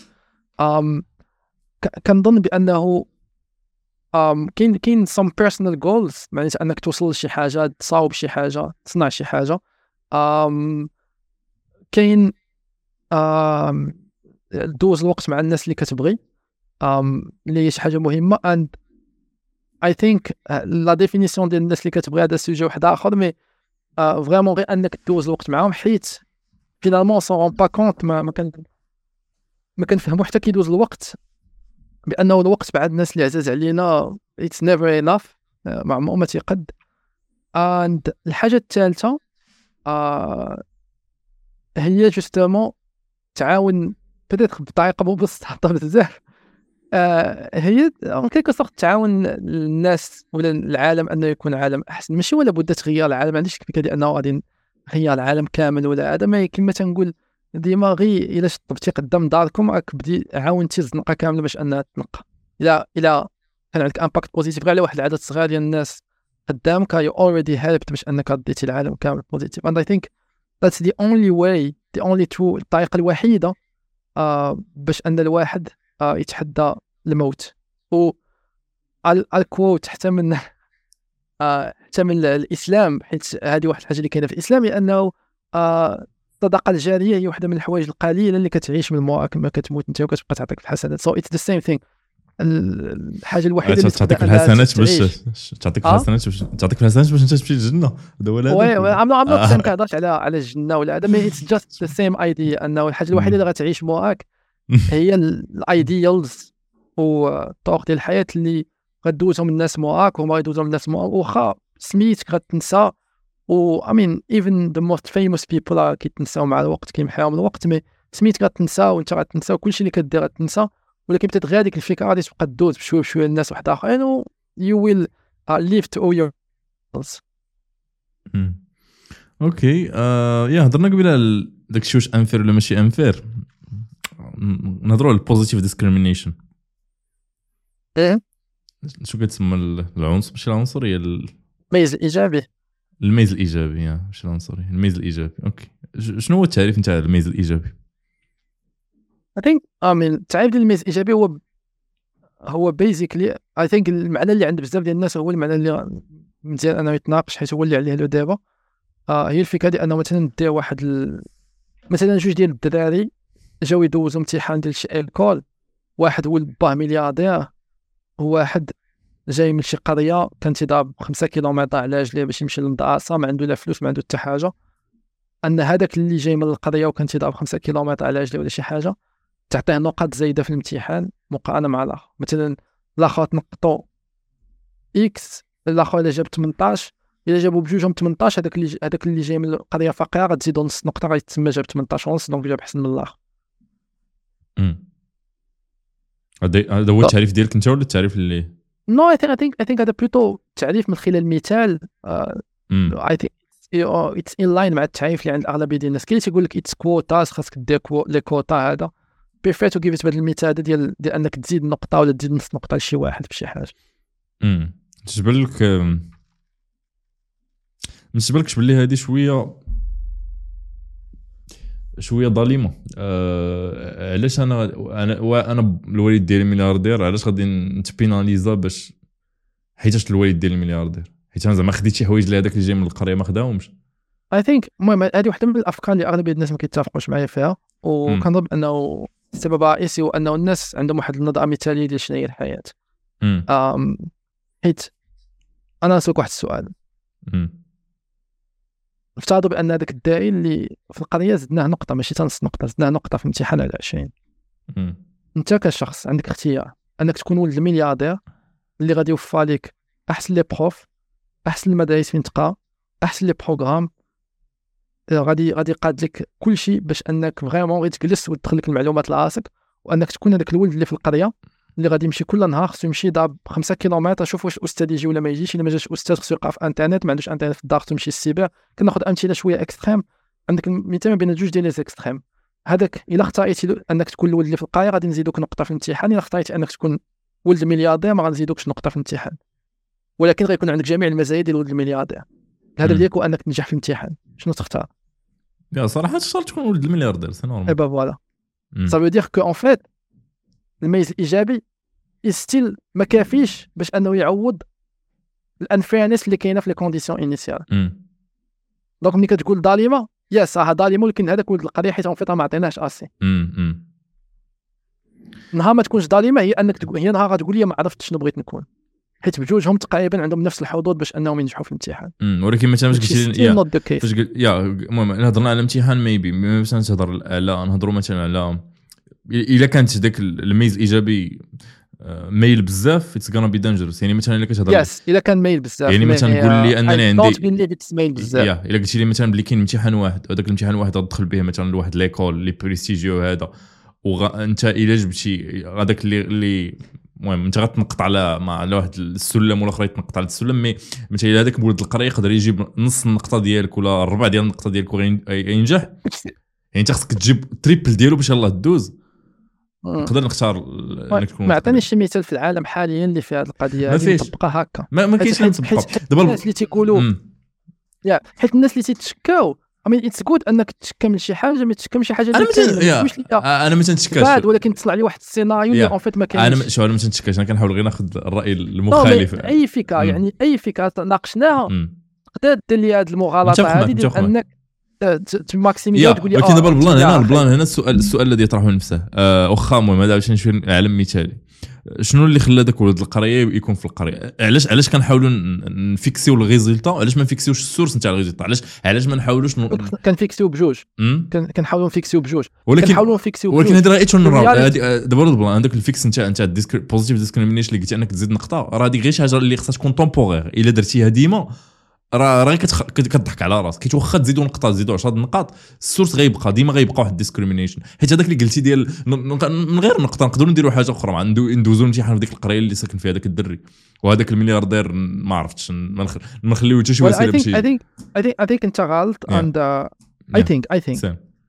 كنظن بانه كاين some personal goals، معناتها انك توصل لشي حاجه، تصاوب شي حاجه، تصنع شي حاجه. كاين دوز الوقت مع الناس اللي كتبغي اللي هي شي حاجه مهمه. and I think la définition ديال الناس اللي كتبغي هذا سوجي واحد اخر، مي فريمون غير انك دوز الوقت معاهم، حيت فينالمون سون رون با كونت ما كنفهمو حتى كيدوز الوقت بانه الوقت بعد الناس اللي عزاز علينا it's never enough، ما عمره ما تيقد. اند الحاجه الثالثه هي جوستومون تعاون بدات بطريقه مبسطه بزاف. هي كيكو صوت تعاون الناس ولا العالم انه يكون عالم احسن، ماشي ولا بد تغير العالم، ما عنديش الفكره ديال انه غادي نغير العالم كامل ولا هذا، ما كما تنقول ديما غير الا شطبتي قدام داركم راك بدي عاونتي الزنقه كامله باش انها تنقى. الا كان عندك امباكت بوزيتيف غير على واحد العدد صغير ديال الناس قدامك you already helped باش انك ديتي العالم كامل بوزيتيف. and I think that's the only way, the only true، الطريقه الوحيده باش ان الواحد يتحدى الموت. و الكوت حتى من الاسلام، حيت هذه واحد الحاجه اللي كاينه في الاسلام، لانه الصدقه الجاريه هي واحده من الحوايج القليله اللي كتعيش من موراك ما كتموت انت وكتبقى تعطيك الحسنات. so it's the same thing. الحاجه الوحيده اللي تعطيك الحسنات باش تعطيك الحسنات باش تعطيك الحسنات باش انت تمشي للجنه. هذا ولا وي عم كنهضرش على الجنه ولا هذا، مي اتس جاست ذا سيم ايديا، انه الحاجه الوحيده اللي غتعيش موراك هي الايديالز والطرق ديال الحياه اللي غدوزهم الناس موراك وما غيدوزهم الناس موراك. واخا سميتك غتنسى، و امين ايفن ذا موست فيموس بيبل كيتنساو مع الوقت، كيمحيهم الوقت، مي سميتك غتنسى وانت غتنسى وكلشي اللي كدير غتنسى، ولكن بتات غير ديك الفكره غادي تبقى تدوز بشويه بشويه الناس واحد اخرين و you will live to all your goals. اوكي يا هضرنا قبيله داك الشيء واش انفير ولا ماشي انفير، نهضروا على البوزيتيف ديسكريمينيشن. شو كتسمى العنصر؟ ماشي العنصريه، الميز الايجابي. الميز الايجابي ماشي العنصريه، الميز الايجابي. اوكي شنو هو التعريف نتاع الميز الايجابي؟ I think التعريف ديال الميز الايجابي هو basically I think المعنى اللي عند بزاف ديال الناس هو المعنى اللي مزيان انه يتناقش، حيت هو اللي عليه له دابا. هي الفكره ديال انه مثلا دير واحد مثلا جوج ديال الدراري جاو يدوزوا امتحان ديال شي الكول، واحد ولد باه ملياردير، وواحد جاي من شي قريه كان تيضرب 5 كيلومتر على رجليه باش يمشي للمدرسه، ما عنده لا فلوس ما عنده حتى حاجه. ان هذاك اللي جاي من القريه وكان تيضرب 5 كيلومتر على رجليه ولا شي حاجه تعطيه نقاط زايده في الامتحان مقارنه مع الاخر. مثلا الاخر تنقطو اكس، الاخر الا جاب 18، الا جابوا بجوجهم 18 هذاك اللي جاي من القريه فقيره غتزيدوا نص نقطه غيتسمى جاب 18 ونص، دونك جاب احسن من الاخر. هذا هو التعريف ديالك انت ولا التعريف اللي نو I think هذا بلوتو تعريف من خلال المثال. I think it's in line مع التعريف اللي عند الاغلبيه ديال الناس. كاين اللي تيقول لك it's quotas، خاصك دير لي كوتا. هذا prefer to give it بهذا المثال ديال انك تزيد نقطه ولا تزيد نص نقطه لشي واحد في شي حاجه. تجبر لك بالنسبه لكش باللي هذه شويه ظالمه. علاش انا الوالد ديالي ملياردير، علاش غادي نتبيناليزا باش حيتاش الوالد ديالي ملياردير، حيت انا زعما خديت شي حوايج اللي هذاك اللي جاي من القريه ما خداهمش. I think المهم هذه واحده من الافكار اللي اغلبيه الناس ما كيتفقوش معايا فيها، وكنظن انه السبب الرئيسي هو انه الناس عندهم واحد النظره مثاليه ديال شنو هي الحياه. حيت انا نسولك واحد السؤال. افترضوا بان هذاك الداعي اللي في القريه زدناه نقطه، ماشي نص نقطه، زدناه نقطه في امتحان على 20. انت كشخص عندك اختيار انك تكون ولد الملياردير اللي غادي يوفر لك احسن لي بروف، احسن المدارس فين تقرا، احسن لي بروغرام، غادي يقاد لك كل شيء باش انك فريمون غير تجلس وتدخل لك المعلومات لراسك، وانك تكون هذاك الولد اللي في القريه اللي غادي يمشي كل نهار خصو يمشي يضرب 5 كيلومتر، شوف واش الاستاذ يجي ولا ما يجيش. الا ما جاش الاستاذ خصو يلقى في انترنت، ما عندوش انترنت في الدار خصو يمشي للسيبر. كناخذ امثله شويه اكستريم، عندك مثال بين جوج ديال لي اكستريم. هذاك الا اختاريتي انك تكون الولد اللي في القريه غادي نزيدوك نقطه في الامتحان، الا اختاريتي انك تكون ولد الملياردير ما غنزيدوكش نقطه في الامتحان، ولكن غيكون عندك جميع المزايا ديال ولد الملياردير. الهدف ديالك هو انك تنجح في الامتحان. شنو تختار؟ يا صراحه تختار تكون ولد الملياردير، سي نورمال. اي با فوالا سا فو دير كو ان فيت الميز الايجابي ستيل ما كافيش باش انه يعوض الانفيرنس اللي كاينه في لي كونديسيون انيسيال. دونك ملي كتقول ظالمه، يا صح ظالمه، ولكن هذاك ولد القريه حيت في ما عطيناش اسي. نهار ما تكونش ظالمه هي انك تقول، هي نهار غتقول لي ما عرفتش شنو بغيت نكون، حيت بجوجهم تقريبا عندهم نفس الحظوظ باش انهم ينجحوا في الامتحان. ولكن مثلا فاش قلت يا المهم هضرنا على الامتحان ميبي باش نهضر على نهضروا مثلا على الا كانت داك الميز الايجابي ميل بزاف اتس غانا بي دانجرس. يعني مثلا الا كتهضر يس الا كان ميل بزاف يعني مثلا قول لي انني عندي ميل بزاف يا الا قلتي لي مثلا بلي كاين امتحان واحد وهذاك الامتحان واحد غتدخل به مثلا لواحد ليكول لي بريستيجيو هذا وانت الا جبتي هذاك اللي المهم انت غتنقط على واحد السلم والاخر يتنقط على السلم مي مثلا هذاك بولد القريه يقدر يجيب نص النقطه ديالك ولا الربع ديال النقطه ديالك وينجح. يعني انت خصك تجيب تريبل ديالو باش يلاه دوز. نقدر نختار انك تكون ما عطانيش شي مثال في العالم حاليا اللي في هذه القضيه هذه مطبقه هكا. ما كاينش حد مطبقه دابا الناس اللي تيقولوا حيت الناس اللي تيتشكاو اتس جود انك تشكى من شي حاجه ما تشكى من شي حاجه انا ما تنتشكاش بعد ولكن تصلع لي واحد السيناريو اللي اون فيت ما كاينش. انا ما تنتشكاش انا كنحاول غير ناخذ الراي المخالف. اي فكره يعني اي فكره ناقشناها تقدر دير لي هذه المغالطه هذه ديال انك تماكسيميزي تقول لي ولكن دابا البلان هنا السؤال الذي يطرحه نفسه واخا المهم هذا باش نشوف العالم مثالي. شنو اللي خلى داك ولد القريه يكون في القريه؟ علاش كنحاولوا نفيكسيو الريزلتا؟ علاش ما نفيكسيوش السورس نتاع الريزلتا؟ علاش ما نحاولوش كنفيكسيو بجوج كنحاولوا نفيكسيو بجوج ولكن هذه راه اتون دابا البلان عندك الفيكس نتاع بوزيتيف ديسكريمينيشن اللي قلت انك تزيد نقطه راه هذه غير شي حاجه اللي خصها تكون تومبورير. الا درتيها ديما راه كتضحك على راسك. كيت واخا تزيدوا نقطه تزيدوا 10 نقاط السورس غيبقى ديما غيبقى واحد الديسكريمينيشن. حيت هذاك اللي قلتي ديال من غير نقطه نقدروا نديروا حاجه اخرى ندوزوا امتحان في ديك القريه اللي ساكن فيها داك الدري وهذاك الملياردير ما عرفتش ما نخليو حتى شي وسيله بشي. I think انت غلط and I think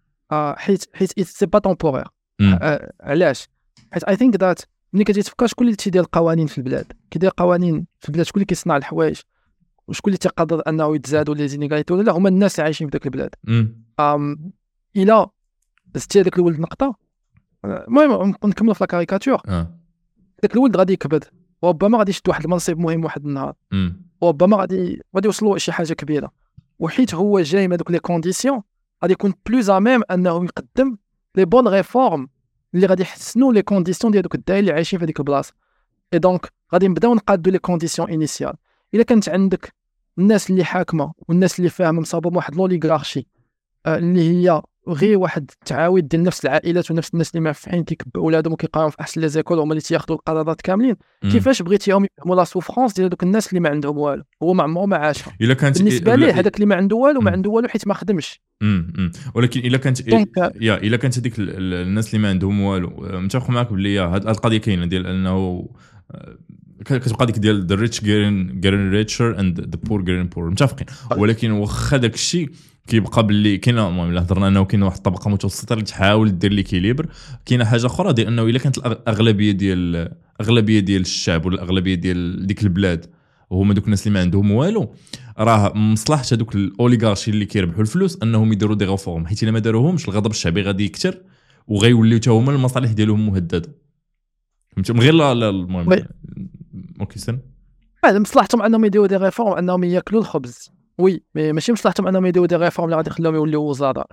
حيت سي با تومبورير. علاش؟ حيت I think that ملي كتجي تفكر شكون اللي تيدير القوانين في البلاد كيدير قوانين في البلاد شكون اللي كيصنع الحوايج وشكون اللي تقدر انه يتزادوا لي زينيغاليتي ولا هما الناس اللي عايشين في ذاك البلاد. الى زدتي هذاك الولد نقطه المهم نكملوا في لا كاريكاتور داك الولد غادي يكبد وربما غادي يشد واحد المنصب مهم واحد النهار وربما غادي يوصلوا شي حاجه كبيره وحيت هو جاي من هذوك لي كونديسيون غادي يكون بلوز اميم انه يقدم لي بون ريفورم اللي غادي يحسنوا لي كونديسيون ديال دوك الدراري اللي عايشين في هذيك البلاصه. اي دونك غادي نبداو نقادوا لي كونديسيون انيسيال. الا كانت عندك الناس اللي حاكمه والناس اللي فاهمه مصابه واحد لوليغارشي اللي هي غير واحد التعاويد ديال نفس العائلات ونفس الناس اللي معفحين كيكبوا اولادهم وكيقراو في احسن لي زيكول هما اللي تياخذوا القرارات كاملين كيفاش بغيتيهم يفهموا لا سوفرونس ديال دوك الناس اللي ما عندهم والو هو ما عمره ما عاشها. بالنسبه ليه هذاك اللي ما عنده والو ما عنده والو حيت ما خدمش. ولكن الا كانت هذيك الناس اللي ما عندهم والو متفق معك بلي هذه القضيه كاينه ديال انه كتبقى ديك ديال the rich getting richer and the poor getting poor متفقين. ولكن واخا داك الشيء كيبقى باللي كاينه المهم الا هضرنا انه كاينه واحد الطبقه متوسطه اللي تحاول دير ليكيليبر. كاينه حاجه اخرى ديال انه الا كانت الاغلبيه ديال الشعب ولا الاغلبيه ديال ديك البلاد وهما دوك الناس اللي ما عندهم والو راه مصلحه هذوك الاوليغارشي اللي كيربحوا الفلوس انهم يديروا دي ريفورم حيت الا ما داروهمش الغضب الشعبي غادي يكثر وغيوليو حتى هما المصالح ديالهم مهدده. من غير لا المهم اوكي سن هذا مصلحتهم انهم يديروا دي ريفورم انهم ياكلوا الخبز وي ماشي مصلحتهم انهم يديروا دي ريفورم اللي غادي يخليهم يوليو وزراء.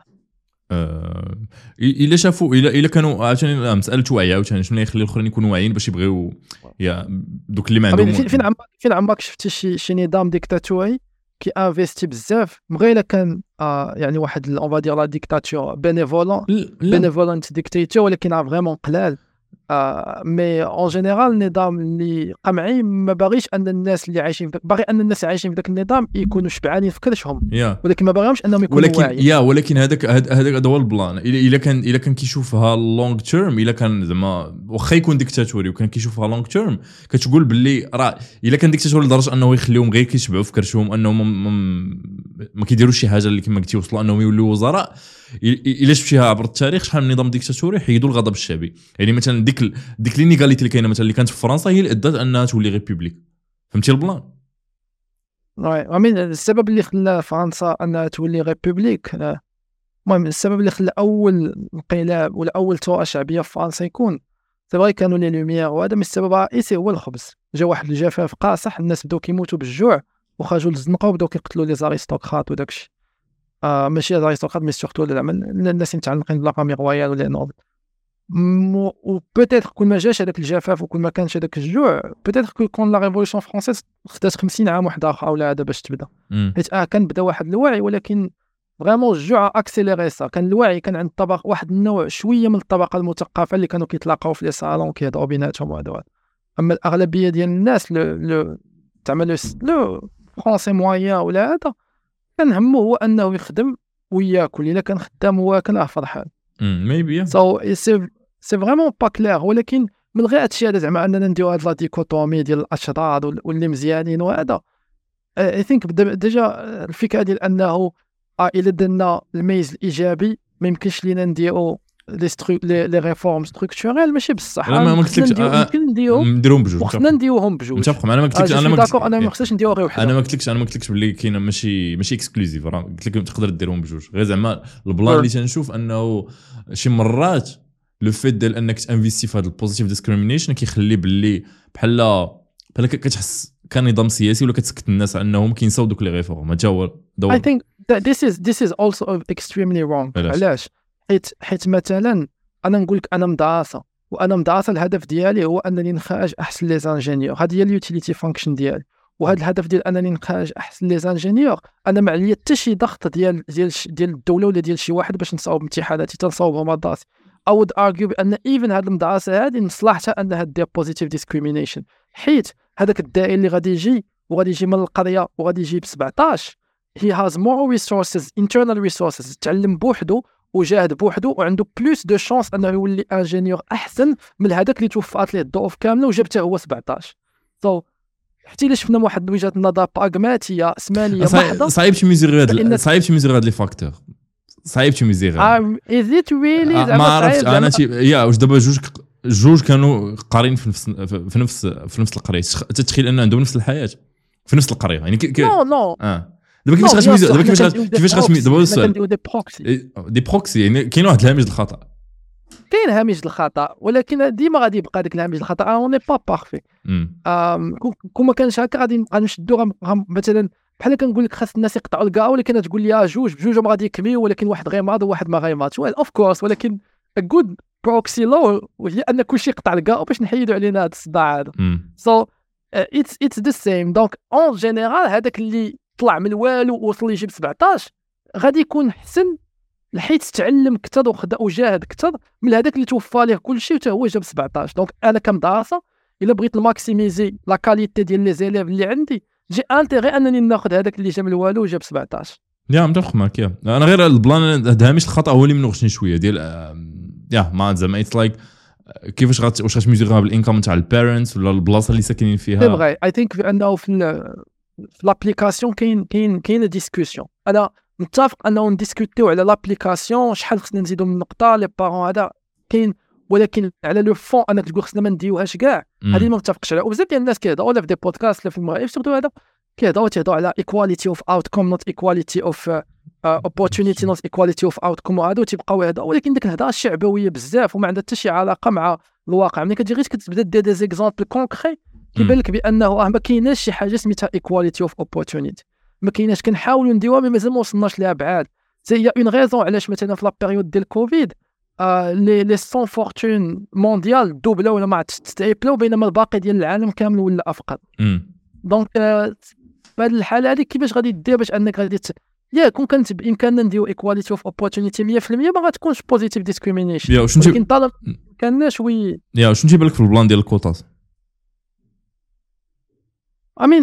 الا شافوا الا كانوا عاوتاني مساله وعي عاوتاني شنو يخلي الاخرين يكونوا واعيين باش يبغيو يا دوك اللي ما عندهم. فين عمرك شفتي شي نظام ديكتاتوري كي انفيستي بزاف مغير كان يعني واحد اون فادير لا ديكتاتور بينيفولنت ديكتاتور ولكن فريمون قلال. مي اون جينيرال النظام اللي قمعي ما باغيش ان الناس اللي عايشين باغي ان الناس اللي عايشين في ذاك النظام يكونوا شبعانين في كرشهم ولكن ما باغيهمش انهم يكونوا واعيين. ولكن هذاك هو البلان. الا كان كيشوفها لونغ تيرم الا كان زعما واخا يكون ديكتاتوري وكان كيشوفها لونغ تيرم كتقول باللي راه الا كان ديكتاتوري لدرجه انه يخليهم غير كيشبعوا في كرشهم انهم ما كيديروش شي حاجه اللي كما قلتي وصلوا انهم يولوا وزراء. الا شفتيها عبر التاريخ شحال من نظام ديكتاتوري حيدوا الغضب الشعبي. يعني مثلا ديك لينيغاليتي اللي كاينه مثلا اللي كانت في فرنسا هي اللي ادت انها تولي ريبوبليك. فهمتي البلان؟ وي السبب اللي خلى فرنسا انها تولي ريبوبليك المهم السبب اللي خلى اول انقلاب ولا اول ثوره شعبيه في فرنسا يكون سي كانوا لي لوميير وهذا من السبب الرئيسي هو الخبز. جا واحد الجفاف قاصح الناس بداو كيموتوا بالجوع وخرجوا للزنقه وبداو كيقتلوا لي زاريستوكرات وداكشي ماشي زاريستوكرات مي سورتو الناس متعلقين بلا فامي رويال ولا نوبل. و بوتيتر كل ما جاش هذاك الجفاف وكل ما كانش هذاك الجوع بوتيتر كون لا ريفولوشن فرونسيز خدات 50 عام واحد اخر ولا هذا باش تبدا حيت كان بدا واحد الوعي ولكن فريمون الجوع اكسيليري سا. كان الوعي كان عند طبقه واحد النوع شويه من الطبقه المثقفه اللي كانوا كيتلاقاو في لي صالون كيهضروا بيناتهم وهذا اما الاغلبيه ديال الناس لو تعمل لو فرونسي مويان ولا هذا كان همه هو انه يخدم وياكل. الا كان خدام واكل فرحان. ميبي سو سي فريمون با كلير. ولكن من غير هادشي هذا زعما اننا نديرو هاد لا ديكوتومي ديال الاشرار واللي مزيانين وهذا اي ثينك ديجا الفكره ديال انه الا درنا الميز الايجابي ما يمكنش لينا نديرو لي ريفورم ستركتورال ماشي بصح. ما قلتلكش يمكن نديروهم بجوج. وخصنا نديروهم بجوج. متفق. انا ما قلتلكش انا ما خصناش نديرو غير وحده. انا ما قلتلكش باللي كاينه ماشي اكسكلوزيف. راه قلت لك تقدر ديرهم بجوج. غير زعما البلان اللي تنشوف انه شي مرات لو فيت ديال انك تانفيستي في هذا البوزيتيف ديسكريمينيشن كيخلي باللي بحال كتحس كنظام سياسي ولا كتسكت الناس على انهم كينساو دوك لي ريفورم. هذا هو دور. I think that this is also extremely wrong. علاش؟ حيت مثلا انا نقول لك انا مدرسه الهدف ديالي هو انني نخرج احسن لي زانجينيور. هذه هي اليوتيليتي فانكشن ديالي. وهذا الهدف ديال انني نخرج احسن لي زانجينيور انا ما عليا حتى شي ضغط ديال الدوله ولا ديال شي واحد باش نصاوب امتحاناتي تنصاوبهم مدرسي. I would argue بان even هذه المدرسه هذه مصلحتها انها دير positive discrimination. حيت هذاك الداعي اللي غادي يجي من القريه وغادي يجي ب 17 he has more resources internal resources. تعلم بوحدو وجاهد بوحدو وعنده بلوس دو شانس انه يولي انجينيور احسن من هذاك اللي توفات ليه الظروف كامله وجابته هو 17. حتى الا شفنا واحد وجهه نظر براغماتيه اسمانيه محضه صعيب تميزير هاد لي فاكتور. صعيب تميزير. is it really ما عرفت انا يا واش دابا جوج كانوا قارين في نفس القريه. تتخيل ان عندهم نفس الحياه في نفس القريه يعني نو دابا كيفاش غتميزو دابا السؤال دي بروكسي يعني كاين واحد الهامش الخطا. كاين هامش الخطا ولكن ديما غادي يبقى داك الهامش الخطا اون ني با بارفي. كون ما كانش هكا غادي نشدو مثلا بحال كنقول لك خاص الناس يقطعوا الكاع ولكن تقول لي جوج بجوج ما غادي يكميو ولكن واحد غيماض وواحد ما غيماضش. ويل اوف كورس ولكن ا جود بروكسي لو هي ان كلشي يقطع الكاع باش نحيدوا علينا هذا الصداع هذا. سو اتس ذا سيم. دونك اون جينيرال هذاك اللي طلع من والو ووصل يجيب 17 غادي يكون حسن حيت تعلم كثر وجاهد كثر من هذاك اللي توفى ليه كلشي وتا هو جاب 17. دونك انا كمدرسه الا بغيت الماكسيميزي لا كاليتي ديال لي زيليف اللي عندي جي انتيغي انني ناخذ هذاك اللي جاب الوالو وجاب 17. يا متفق معك. انا غير البلان هذا مش الخطا هو اللي منوغشني شويه ديال يا ما زعما اتس لايك كيفاش واش غتميزيغها بالانكم تاع البيرنتس ولا البلاصه اللي ساكنين فيها. بغي اي ثينك بانه في لابليكاسيون كاين ديسكوسيون. انا متفق انه نديسكوتيو على لابليكاسيون شحال خصنا نزيدو من نقطه لي بارون هذا كاين ولكن على لو فون انك تقول خصنا ما نديوهاش كاع هذه ما متفقش عليها. وبزاف ديال الناس كيهضروا ولا في دي بودكاست ولا في المغرب سورتو هذا كيهضروا على ايكواليتي اوف اوتكم نوت ايكواليتي اوف opportunity not equality of outcome وهذا تيبقاو هذا ولكن ديك الهضره الشعبويه بزاف وما عندها حتى شي علاقه مع الواقع. ملي كتجي غير كتبدا دير دي زيكزامبل كونكري كيبان لك بانه ما كايناش شي حاجه سميتها equality of opportunity. ما كايناش. كنحاولوا نديروها مي مازال ما وصلناش ليها بعاد. سي اون غيزون علاش مثلا في لا بيريود ديال كوفيد لي سون فورتون مونديال دوبلا ولا ما تستعيبلو بينما الباقي ديال العالم كامل ولا افقر. دونك في هذه الحاله هذه كيفاش غادي دير باش انك غادي كون كانت بامكاننا نديرو ايكواليتي اوف اوبورتونيتي 100% ما غاتكونش بوزيتيف ديسكريمينيشن. ولكن طالما كاناش شنو تيبان لك في البلان ديال الكوطات؟ I mean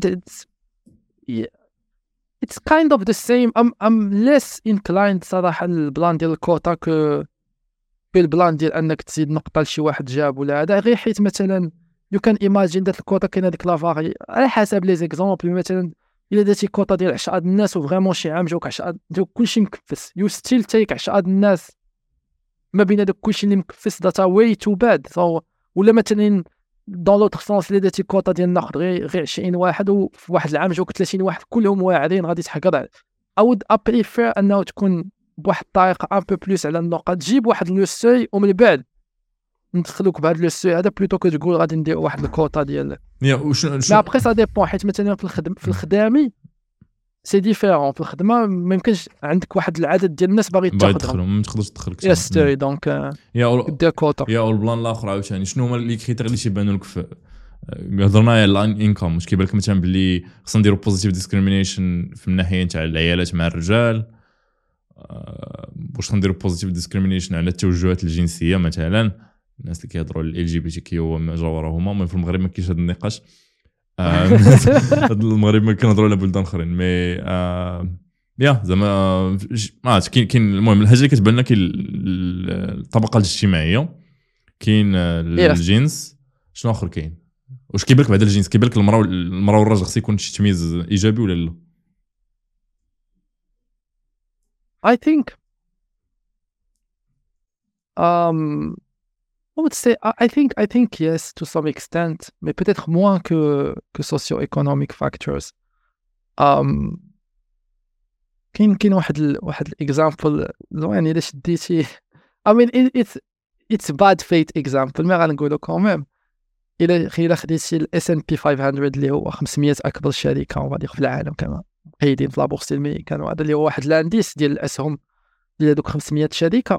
it's kind of the same. I'm less inclined صراحه البلان ديال الكوطا بالبلان ديال انك تزيد نقطه لشي واحد جاب ولا هذا غير حيت مثلا you can imagine دات الكوطا كاينه ديك لافاري على حسب لي زيكزامبل. مثلا الا درتي كوطا ديال 10 الناس وفريمون شي عام جاوك 10 ديال كلشي مكفس يو ستيل تيك 10 الناس ما بين هذاك كلشي اللي مكفس داتا واي تو باد. ولا مثلا دون لوتر سونس الا درتي كوطا ديال ناخذ غير 20 واحد وفي واحد العام جاوك 30 واحد كلهم واعرين غادي تحقر. اود ابريفير انه تكون بواحد الطريقه ان بو بلوس على النقط تجيب واحد لو سوي ومن بعد ندخلوك بهذا لو سوي هذا بلوتو كتقول غادي ندير واحد الكوطا ديال لا ابخي سا ديبون. حيت مثلا في الخدامي سي ديفيرون. في الخدمه ما يمكنش عندك واحد العدد ديال الناس باغي تاخذهم ما تقدرش تدخل يا ستوري دونك دير كوطا. يا البلان الاخر عاوتاني شنو هما لي كريتير اللي تيبانوا لك في هضرنا على الانكم واش كيبان لك مثلا باللي خصنا نديرو بوزيتيف ديسكريمينيشن في الناحيه تاع العيالات مع الرجال واش نديرو بوزيتيف ديسكريمينيشن على التوجهات الجنسيه مثلا الناس اللي كيهضروا على ال جي بي تي كي وما جاورهما. المهم في المغرب ما كاينش هذا النقاش. المغرب ما كنهضروا على بلدان اخرين مي يا زعما ما كاين المهم الحاجه اللي كتبان لنا كاين الطبقه الاجتماعيه كاين الجنس شنو اخر كاين واش كيبان لك بعد الجنس كيبان لك المراه والراجل خص يكون شي تمييز ايجابي ولا لا؟ I think I would say I think yes to some extent mais peut-être moins que socio-economic factors. كاين واحد example زوين الا شديتي I mean it's bad fate example ما غنقولو quand même الا خديتي ال S&P 500 اللي هو 500 اكبر شركه وغادي في العالم كما قايدين في لابورس الميريكان وهذا اللي هو واحد الانديس ديال الاسهم ديال هذوك 500 شركه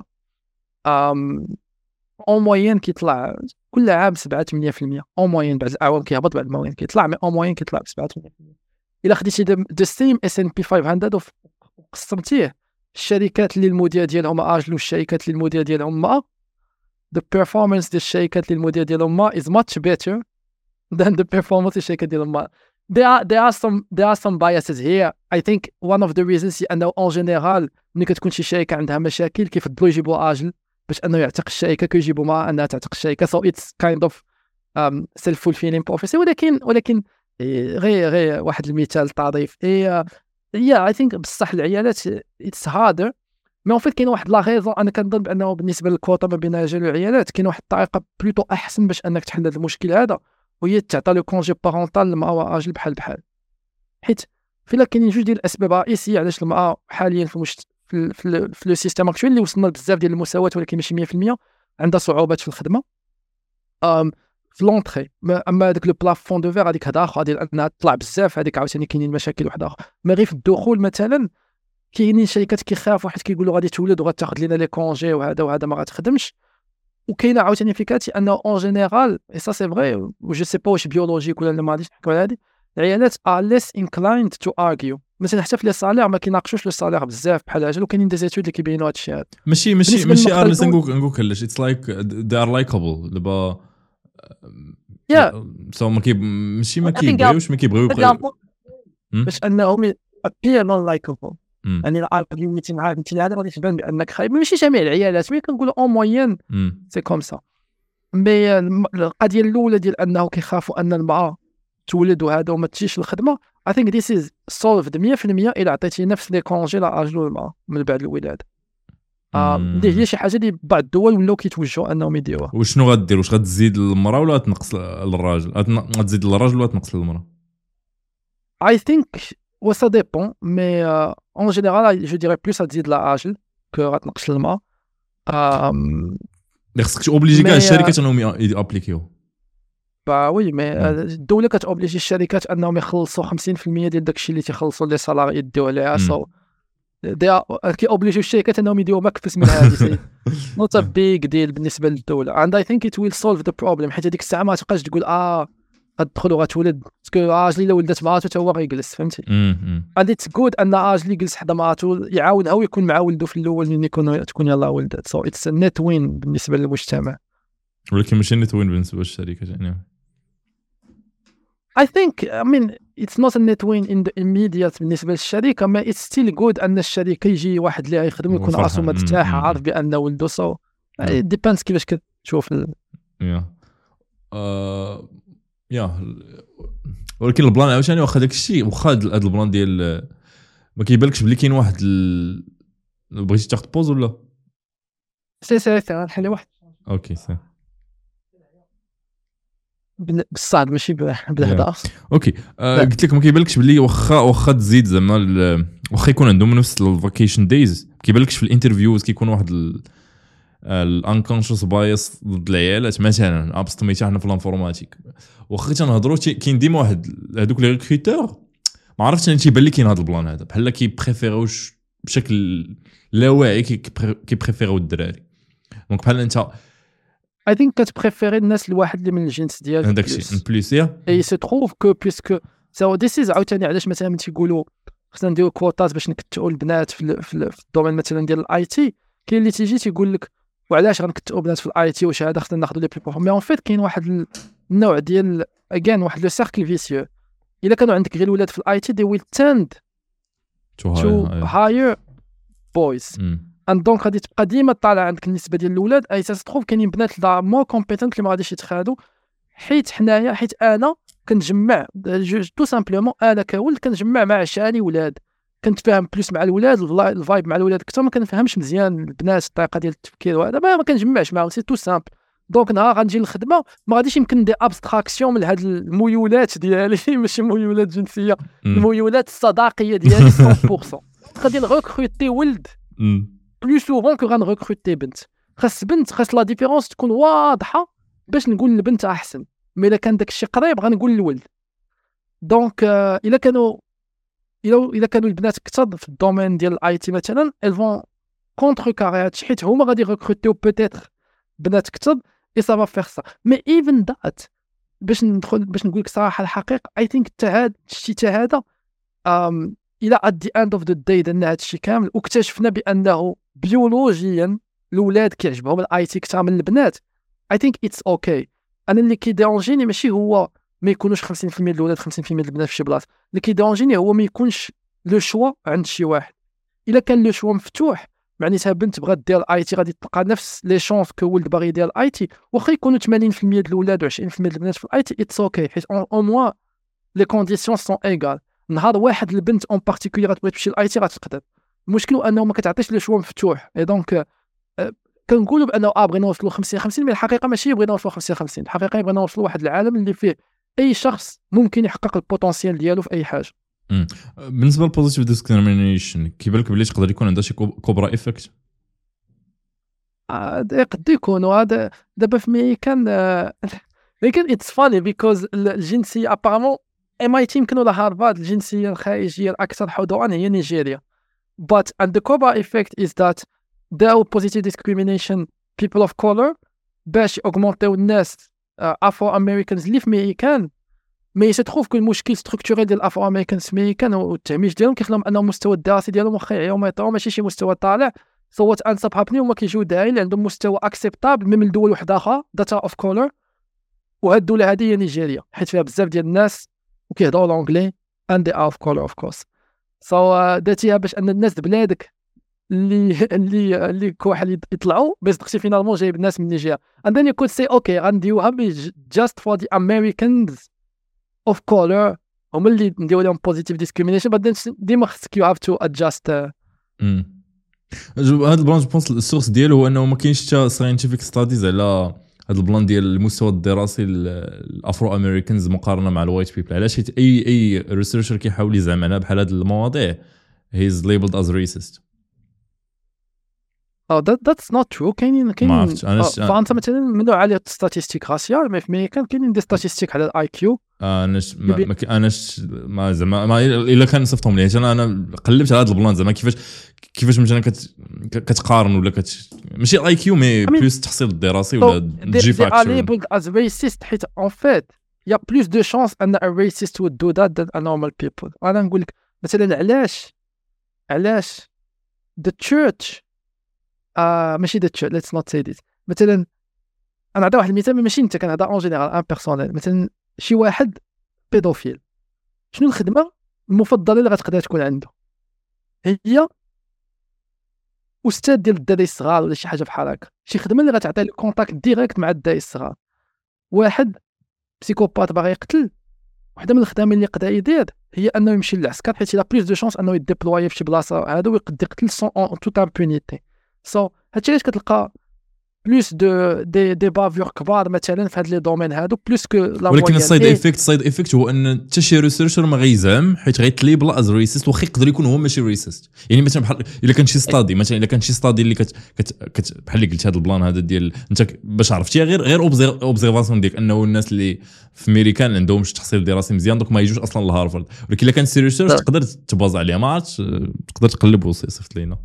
اون موين كيطلع كل عام 7-8% اون موين. بعد الاعوام كيهبط بعد الموين كيطلع مي اون موين كيطلع ب 7-8%. الا خديتي ذا سيم S&P 500 وقسمتيه الشركات اللي المدير ديالهم اجل والشركات اللي المدير ديالهم ما the performance ديال الشركات اللي المدير ديالهم ما is much better than the performance الشركات ديالهم ما. there are some biases here. I think one of the reasons انه en general ملي كتكون شي شركه عندها مشاكل كيفضلوا يجيبوا اجل باش انه يعتق الشركه كيجيبوا ما انها تعتق الشركه. so it's kind of self-fulfilling prophecy. ولكن غير واحد المثال طريف I think بصح العيالات it's harder مي اون فيت كاين واحد لا غيزون انا كنظن بانه بالنسبه للكوطه ما بين الرجال والعيالات كاين واحد الطريقه بلوتو احسن باش انك تحل هذا المشكل هذا وهي تعطي لو كونجي بارونتال للمراه واجل بحال حيت فيلا كاينين جوج ديال الاسباب رئيسيه علاش المراه حاليا في لو سيستيم اكطويل اللي وصلنا بزاف ديال المساواه ولكن ماشي 100% عندها صعوبات في الخدمه في لونطري. اما داك لو بلافون دو فير هذيك هذا اخر ديال انها تطلع بزاف هذيك عاوتاني كاينين مشاكل واحده اخرى. ما غير في الدخول مثلا كاينين شركات كيخافوا حيت كيقولوا غادي تولد وغتاخذ لنا لي كونجي وهذا ما غتخدمش. وكاينه عاوتاني فيكاتي انه اون جينيرال اي سا سي فري و جو سي با واش بيولوجيك ولا ما غاديش نحكوا على هذه العيالات ار ليس انكلايند تو ارغيو مثلا حتى في لي صالير ما كيناقشوش لو صالير بزاف بحال هذا. وكاينين دي زيتود اللي كيبينوا هذا الشيء هذا ماشي ارلس نقول كلش اتس لايك they are likable دابا سو ما كيبغيو باش انهم appear non likable. يعني الارغيوميتي معاك انت هذا غادي تبان بانك خايب ماشي جميع العيالات مي كنقولوا اون موين سي كوم سا. مي القضيه الاولى ديال انه كيخافوا ان المراه تولد وهذا وما تجيش الخدمه I think this is solved 100% الا عطيتي نفس لي كونجي لاجلو المراه من بعد الولاده. هي شي حاجه اللي بعض الدول ولاو كيتوجهوا انهم يديروها. وشنو غدير واش غتزيد للمراه ولا تنقص للراجل؟ غتزيد للراجل ولا تنقص للمراه؟ I think ça dépend mais en général je dirais plus ça تزيد للراجل que غتنقص للمراه. خصك توبليجي كاع الشركات انهم يابليكيو. وي مي الدوله كتوبليجي الشركات انهم يخلصوا 50% ديال داكشي اللي تيخلصوا لي سالاري يديو عليها. سو كيوبليجيو الشركات انهم يديروا مكفس من هذه نوت بيغ ديل بالنسبه للدوله. and I think it will solve the problem حيت هذيك الساعه ما تبقاش تقول غتدخل وغتولد باسكو راجلي الا ولدت مراته حتى هو غيجلس فهمتي. and it's good ان راجلي يجلس حدا مراته يعاونها ويكون مع ولده في الاول ملي تكون يلاه ولدت. so it's a net win بالنسبه للمجتمع ولكن ماشي net win بالنسبه للشركات يعني. I think I mean it's not a net win in the immediate بالنسبه للشركه ما it's still good ان الشركه يجي واحد اللي يخدم يكون راسو مرتاح عارف بانه ولده. so it depends كيفاش كتشوف ولكن البلان عاوتاني واخا داك الشيء واخا هذا البلان ديال ما كيبانلكش بلي كاين واحد بغيتي تاخذ بوز ولا سي غنحل واحد اوكي سي بالصاد ماشي بالهضره اوكي قلت لك ما كيبانلكش بلي واخا تزيد زعما واخا يكون عندهم نفس الفاكيشن دايز كيبانلكش في الانترفيوز كيكون واحد الانكونشس بايس ضد العيالات مثلا ابسطميتي حنا في الانفورماتيك واخا تنهضروا كاين ديما واحد هذوك لي ريكروتور ما عرفتش انا تيبان لي كاين هذا البلان هذا بحال كيبريفيروش بشكل لا واعي كيبريفيرو الدراري دونك بحال انت I think كتبريفيري الناس الواحد اللي من الجنس ديالك داكشي بليس يا اي سي تروف كو بيسكو سو ذيس از عاوتاني علاش مثلا تيقولوا خصنا نديرو كوطات باش نكتعوا البنات في الدومين مثلا ديال الاي تي. كاين اللي تيجي تيقول لك وعلاش غنكتبوا بنات في الاي تي وشهاده خصنا ناخذوا لي بلي بروفون. مي اون فيت كاين واحد النوع ديال اجين واحد لو سيركل فيسيو. الا كانوا عندك غير الولاد في الاي تي دي ويل تند تو هاير بويز اند دونك غادي تبقى ديما طالع عندك النسبه ديال الاولاد اي ساس تروف كاينين بنات لا مو كومبيتنت اللي ما غاديش يتخادوا. حيت انا كنجمع تو سامبلومون انا كولد كنجمع مع عشاني ولاد كنت فاهم بلوس مع الولاد الفايب مع الولاد اكثر ما كنفهمش مزيان البنات الطريقه ديال التفكير وهذا ما كنجمعش معاهم سي تو سامبل. دونك نهار غنجي للخدمه ما غاديش يمكن ندير ابستراكسيون من هاد الميولات ديالي ماشي ميولات جنسيه الميولات الصداقيه ديالي 100% غادي نغوكروتي ولد بلو سوفون كو غنغوكروتي بنت. خاص لا ديفيرونس تكون واضحه باش نقول للبنت احسن. مي الا كان داك الشيء قريب غنقول للولد. دونك الا كانوا البنات كثر في الدومين ديال الاي تي مثلا الفون كونتر كاري هادشي حيت هما غادي ريكروتيو بوتيتر بنات كثر اي سافا فيغ سا. مي ايفن ذات باش نقول لك صراحه الحقيقه اي ثينك حتى هذا الشيء هذا الى ات دي اند اوف ذا داي درنا هذا الشيء كامل واكتشفنا بانه بيولوجيا الاولاد كيعجبهم الاي تي كثر من البنات. اي ثينك اتس اوكي. انا اللي كيديرونجيني ماشي هو ما يكونوش 50% ديال الولاد 50% ديال البنات في شي بلاصه. اللي كيديرونجيني هو ما يكونش لو شوا عند شي واحد. الا كان لو شوا مفتوح معناتها بنت بغات دير الاي تي غادي تلقى نفس لي شونس كو ولد باغي يدير الاي تي واخا يكونوا 80% ديال الولاد و 20% ديال البنات في الاي تي اتس اوكي حيت او موا لي كونديسيون سون ايغال. نهار واحد البنت اون بارتيكولير غتبغي تمشي للاي تي غتقدر. المشكل انه ما كتعطيش لو شوا مفتوح. اي دونك كنقولوا بانه بغينا نوصلوا 50-50 مي الحقيقه ماشي بغينا نوصلوا 50-50. الحقيقه بغينا نوصلوا واحد العالم اللي فيه اي شخص ممكن يحقق البوتنسيال ديالو في اي حاجه. بالنسبه للبوزيتيف ديسكريمينيشن كيبان لك بلي تقدر يكون عندها شي كوبرا ايفكت. قد يكون هذا دابا في ميكان لكن اتس فاني بيكوز الجنسيه ابارامون MIT يمكن ولا هارفارد الجنسيه الخارجيه الاكثر حضورا هي نيجيريا. but and the Cobra effect is that there are positive discrimination people of color باش augmenter الناس افرو امريكانز اللي في ميكان. مي سيتروف كو المشكل ستركتورال ديال الافرو امريكانز في ميكان والتهميش ديالهم كيخليهم انه المستوى الدراسي ديالهم واخا يعيو ما يطيرو ماشي شي مستوى طالع. صوت انسب هابني هما كيجيو داعي اللي عندهم مستوى اكسبتابل من دول وحده اخرى داتا اوف كولر. وهاد الدوله هذه هي نيجيريا حيت فيها بزاف ديال الناس وكيهضروا الانجلي and they are of color of course. داتيها باش ان الناس بلادك اللي كواحد يطلعوا باش تختي فينالمون جايب الناس من نيجيريا and then you could say okay غنديوها just for the Americans of color هما اللي نديروا لهم positive discrimination but then ديما خصك you have to adjust. هذا البلان جو بونس السورس ديالو هو انه ما كاينش حتى ساينتيفيك ستاديز على هذا البلان ديال المستوى الدراسي الافرو امريكانز مقارنه مع الوايت بيبل. علاش حيت اي ريسيرشر كيحاول يزعم بحال هاد المواضيع he is labeled as racist. that's not true. كاينين فانت مثلا منو على ستاتيستيك راسيال ما في كاينين دي ستاتيستيك على الاي كيو. انا زعما الا كان صفتهم لي انا قلبت على هذا البلان زعما كيفاش مثلا كتقارن ولا ماشي الاي كيو مي بلوس التحصيل الدراسي ولا جي فاكتور labeled as racist حيت en fait il y a plus de chances ان a racist would do that than a normal people. انا نقول لك مثلا علاش the church ماشي the church let's not say this. مثلا انا نعطي واحد المثال ماشي انت كنهضر اون جينيرال ان بيرسونيل. مثلا شي واحد بيدوفيل شنو الخدمه المفضله اللي غتقدر تكون عنده؟ هي استاذ ديال الدراري الصغار ولا شي حاجه بحال هكا. شي خدمه اللي غتعطي له كونتاكت ديريكت مع الدراري الصغار. واحد بسيكوبات باغي يقتل وحده من الخدمات اللي يقدر يدير هي انه يمشي للعسكر حيت لا بلوس دو شانس انه يديبلوي في شي بلاصه هذا ويقدر يقتل سون توت امبونيتي. هادشي علاش كتلقى بلوس دي بافور كبار مثلا في هاد لي دومين هادو بلوس كو لا. ولكن السايد ايفيكت هو ان حتى شي ريسيرشر ما غيزعم حيت غيتليبل از ريسيست واخا يقدر يكون هو ماشي ريسيست. يعني مثلا بحال الا كان شي ستادي مثلا الا كان شي ستادي اللي بحال اللي قلت هذا البلان هذا ديال انت باش عرفتيها غير اوبزيرفاسيون ديالك انه الناس اللي في امريكان عندهم شي تحصيل دراسي مزيان دوك ما يجوش اصلا لهارفارد. ولكن الا كان سي ريسيرش تقدر تباز عليها ما عرفتش تقدر تقلب وصيفط لينا.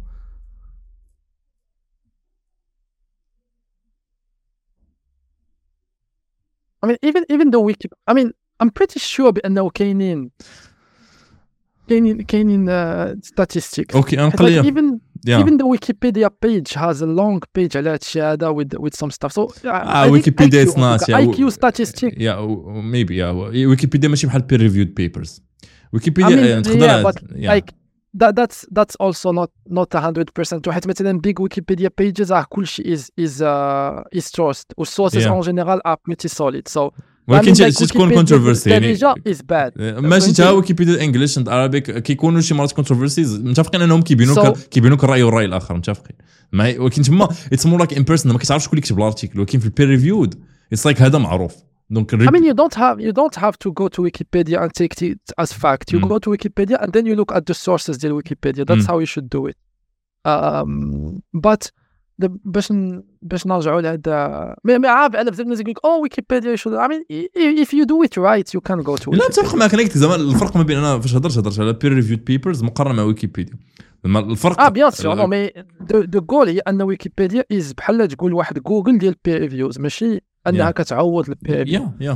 I mean, even though I'm pretty sure بأنه كاينين statistics. اوكي نقليها even the Wikipedia page has a long page على هادشي هذا with some stuff. So Wikipedia is not IQ statistic. Maybe Wikipedia ماشي بحال peer reviewed papers. Wikipedia but like that's also not 100%. وحيت مثلا big Wikipedia pages كلشي is sourced و sources en general are pretty solid. So ولكن تكون controversy يعني is bad. ماشي تا ويكيبيديا الانجليش اند عربيك كيكونوا شي مرات controversies متفقين انهم كيبينوك الراي والراي الاخر متفقين ولكن تما اتس مور لايك ان بيرسون ما كتعرفش شكون اللي كتب الارتيكل ولكن في البير ريفيود اتس لايك هذا معروف دونك I mean you don't have to go to Wikipedia and take it as fact. You go to Wikipedia and then you look at the sources ديال Wikipedia. That's how you should do it. But باش نرجعوا لهذا ما عارف انا بزاف الناس يقول لك ويكيبيديا شو I mean if you do it right you can go to لا نتفق معك انا قلت زعما الفرق ما بين انا فاش هضرت على peer reviewed papers مقارنه مع ويكيبيديا الفرق بيان سور نو مي دو جول هي ان ويكيبيديا از بحال تقول واحد جوجل ديال بير ريفيوز ماشي انها كتعوض البير ريفيو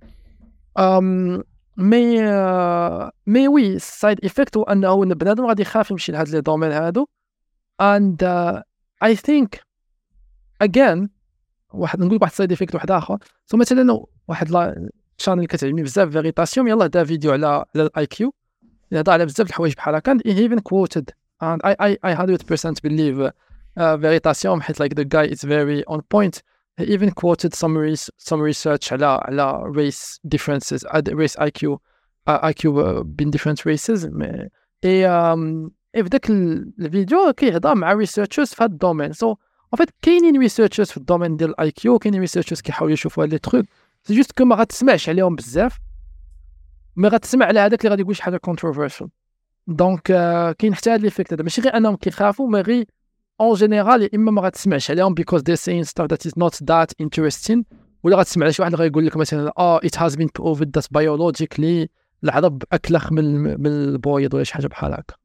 مي وي السايد ايفيكت هو انه البنادم غادي يخاف يمشي لهاد لي دومين هادو and I think again نقول واحد سايد ايفيكت واحد اخر سو مثلا واحد لا شانل كتعجبني بزاف فيريتاسيون يلاه دا فيديو على الاي كيو يهضر على بزاف الحوايج بحال هكا he even quoted and I 100% believe فيريتاسيون حيت like the guy is very on point. He even quoted some research على race differences race IQ بين different races في ذاك الفيديو كيهضر مع researchers في هذا الدومين. So en fait كاينين researchers في الدومين ديال الاي كيو كاينين researchers كيحاولوا يشوفوا هاد لي تروك سي جوست كو ما غتسمعش عليهم بزاف ما غتسمع على هذاك اللي غادي يقول شي حاجه controversial. دونك كاين حتى هاد ليفيكت هذا ماشي غير انهم كيخافوا ما غير اون جينيرال يا اما ما غتسمعش عليهم because they're saying stuff that is not that interesting ولا غتسمع على شي واحد غيقول لك مثلا it has been proven that biologically العرب اكلخ من البويض ولا شي حاجه بحال هكا.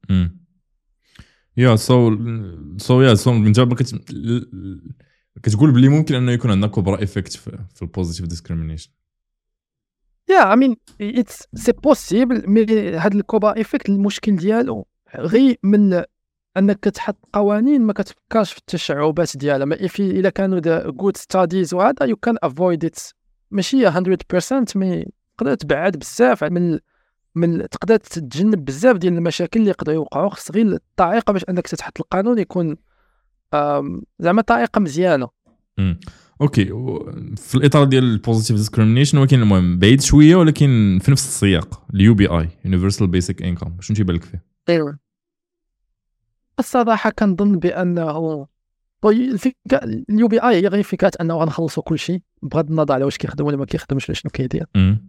سو من جاب كتقول بلي ممكن انه يكون عندنا كبرى ايفيكت في البوزيتيف ديسكريمينيشن. I mean it's possible مي هاد الكوبا ايفيكت المشكل ديالو غير من انك كتحط قوانين ما كتفكرش في التشعبات ديالها ما الا كانوا good studies وهذا you can avoid it ماشي 100% مي تقدر تبعد بزاف من تقدر تتجنب بزاف ديال المشاكل اللي يقدروا يوقعوا. خص غير الطريقه باش انك تحط القانون يكون زعما طريقه مزيانه. اوكي في الاطار ديال البوزيتيف ديسكريمينيشن ولكن المهم بعيد شويه ولكن في نفس السياق اليو بي اي يونيفرسال بيسك انكم شنو تيبان لك فيه؟ ايوا الصراحه كنظن بانه اليو بي اي هي غير فكره انه غنخلصوا كل شيء بغض النظر على واش كيخدم ولا ما كيخدمش ولا شنو كيدير.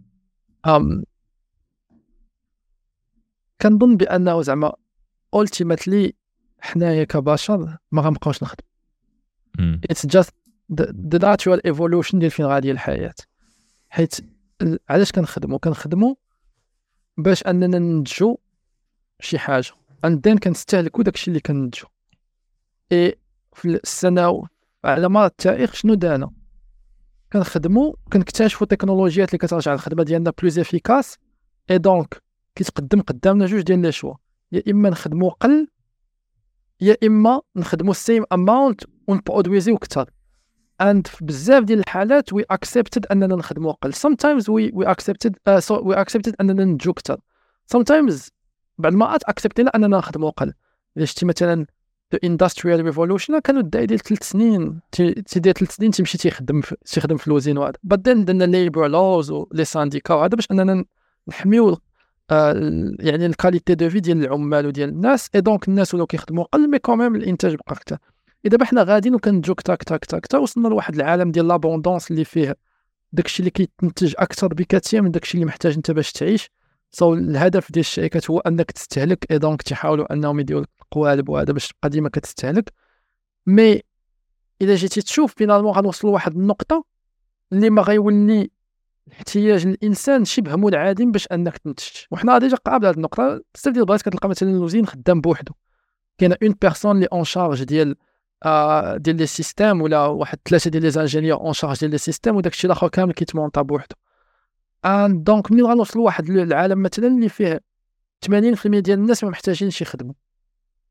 كنظن بانه زعما ultimately حنايا كبشر ما غنبقاوش نخدم. It's just the natural evolution ديال فين غادي الحياة. حيت علاش كنخدموا باش اننا ننتجو شي حاجه and then كنستهلكوا داكشي اللي كننتجو. في السنه على مر التاريخ شنو دانا كنخدموا كنكتشفوا تكنولوجيات اللي كترجع الخدمه ديالنا بلوز افيكاس اي دونك كيتقدم قدامنا جوج ديال لي شوا يا اما نخدموا قل يا اما نخدموا السيم اماونت ونبرودويزيو اكثر. and بزاف ديال الحالات we accepted اننا نخدموا قل. sometimes we accepted اننا ننتجو اكثر. sometimes بعد ما acceptنا اننا نخدموا قل. الا شتي مثلا the industrial revolution كانوا داير 3 سنين تيدير 3 سنين تيمشي تيخدم في الوزين وهذا but then درنا labor laws و لي سانديكا وهذا باش اننا نحميو يعني الكاليتي دو في ديال العمال وديال الناس اي دونك الناس ولاو كيخدموا قل مي كوميم الانتاج بقى اكثر. اذا حنا غاديين وكنتجو كتا وصلنا لواحد العالم ديال لابوندونس اللي فيه داكشي اللي كيتنتج اكثر بكثير من داكشي اللي محتاج انت باش تعيش. الهدف ديال الشركات هو انك تستهلك اي دونك تحاولوا انهم يديروا القوالب وهذا باش تبقى ديما كتستهلك. مي اذا جيتي تشوف فينالمون غنوصلوا لواحد النقطه اللي ما غيولي احتياج الانسان شبه منعدم باش انك تنتج. وحنا ديجا قابل هذه النقطه بزاف ديال البلايص كتلقى مثلا الوزين خدام بوحدو كاينه اون بيرسون اللي اون شارج ديال لي سيستيم ولا واحد 3 ديال لي انجينيور اون شارج ديال لي سيستيم وداكشي الاخر كامل كيتمونطا بوحدو. دونك ملي غنوصلوا لواحد العالم مثلا اللي فيه 80% ديال الناس ما محتاجينش يخدموا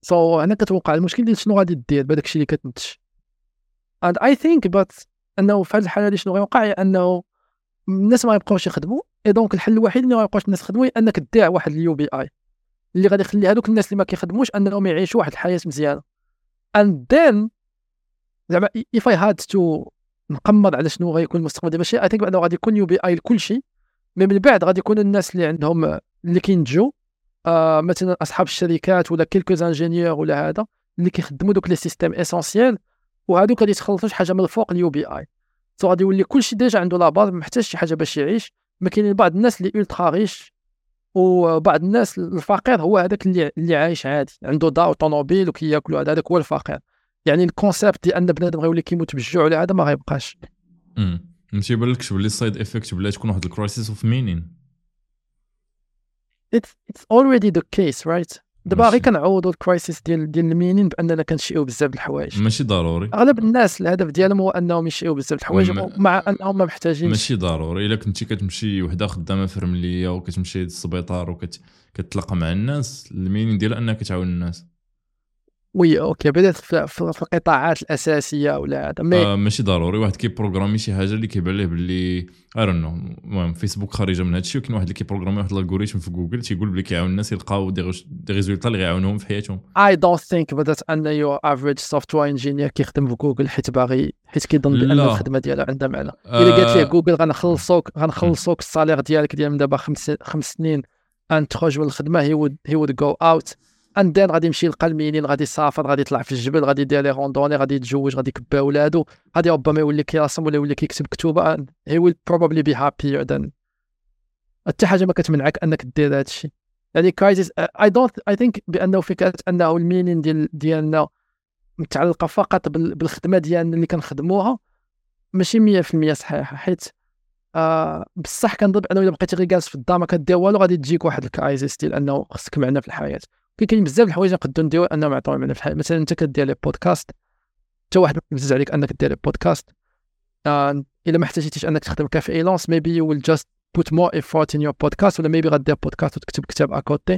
سو هنا كتوقع المشكل ديال شنو غادي دير بهذاك الشيء اللي كتنتج. and I think but انه في هذه الحاله هذه شنو غيوقع هي انه الناس ما يبقاوش يخدموا. اي دونك الحل الوحيد اللي ما يبقاوش الناس يخدموا هي انك تدير واحد اليو بي اي اللي غادي يخلي هذوك الناس اللي ما كيخدموش انهم يعيشوا واحد الحياه مزيانه. and then زعما if I had to نقمر على شنو غيكون المستقبل ديال الشيء I think بانه غادي يكون يو بي اي لكل شيء. من بعد غادي يكون الناس اللي عندهم اللي كينتجوا مثلا اصحاب الشركات ولا كيلكو انجينيور ولا هذا اللي كيخدموا دوك لي سيستيم اسونسيال وهذوك غادي يتخلصوا شي حاجه من الفوق اليو بي اي. سو غادي يولي كلشي ديجا عنده لاباز ما محتاج شي حاجه باش يعيش. ما كاينين بعض الناس اللي الترا ريش وبعض الناس الفقير هو هذاك اللي عايش عادي عنده دار وطوموبيل وكياكلوا هذاك هو الفقير. يعني الكونسيبت ديال ان بنادم غيولي كيموت بالجوع ولا هذا ما غيبقاش. ماشي بالكش باللي السايد افكت بلا تكون واحد الكرايسيس اوف مينين. It's already the case right. دابا غير كنعوضوا الكرايسيس ديال المينين باننا كنشيئوا بزاف د الحوايج. ماشي ضروري. اغلب الناس الهدف ديالهم هو انهم يشيئوا بزاف د الحوايج مع انهم ما محتاجين. ماشي ضروري. الا كنتي كتمشي وحده خدامه في رمليه وكتمشي للسبيطار وكتتلاقى مع الناس المينين ديالها انك كتعاون الناس. وي اوكي بدات في القطاعات الاساسيه ولا هذا ماشي ضروري. واحد كيبروغرامي شي حاجه اللي كيبان ليه باللي اي دون نو المهم فيسبوك خارجه من هادشي وكاين واحد اللي كيبروغرامي واحد الالغوريثم في جوجل تيقول بلي كيعاون الناس يلقاو دي ريزولطا اللي غيعاونوهم في حياتهم. I don't think بدات ان يو افريج سوفتوير انجينير كيخدم في جوجل حيت كيظن بان الخدمه ديالها عندها معنى. الا قالت ليه جوجل غنخلصوك الصالير ديالك ديال من دابا 5 سنين ان تخرج من الخدمه هي would go out and then غادي يمشي يلقى المينين غادي يسافر غادي يطلع في الجبل غادي يدير لي روندوني غادي يتزوج غادي يكبى ولادو غادي ربما يولي كيرسم ولا يولي كيكتب كتوبه he will probably be happier than. حتى حاجه ما كتمنعك انك دير هذا الشيء. يعني كرايسيس I think بانه فكره انه المينين ديالنا متعلقه فقط بالخدمه ديالنا اللي كنخدموها ماشي 100% صحيحه. حيت بصح كنظن انه الا بقيتي غير جالس في الدار ما كدير والو غادي تجيك واحد الكرايسيس ديال انه خصك معنى في الحياه. كاين بزاف د الحوايج نقدروا نديروا انهم يعطيو معنى في الحياه. مثلا انت كدير لي بودكاست حتى واحد بزز عليك انك دير لي بودكاست الا ما احتاجيتيش انك تخدم كفريلانس maybe you will just put more effort in your podcast ولا maybe غدير بودكاست وتكتب كتاب اكوتي.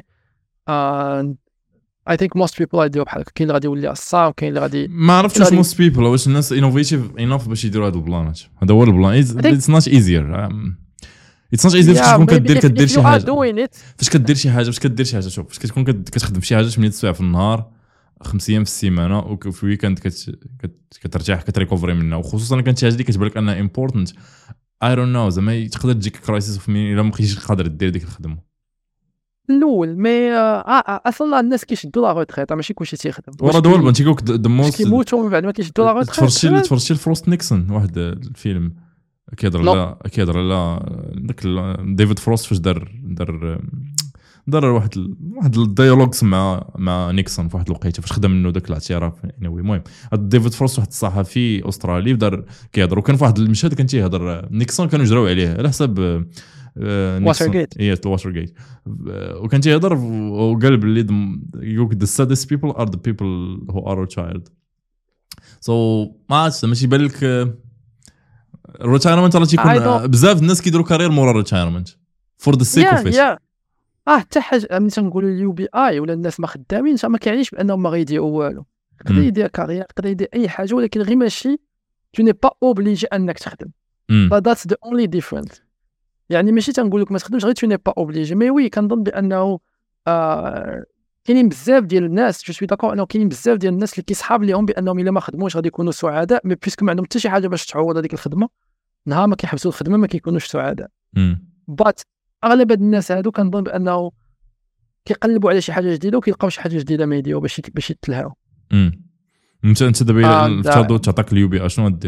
I think most people غاديو بحال هكا. كاين اللي غادي يولي عصام كاين اللي غادي ما عرفتش واش most people واش الناس انوفيتيف انف باش يديروا هاد البلانات. هذا هو البلان. It's not easier. It's not easy فاش تكون كدير شي حاجه. فاش كدير شي حاجه شوف فاش كتكون كتخدم شي حاجه 8 سوايع في النهار 5 ايام في السيمانه وفي الويكاند كترتاح كتريكوفري منها وخصوصا كانت شي حاجه اللي كتبان لك انها امبورطنت اي دون نو زعما تقدر تجيك كرايسيس في مين الا ما بقيتيش قادر دير ديك الخدمه الاول. مي اصلا الناس كيشدوا لا روتريت ماشي كلشي تيخدم ورا دول بان تيقولك دموس كيموتوا من بعد ما كيشدوا لا روتريت. تفرجتي الفروست نيكسون واحد الفيلم كيهضر على داك ديفيد فروست فاش دار واحد الديالوجز مع نيكسون في واحد الوقيته فاش خدم منه داك الاعتراف. المهم ديفيد فروست واحد الصحفي استرالي دار كيهضر وكان في واحد المشهد كان تيهضر نيكسون كانوا جراو عليه على حساب واترغيت واترغيت وكان تيهضر وقال باللي يقولك the saddest people are the people who are retired. so ما عرفتش ماشي بالك الريتايرمنت راه تيكون بزاف الناس كيديروا كارير مورا الريتايرمنت فور ذا سيك اوف ات. حتى حاجه ملي تنقولوا اليو بي اي ولا الناس ما خدامينش ما كيعنيش بانهم ما غيديروا والو. يقدر يدير كارير يقدر يدير اي حاجه ولكن غير ماشي تو ني با اوبليجي انك تخدم. فذاتس ذا اونلي ديفرنت. يعني ماشي تنقول لك ما تخدمش غير تو ني با اوبليجي. مي وي كنظن بانه كاينين بزاف ديال الناس جو سوي داكور انه كاينين بزاف ديال الناس اللي كيصحاب ليهم بانهم الا ما خدموش غادي يكونوا سعداء. مي بيسك ما عندهم حتى شي حاجه باش تعوض هذيك الخدمه نهار ما كيحبسوا الخدمه ما كيكونوش سعداء. بات اغلب هاد الناس هادو كنظن بانه كيقلبوا على شي حاجه جديده وكيلقاو شي حاجه جديده ما يديروا باش يتلهاو. انت دابا افترضوا تعطيك اليو بي اشنو غدير؟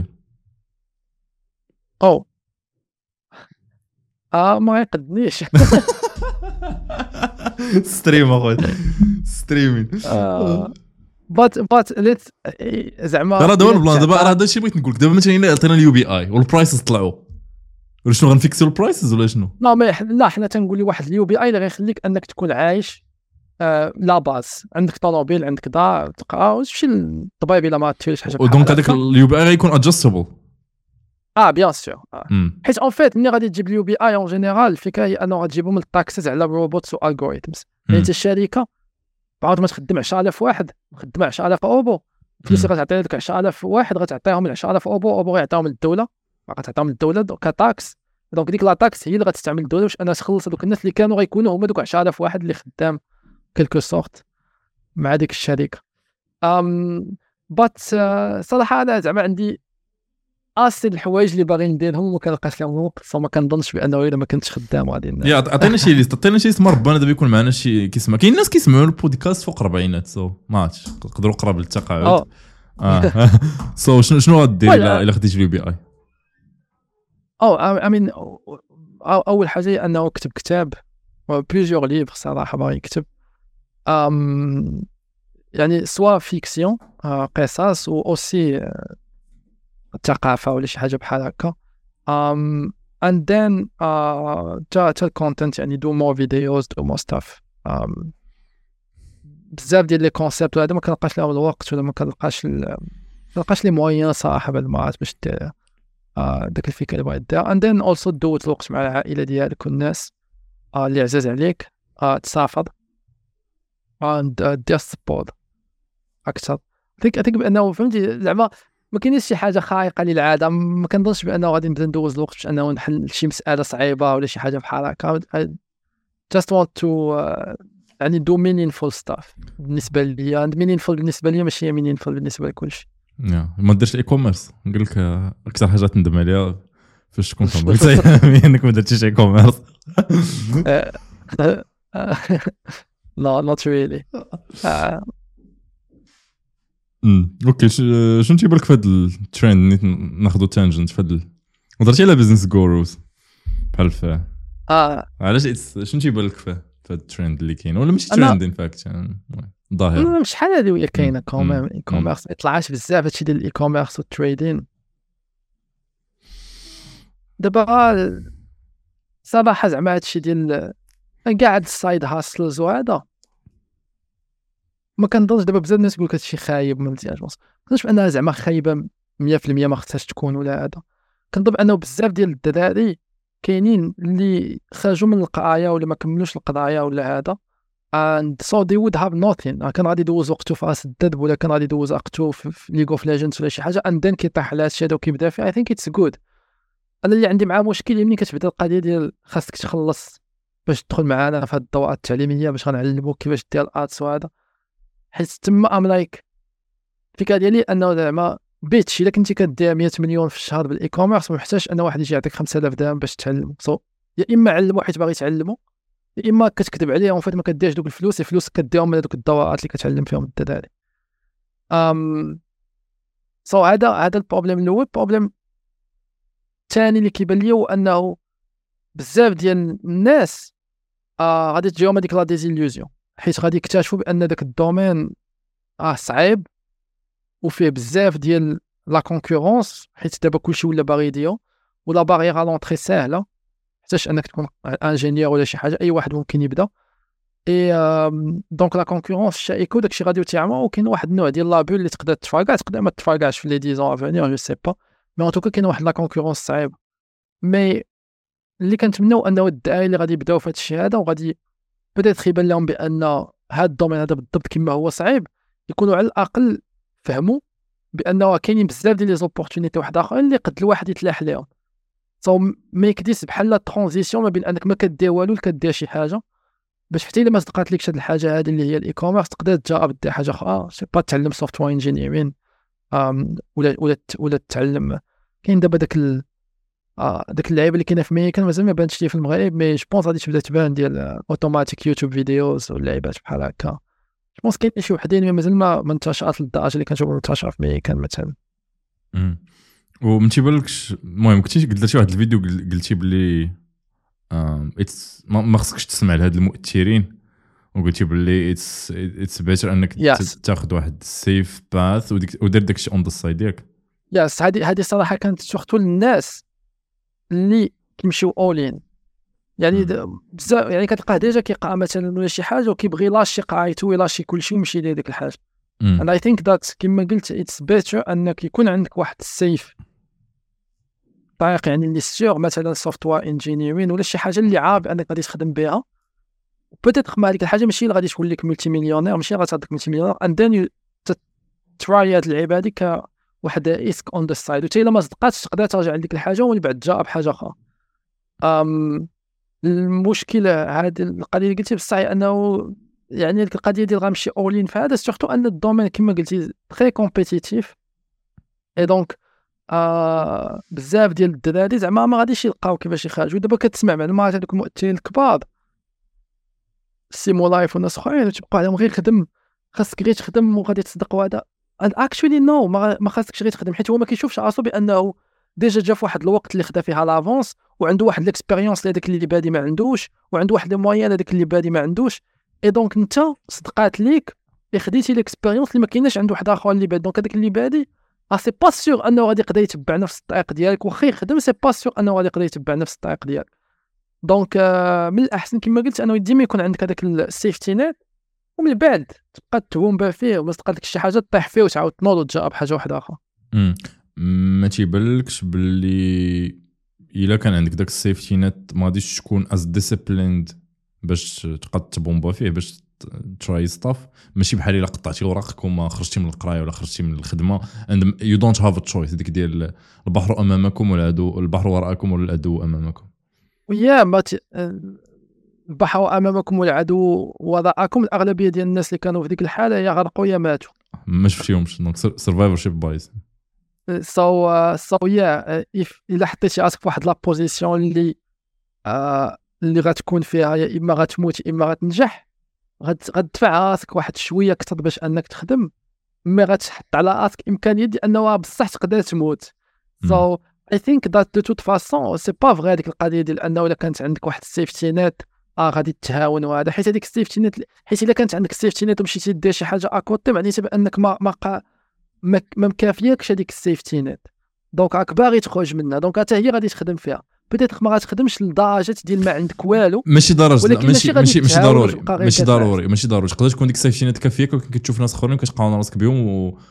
ما يقدنيش ستريم اخويا ستريمين بات ليت زعما راه دابا البلان دابا راه هادشي بغيت نقول لك دابا مثلا الا عطينا اليو بي اي والبرايسز طلعوا ولا شنو غنفيكسيو البرايسز ولا شنو؟ لا حنا تنقول لي واحد اليو بي اي اللي غيخليك انك تكون عايش لا باز عندك طوموبيل عندك دار تقرا وتمشي للطبيب الا ما تيرش حاجه. ودونك هذاك اليو بي اي غيكون ادجستبل. بيان سور. حيت اون فيت ملي غادي تجيب اليو بي اي اون جينيرال الفكره هي انه غتجيبهم من التاكسز على روبوتس والالغوريثمز. يعني انت الشركه بعد ما تخدم 10,000 واحد مخدم 10,000 اوبو الفلوس اللي غتعطي لك 10,000 واحد غتعطيهم ل 10,000 اوبو غيعطيهم للدوله غتعطيهم للدوله كطاكس. دونك ديك لا تاكس هي اللي غتستعمل الدوله باش انها تخلص هذوك الناس اللي كانوا غيكونوا هما دوك 10,000 واحد اللي خدام كلكو سورت مع ديك الشركه. بات صراحه انا زعما عندي اسي الحوايج اللي باغي نديرهم وما كنلقاش لهم الوقت، فما كنظنش بانه الا ما كنتش خدام غادي يا عطينا شي ليست، عطينا شي اسم ربنا دابا يكون معنا شي كيسمع. كاين ناس كيسمعوا البودكاست فوق 40 سو ما عرفتش يقدروا قراب للتقاعد. سو شنو غدير الا خديتي اليو بي اي؟ امين اول حاجه هي انه كتب كتاب بليزيور ليفر صراحه باغي يكتب يعني سوا فيكسيون قصص و اوسي الثقافه ولا شي حاجه بحال هكا. and then تا الكونتنت يعني do more videos do more stuff. بزاف ديال لي كونسيبت هذا ما كنلقاش لهم الوقت ولا ما كنلقاش لي موين صراحه بالمعات باش دير داك الفكره اللي بغيت دير. and then also دوز الوقت مع العائله ديالك والناس اللي عزاز عليك، تسافر and دير سبورت اكثر. think بانه فهمتي زعما ما كاينش شي حاجه خارقه للعاده، ما كنظنش بانه غادي نبدا ندوز الوقت باش انه نحل شي مساله صعيبه ولا شي حاجه بحال هكا. just want to يعني do meaningful stuff بالنسبه ليا. meaningful بالنسبه ليا ماشي meaningful بالنسبه لكلشي. ما ديرش الاي كوميرس. نقول لك اكثر حاجه تندم عليها فاش تكون قلت انك ما درتيش اي كوميرس. لا not really. اوكي شنو تيبان لك في هذا الترند؟ ناخذوا تانجنت في هذا هضرتي على بزنس جوروز بحال فيه علاش شنو تيبان لك في هذا الترند اللي كاين ولا ماشي ترند ان فاكت ظاهر شحال هذه وهي كاينه اي كوميرس ما يطلعش بزاف هادشي ديال الاي كوميرس والتريدين دابا صراحه زعما هادشي ديال قاعد السايد هاسلز وهذا ما كنظنش. دابا بزاف الناس يقول لك هادشي خايب ما مزيانش، ما كنظنش بانها زعما خايبه 100% ما خصهاش تكون ولا هذا. كنظن بانه بزاف ديال الدراري كاينين اللي خرجوا من القرايه ولا ما كملوش القرايه ولا هذا and so they would have nothing. كان غادي يدوز وقته في راس الدرب ولا كان غادي يدوز وقته في ليغ اوف ليجندز ولا شي حاجه and then كيطيح على هادشي هذا وكيبدا فيه. I think it's good. انا اللي عندي معاه مشكل ملي كتبدا القضيه ديال خاصك تخلص باش تدخل معنا في هاد الدورات التعليميه باش غنعلموك كيفاش دير الارتس وهذا، حيت تما ام لايك الفكره ديالي انه زعما بيتشي الا كنتي كدير 100 مليون في الشهر بالاي كوميرس ما محتاجش ان واحد يجي يعطيك 5000 درهم باش تعلم. يا اما علمو حيت باغي تعلمو يا اما كتكذب عليهم فاش ما كديرش دوك الفلوس كديهم من دوك الدورات اللي كتعلم فيهم الدراري. هذا البروبليم الاول. البروبليم الثاني اللي كيبان لي هو انه بزاف ديال الناس غادي تجيهم هذيك لا ديزيليوزيون حيت غادي يكتشفوا بان داك الدومين صعيب وفيه بزاف ديال لا كونكورونس حيت دابا كلشي ولا باغي يديرو ولا باريير لونطري ساهله حتىش انك تكون انجينيور ولا شي حاجه اي واحد ممكن يبدا. اي دونك لا كونكورونس شائكه وداكشي غادي يتعمى وكاين واحد النوع ديال لابول اللي تقدر تقدر ما تفرقعش في لي 10 افونير جو سي با مي ان توكا كاين واحد لا كونكورونس صعيب. مي اللي كنتمناو انه الدعايه اللي غادي يبداو في هذا الشيء هذا وغادي بدات يبان لهم بان هذا الدومين هذا بالضبط كما هو صعيب يكونوا على الاقل فهموا بانه كاينين بزاف ديال لي زوبورتونيتي واحد اخرين اللي قد الواحد يتلاح لهم. ما يكديش بحال لا ترانزيسيون ما بين انك ما كدير والو كدير شي حاجه باش حتى الا ما صدقات لكش هاد الحاجه هذه اللي هي الاي كوميرس تقدر تجرب دير حاجه اخرى سي با تعلم سوفتوير انجينيرين ولا تتعلم. كاين دابا داك اللعيبه اللي كاينه في ميكان مازال ما بانتش لي في المغرب مي جو بونس غادي تبدا تبان ديال اوتوماتيك يوتيوب فيديوز واللعيبات بحال هكا. جو بونس كاين شي وحدين مي مازال ما انتشرت للدرجه اللي كنشوفوا منتشره في ميكان مثلا. وما تيبانلكش المهم كنتي قلت شي واحد الفيديو قلتي بلي ما خصكش تسمع لهاد المؤثرين وقلتي بلي اتس بيتر انك تاخذ واحد سيف باث ودير داكشي اون ذا سايد ديالك. ياس هذه صراحه كانت سورتو للناس اللي كيمشيو اولين يعني بزاف يعني كتلقاه ديجا كيقرا مثلا ولا شي حاجه وكيبغي لاشي قرايته ويلاشي كلشي ويمشي ليه ديك الحاجه. and I think that كما قلت it's better انك يكون عندك واحد السيف طريق يعني اللي سيغ مثلا سوفتوير انجينيرين ولا شي حاجه اللي عارف انك غادي تخدم بها بوتيتر مع هذيك الحاجه ماشي اللي غادي توليك ملتي مليونير، ماشي غاتعطيك ملتي مليونير اند ذن تراي هاد اللعيبه هذيك كواحد ريسك اون ذا سايد، وتا الا ما صدقاتش تقدر ترجع لديك الحاجه ومن بعد تجرب حاجه اخرى. المشكله هذه القضيه اللي قلتي بصح هي انه يعني ديك القضيه ديال غنمشي اولين في هذا سورتو ان الدومين كما قلتي تري كومبيتيتيف اي دونك بزاف ديال الدراري زعما ما غاديش يلقاو كيفاش يخرجوا. دابا كتسمع معلومات هذوك المؤثرين الكبار سيمو لايف وناس اخرين تبقى عليهم غير خدم، خاصك غير تخدم وغادي تصدق. وهذا and actually no ما خاصكش غير تخدم، حيت هو ما كيشوفش راسو بانه ديجا جا في واحد الوقت اللي خدا فيها لافونس وعنده واحد الاكسبيريونس لهذاك اللي بادي ما عندوش، وعنده واحد المويان هذاك اللي بادي ما عندوش. اي دونك انت صدقات ليك خديتي الاكسبيريونس اللي ما كايناش عنده واحد اخر اللي بادي. دونك هذاك اللي بادي سي با سيغ انه غادي يقدر يتبع نفس الطريق ديالك، واخا يخدم سي با سيغ انه غادي يقدر يتبع نفس الطريق ديالك. دونك من الاحسن كما قلت انه ديما يكون عندك هذاك السيفتي نت، ومن بعد تبقى تومبا فيه وما تلقى لك شي حاجه طيح فيه وتعاود تنوض وتجرب حاجه واحده اخرى. ما تيبانلكش باللي الا كان عندك داك السيفتي نت ما غاديش تكون از ديسيبليند باش تقد تبومبا فيه باش تراي ستاف، ماشي بحال الا قطعتي وراقك وما خرجتي من القرايه ولا خرجتي من الخدمه and you don't have a choice. ديك ديال البحر امامكم والعدو، البحر وراءكم والعدو امامكم. ويا ما البحر امامكم والعدو وراءكم. الاغلبيه ديال الناس اللي كانوا في ديك الحاله يا غرقوا يا ماتوا، ما شفتيهمش. دونك سرفايفر شيب بايز سو يا الا حطيتي راسك في واحد لا بوزيسيون اللي غتكون فيها يا اما غتموت يا اما غتنجح، غتدفع راسك واحد شويه اكثر باش انك تخدم، مي غتحط على راسك امكانيه ديال انه بصح تقدر تموت. سو اي ثينك ذات دو توت فاسون سي با فغي هذيك القضيه ديال انه الا كانت عندك واحد السيفتي نت غادي تهاون وهذا، حيت هذيك السيفتي نت، حيت الا كانت عندك السيفتي نت ومشيتي دير شي حاجه اكوتي معناتها بانك ما مكافياكش هذيك السيفتي نت، دونك راك باغي تخرج منها، دونك حتى هي غادي تخدم فيها. بديت ما غاتخدمش لدرجه ديال ما عندك والو، ماشي درجه، ماشي ضروري تقدر تكون ديك السيفتي نت كافياك، ولكن كتشوف ناس اخرين كتقاون راسك بهم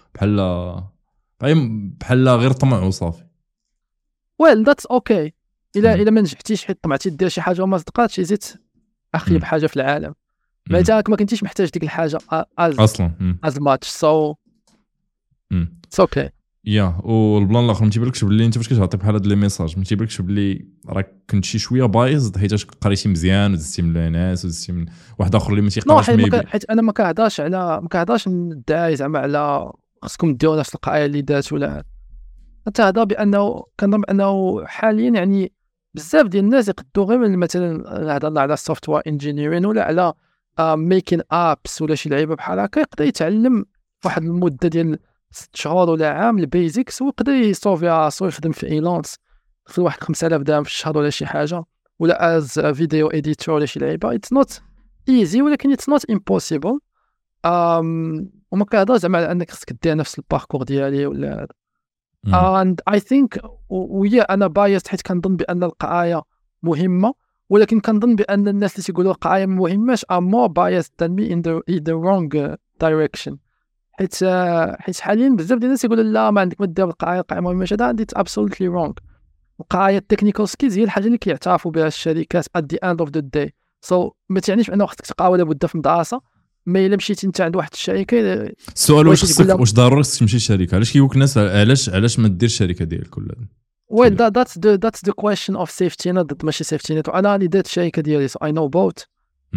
وبحال غير طمع وصافي. ويل ذاتس اوكي. الا ما نجحتيش حيت طمعتي دير شي حاجه وما صدقاتش زيت اخيب حاجه في العالم، معناتها ما كنتيش محتاج ديك الحاجه اصلا از ماتش. سو اتس اوكي. يا والبلان الاخر ما تيبانلكش باللي انت فاش كتعطي بحال هاد لي ميساج ما تيبانلكش باللي راك كنت شي شويه بايظ حيت قريتي مزيان ودزتي من ناس ودزتي من واحد اخر اللي ما تيقراش حيت انا ما كنهضرش ندعي زعما على خصكم ديروا نفس القرايه اللي دات ولا نتهضر بانه كنظن بانه حاليا يعني بزاف ديال الناس يقدروا غير مثلا هضرنا على السوفت وير انجينيرين ولا على ميكين ابس ولا شي لعيبه بحال هكا، يقدر يتعلم واحد المده ديال 6 شهور ولا عام البيزكس ويقدر يصوفي راسو يخدم في ايلانس في واحد 5000 درهم في الشهر ولا شي حاجه، ولا از فيديو اديتور ولا شي لعيبه. اتس نوت ايزي ولكن اتس نوت امبوسيبل. وما كنهضرش زعما على انك خصك دير نفس الباركور ديالي ولا and I think ويا انا بايست حيت كنظن بان القرايه مهمه، ولكن كنظن بان الناس اللي تيقولوا القرايه ما مهماش are more biased than me in the wrong direction. حيت حاليا بزاف ديال الناس يقولوا لا ما عندك ما دير القرايه مهمه. هذا اتس absolutely wrong. القرايه التكنيكال سكيلز هي الحاجه اللي كيعترفوا بها الشركات at the end of the day. so ما تعنيش بانه خصك تقرا ولا بد في المدرسه، ما الا مشيتي انت عند واحد الشركه السؤال واش ضروري خصك تمشي لشركه؟ علاش كيقولك الناس علاش ما ديرش الشركه ديالك ولا well that's the question of safety net ماشي safety net. انا اللي درت الشركه ديالي so I know both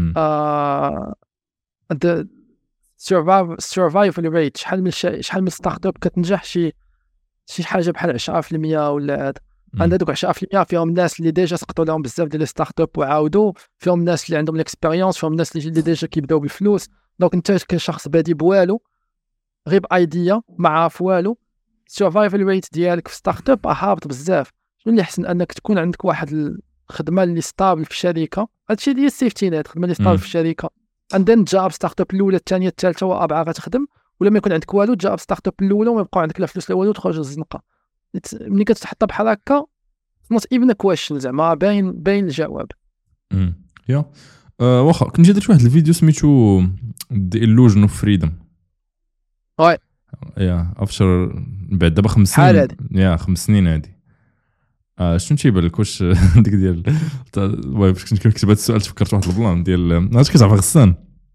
the survival rate شحال من ستارت اب كتنجح شي حاجه بحال 10% ولا هذا. عند هذوك 10% فيهم الناس اللي ديجا سقطوا لهم بزاف ديال ستارت اب وعاودوا، فيهم الناس اللي عندهم الاكسبيريونس، فيهم الناس اللي ديجا كيبداو بالفلوس. دونك انت كشخص بادي بوالو غير بايديا ما عارف والو، السرفايفل ريت ديالك في ستارت اب هابط بزاف. شنو اللي احسن انك تكون عندك واحد الخدمه اللي ستابل في الشركه، هادشي اللي هي السيفتي نت، خدمه اللي ستابل في الشركه عندنا جاب ستارت اب الاولى الثانيه الثالثه والرابعه غتخدم، ولا ما يكون عندك والو جاب ستارت اب الاولى وما يبقى عندك لا فلوس لا والو تخرج للزنقه. ملي كتحطها بحال هكا نوت ايفن كويشن زعما باين الجواب. يا واخا كنت جا درت واحد الفيديو سميتو The Illusion of Freedom. يا افشر بعد دابا 5 سنين. 5 سنين هادي شنو تيبان لك واش ديك ديال باش كنت كنكتب هذا السؤال تفكرت واحد البلان ديال عرفتي كتعرف غسان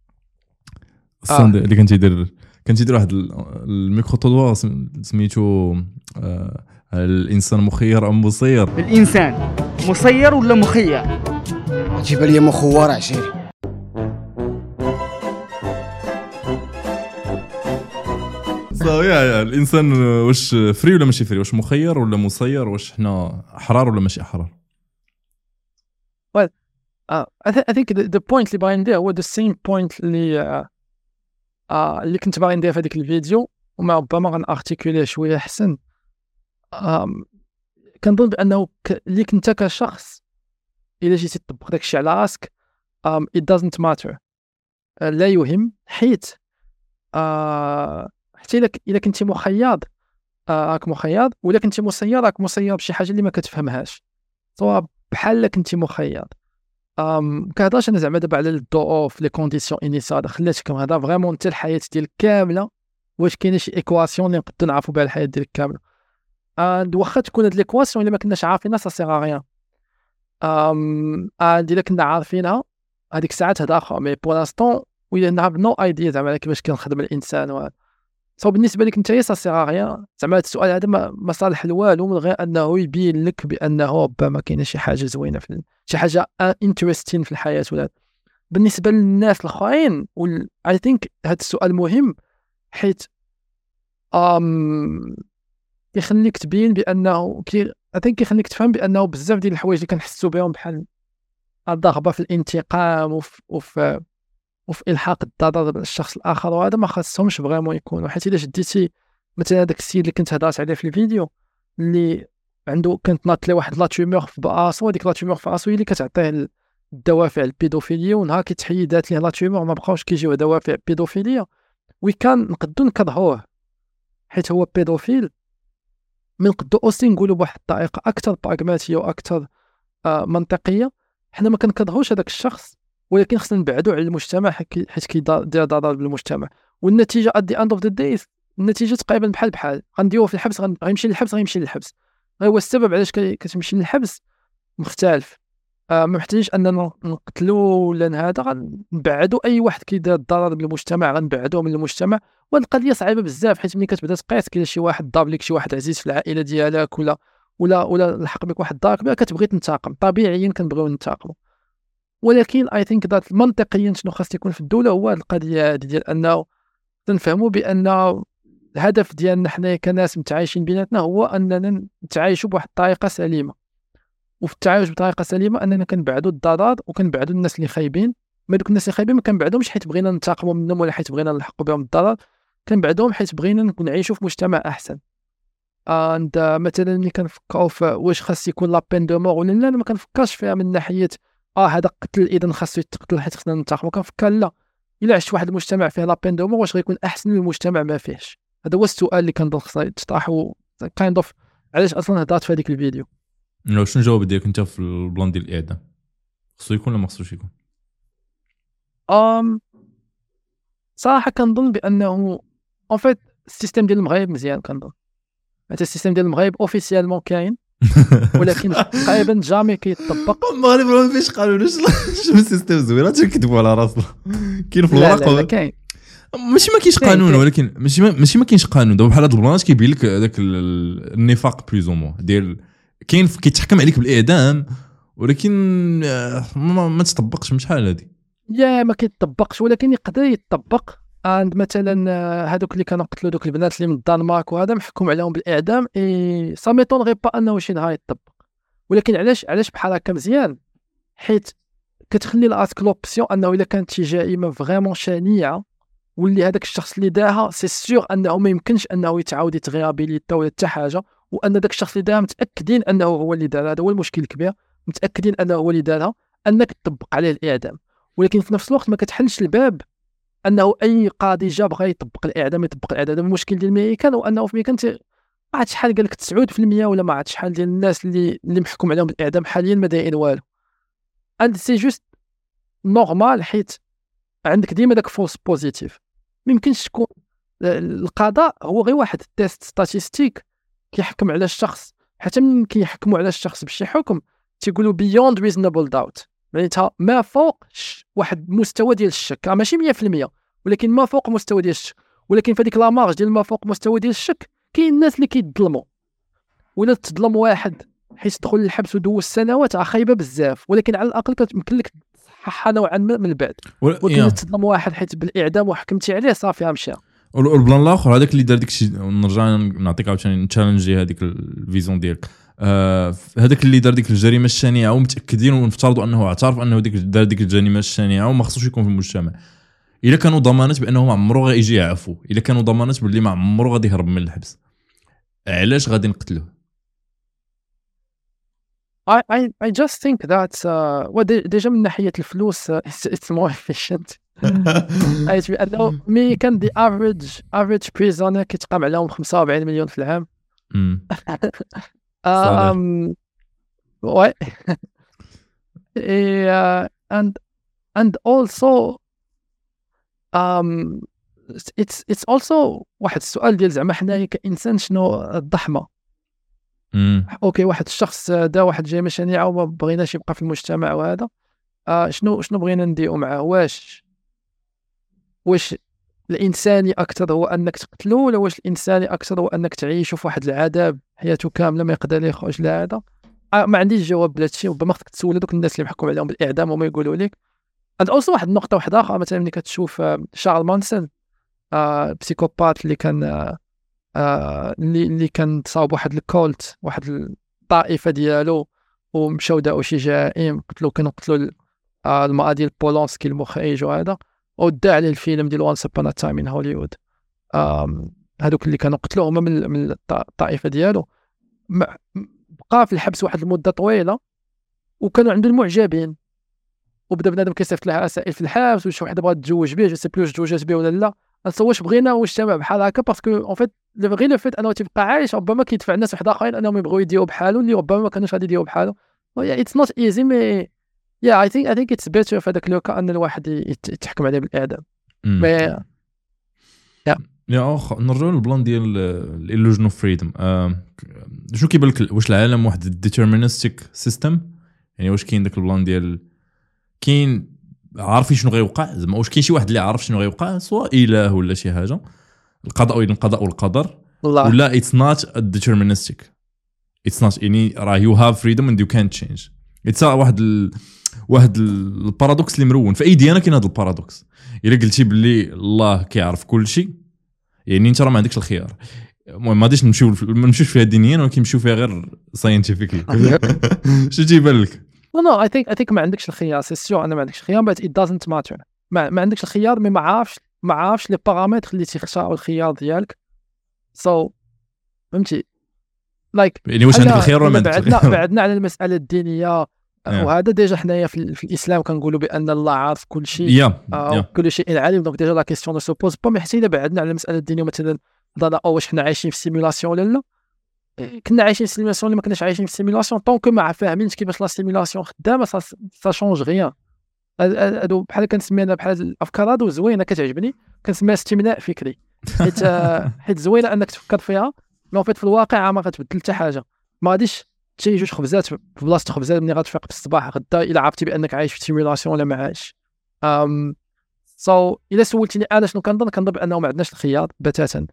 اللي كان تيدير واحد الميكرو طوار سميتو الانسان مخير ام مسير. الانسان مسير ولا مخير؟ جيب لي مخور عشيري. صافي الانسان واش فري ولا ماشي فري، واش مخير ولا مسير، واش حنا احرار ولا ماشي احرار؟ I think the point اللي باغي ندير هو the same point اللي كنت باغي ندير في هذيك الفيديو، وما ربما غنارتيكوليه شويه احسن. كنظن بانه اللي كنت كشخص الا جيتي تطبق داكشي على راسك it doesn't matter، لا يهم، حيت حتى الا كنتي مخيض راك مخيض، ولا كنتي مسير راك مسير بشي حاجه اللي ما كتفهمهاش، سواء بحال كنتي مخيض. كنهضرش انا زعما دابا على الدو اوف لي كونديسيون انيسيال، خلاتكم هذا فريمون حتى الحياه ديالك كامله، واش كاينه شي ايكواسيون اللي نقدروا نعرفوا بها الحياه ديالك كامله. واخا تكون هاد ليكواسيون الا ما كناش عارفينها سا سيغ ريان. الا كنا عارفينها هذيك الساعات هذا اخر، مي بور لانستون وي نهاف نو ايديا زعما كيفاش كنخدم الانسان وهذا. سو بالنسبه لك نتايا سا سيغ ريان، زعما هذا السؤال هذا ما صالح لوالو من غير انه يبين لك بانه ربما كاينه شي حاجه زوينه في شي حاجه انتريستين في الحياه ولا. بالنسبه للناس الاخرين اي ثينك هذا السؤال مهم، حيت كيخليك تبين بانه كيخليك تفهم بانه بزاف ديال الحوايج اللي كنحسوا بهم بحال الرغبه في الانتقام وفي الحاق الضرر بالشخص الاخر، وهذا ما خاصهمش فريمون يكونوا. حيت الا شديتي مثلا هذاك السيد اللي كنت هضرت عليه في الفيديو اللي عنده كانت ناط ليه واحد لا تومور في راسو، هذيك لا تومور في راسو هي اللي كتعطيه الدوافع البيدوفيليا، ونهار كيتحيدات ليه لا تومور ما بقاوش كيجيو دوافع بيدوفيليا، وكان نقدروا نكرهوه حيت هو بيدوفيل. من نقدروا اوسي نقولوا بواحد الطريقه اكثر براغماتيه واكثر منطقيه، حنا ما كنكرهوش هذاك الشخص، ولكن خصنا نبعدوا على المجتمع حيت كيدير ضرر بالمجتمع. والنتيجه at the end of the day النتيجه تقريبا بحال غنديروه في الحبس، غيمشي للحبس. هو السبب علاش كتمشي للحبس مختلف. ما محتاجينش اننا نقتلوا ولا هذا، غنبعدوا اي واحد كيدير الضرر بالمجتمع غنبعدوه من المجتمع. وهاد القضيه صعيبه بزاف، حيت ملي كتبدا تقيس كاين شي واحد ضرب لك شي واحد عزيز في العائله ديالك ولا لحق بك واحد الضرر كبير، كتبغي تنتقم، طبيعيا كنبغيو ننتقموا. ولكن اي ثينك ذات منطقيا شنو خاص يكون في الدوله هو القضيه هذه ديال انه تنفهموا بان الهدف ديالنا حنا كناس متعايشين بيناتنا هو اننا نتعايشوا بواحد الطريقه سليمه، وفي التعايش بطريقه سليمه اننا كنبعدوا الضرر وكنبعدوا الناس اللي خايبين. ما دوك الناس اللي خايبين ما كنبعدوهمش حيت بغينا ننتقموا منهم ولا حيت بغينا نلحقوا بهم الضرر، كنبعدوهم حيت بغينا نعيشوا في مجتمع احسن. مثلا ملي كنفكروا في واش خاص يكون لا بين دو مور ولا لا، انا ما كنفكرش فيها من ناحيه هذا قتل اذا خاصو يتقتل حيت خصنا ننتقموا. كنفكر لا، الا عشت واحد المجتمع فيه لا بين دو مور واش غيكون احسن من المجتمع ما فيهش؟ هذا هو السؤال اللي كنظن خصنا يتطرح، كايند اوف علاش اصلا هضرت في هذيك الفيديو. شنو الجواب ديالك انت في البلان ديال الاعدام؟ خصو يكون ولا ما خصوش يكون؟ صراحه كنظن بانه اون فيت السيستم ديال المغرب مزيان. كنظن حتى السيستم ديال المغرب اوفيسيالمون كاين، ولكن تقريبا جامي كيطبق. المغرب ما فيش قانون. شنو السيستم زوين تكذبوا على راسنا. كاين في الورق لا كاين، ماشي ما كاينش قانون، ولكن ماشي ما كاينش قانون. دابا بحال هاد البلانات كيبين لك هذاك النفاق بلوزومون ديال كاين كيتحكم عليك بالاعدام، ولكن ما تطبقش. مش حال هذه ما كيطبقش، ولكن يقدر يطبق. عند مثلا هذوك اللي كانوا قتلوا دوك البنات اللي من الدنمارك وهذا محكوم عليهم بالاعدام، سا ميطون غير با انه شي نهار يطبق. ولكن علاش بحال هكا مزيان؟ حيت كتخلي لاسك لوبسيون انه الا كانت شي جريمه فريمون شنيعه واللي هذاك الشخص اللي داها سي سيغ انه ما يمكنش انه يتعاود يتغيابيليتا ولا حتى حاجه، وان داك الشخص اللي داها متاكدين انه هو اللي دار. هذا هو المشكل الكبير، متاكدين انه هو اللي دارها، انك تطبق عليه الاعدام. ولكن في نفس الوقت ما كتحلش الباب انه اي قاضي جا بغى يطبق الاعدام. المشكل ديال الميريكان هو انه في الميريكان ما عرفتش شحال قال لك 9% ولا ما عرفتش شحال ديال الناس اللي محكوم عليهم بالاعدام حاليا ما دايرين والو. اند سي جوست نورمال، حيت عندك ديما داك فولس بوزيتيف. ما يمكنش تكون القضاء هو غير واحد التيست ستاتيستيك كيحكم على الشخص حتى من كيحكموا على الشخص بشي حكم تيقولوا beyond reasonable doubt، معناتها ما فوق واحد مستوى ديال الشك، ماشي 100% ولكن ما فوق مستوى ديال الشك. ولكن في هذيك لا مارج ديال ما فوق مستوى ديال الشك كاين الناس اللي كيتظلموا، ولا تظلم واحد حيت تدخل للحبس ودوز سنوات خايبه بزاف، ولكن على الاقل كتمكن لك تصححها نوعا ما من بعد. ولكن تظلم واحد حيت بالاعدام وحكمتي عليه صافي مشى. والبلان الاخر هذاك اللي دار داك الشيء، نرجع نعطيك عاوتاني تشالنجي هذيك الفيزيون ديالك. هذاك اللي دار ديك الجريمه الشنيعه ومتاكدين ونفترضوا انه اعترف انه دار ديك الجريمه الشنيعه وما خصوش يكون في المجتمع، الا كانوا ضمانات بانه ما عمره غيجي يعفو، الا كانوا ضمانات باللي ما عمره غادي يهرب من الحبس، علاش غادي نقتلوه؟ I just think that ديجا من ناحية الفلوس it's more efficient. حيث بأنه مي كان the average prisoner كيتقام عليهم 45 مليون في العام. ouais. and also it's also واحد السؤال ديال زعما حنايا كإنسان شنو الضحمة. اوكي واحد الشخص دا واحد جريمه شنيعه وما بغيناش يبقى في المجتمع وهذا شنو بغينا نديروا معاه؟ واش الانساني اكثر هو انك تقتلو، ولا واش الانساني اكثر هو انك تعيشه في واحد العذاب حياته كامله ما يقدر يخرج لهذا؟ ما عنديش جواب لهذا الشيء. ربما خصك تسول دوك الناس اللي محكوم عليهم بالاعدام وما يقولوا لك. عند اوصل واحد النقطه واحده اخرى، مثلا ملي كتشوف شارل مانسون بسيكوبات اللي كان اللي كان تصاوب واحد الكولت، واحد الطائفه ديالو، ومشاو داو شي جرائم كانوا قتلوا المرأة ديال بولونسكي المخرج وهذا، ودع عليه الفيلم ديال وانس ابون ا تايم ان هوليوود. هذوك اللي كانوا قتلوه هما من الطائفه ديالو، بقى في الحبس واحد المده طويله وكانوا عنده المعجبين، وبدا بنادم كيصيفط لها رسائل في الحبس، وشي وحده بغات تتزوج به، جو سي بلوش تزوجات به ولا لا. واش بغينا مجتمع بحال هكا؟ باسكو اون فيت غير لو فيت انه تيبقى عايش ربما كيدفع الناس واحد اخرين انهم يبغيو يديروا بحالو اللي ربما ما كانوش غادي يديروا بحالو. اتس نوت ايزي مي اي ثينك اتس بيتر في هذاك لوكا ان الواحد يتحكم عليه بالاعدام. مي نرجعوا للبلان ديال الإلوجن اوف فريدم. شنو كيبان لك؟ واش العالم واحد ديترمينستيك سيستم؟ يعني واش كاين داك البلان ديال كاين عارفين شنو غيوقع؟ زعما واش كاين شي واحد اللي عارف شنو غيوقع، سواء اله ولا شي حاجه، القضاء والقدر، ولا اتس نوت ديترمينستيك؟ اتس نوت، يعني راه يو هاف فريدم اند يو كانت تشينج. اتس واحد البارادوكس اللي مرون في اي ديانه. كاين هذا البارادوكس، الا قلتي باللي الله كيعرف كل شيء، يعني انت راه ما عندكش الخيار. المهم ما غاديش نمشيوش فيها دينيا، ولكن نمشيو فيها غير ساينتيفيكلي. شنو تيبان لك؟ نو I think ما عندكش الخيار، سي سيور انا ما عندكش الخيار، but it doesn't matter. ما عندكش الخيار، مي ما عارفش لي بارامتر اللي تيختاروا الخيار ديالك. فهمتي لايك يعني واش عندك الخيار ولا ما عندكش الخيار؟ بعدنا على المساله الدينيه وهذا ديجا حنايا في الاسلام كنقولوا بان الله عارف كل شيء، كل شيء عليم. دونك ديجا لا كيسيون سو بوز با. حتى الا بعدنا على المساله الدينيه، مثلا ضل واش حنا عايشين في سيمولاسيون ولا لا؟ كنا عايشين في سيمولاسيون ولا ما كناش عايشين في سيمولاسيون؟ طونك ما فاهمينش كيفاش لا سيمولاسيون خدامه سا شونج غيان. هادو بحال كنسميها بحال الافكار هادو زوينه كتعجبني، كنسميها استمناء فكري، حيت زوينه انك تفكر فيها، مي في الواقع ما غتبدل حتى حاجه. ما غاديش تجي جوج خبزات في بلاصه خبزات ملي غتفيق في الصباح غدا الا عرفتي بانك عايش في سيمولاسيون ولا ما عايش. الا سولتيني انا شنو كنظن بانه ما عندناش الخيار بتاتا.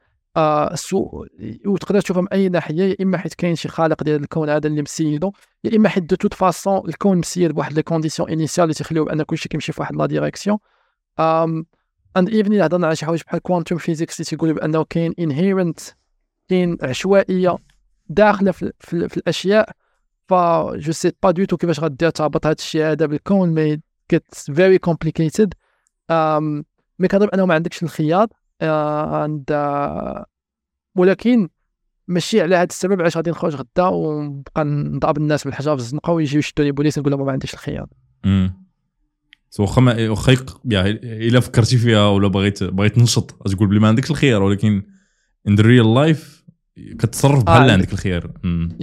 وتقدر تشوفها من اي ناحيه، يا اما حيت كاين شي خالق ديال الكون هذا اللي مسيدو، يا اما حيت دو توت فاسون الكون مسيد بواحد لي كونديسيون انيسيال اللي تخليو بان كلشي كيمشي في واحد لا ديريكسيون. اند ايفن الا هضرنا على شي حوايج بحال كوانتوم فيزيكس اللي تيقولوا بانه كاين انهيرنت، كاين عشوائيه داخله في الاشياء. جو سي با دو تو كيفاش غادير تربط هذا الشيء هذا بالكون، مي gets very complicated. مي كنظن انه ما عندكش الخيار. ولكن ماشي على هذا السبب علاش غادي نخرج غدا ونبقى نضرب الناس بالحجر في الزنقه ويجيو يشدوا لي بوليس نقول لهم ما عنديش الخيار. واخا الا فكرتي فيها ولا بغيت ننشط تقول بلي ما عندكش الخيار، ولكن in the real life كتصرف بحال عندك الخيار.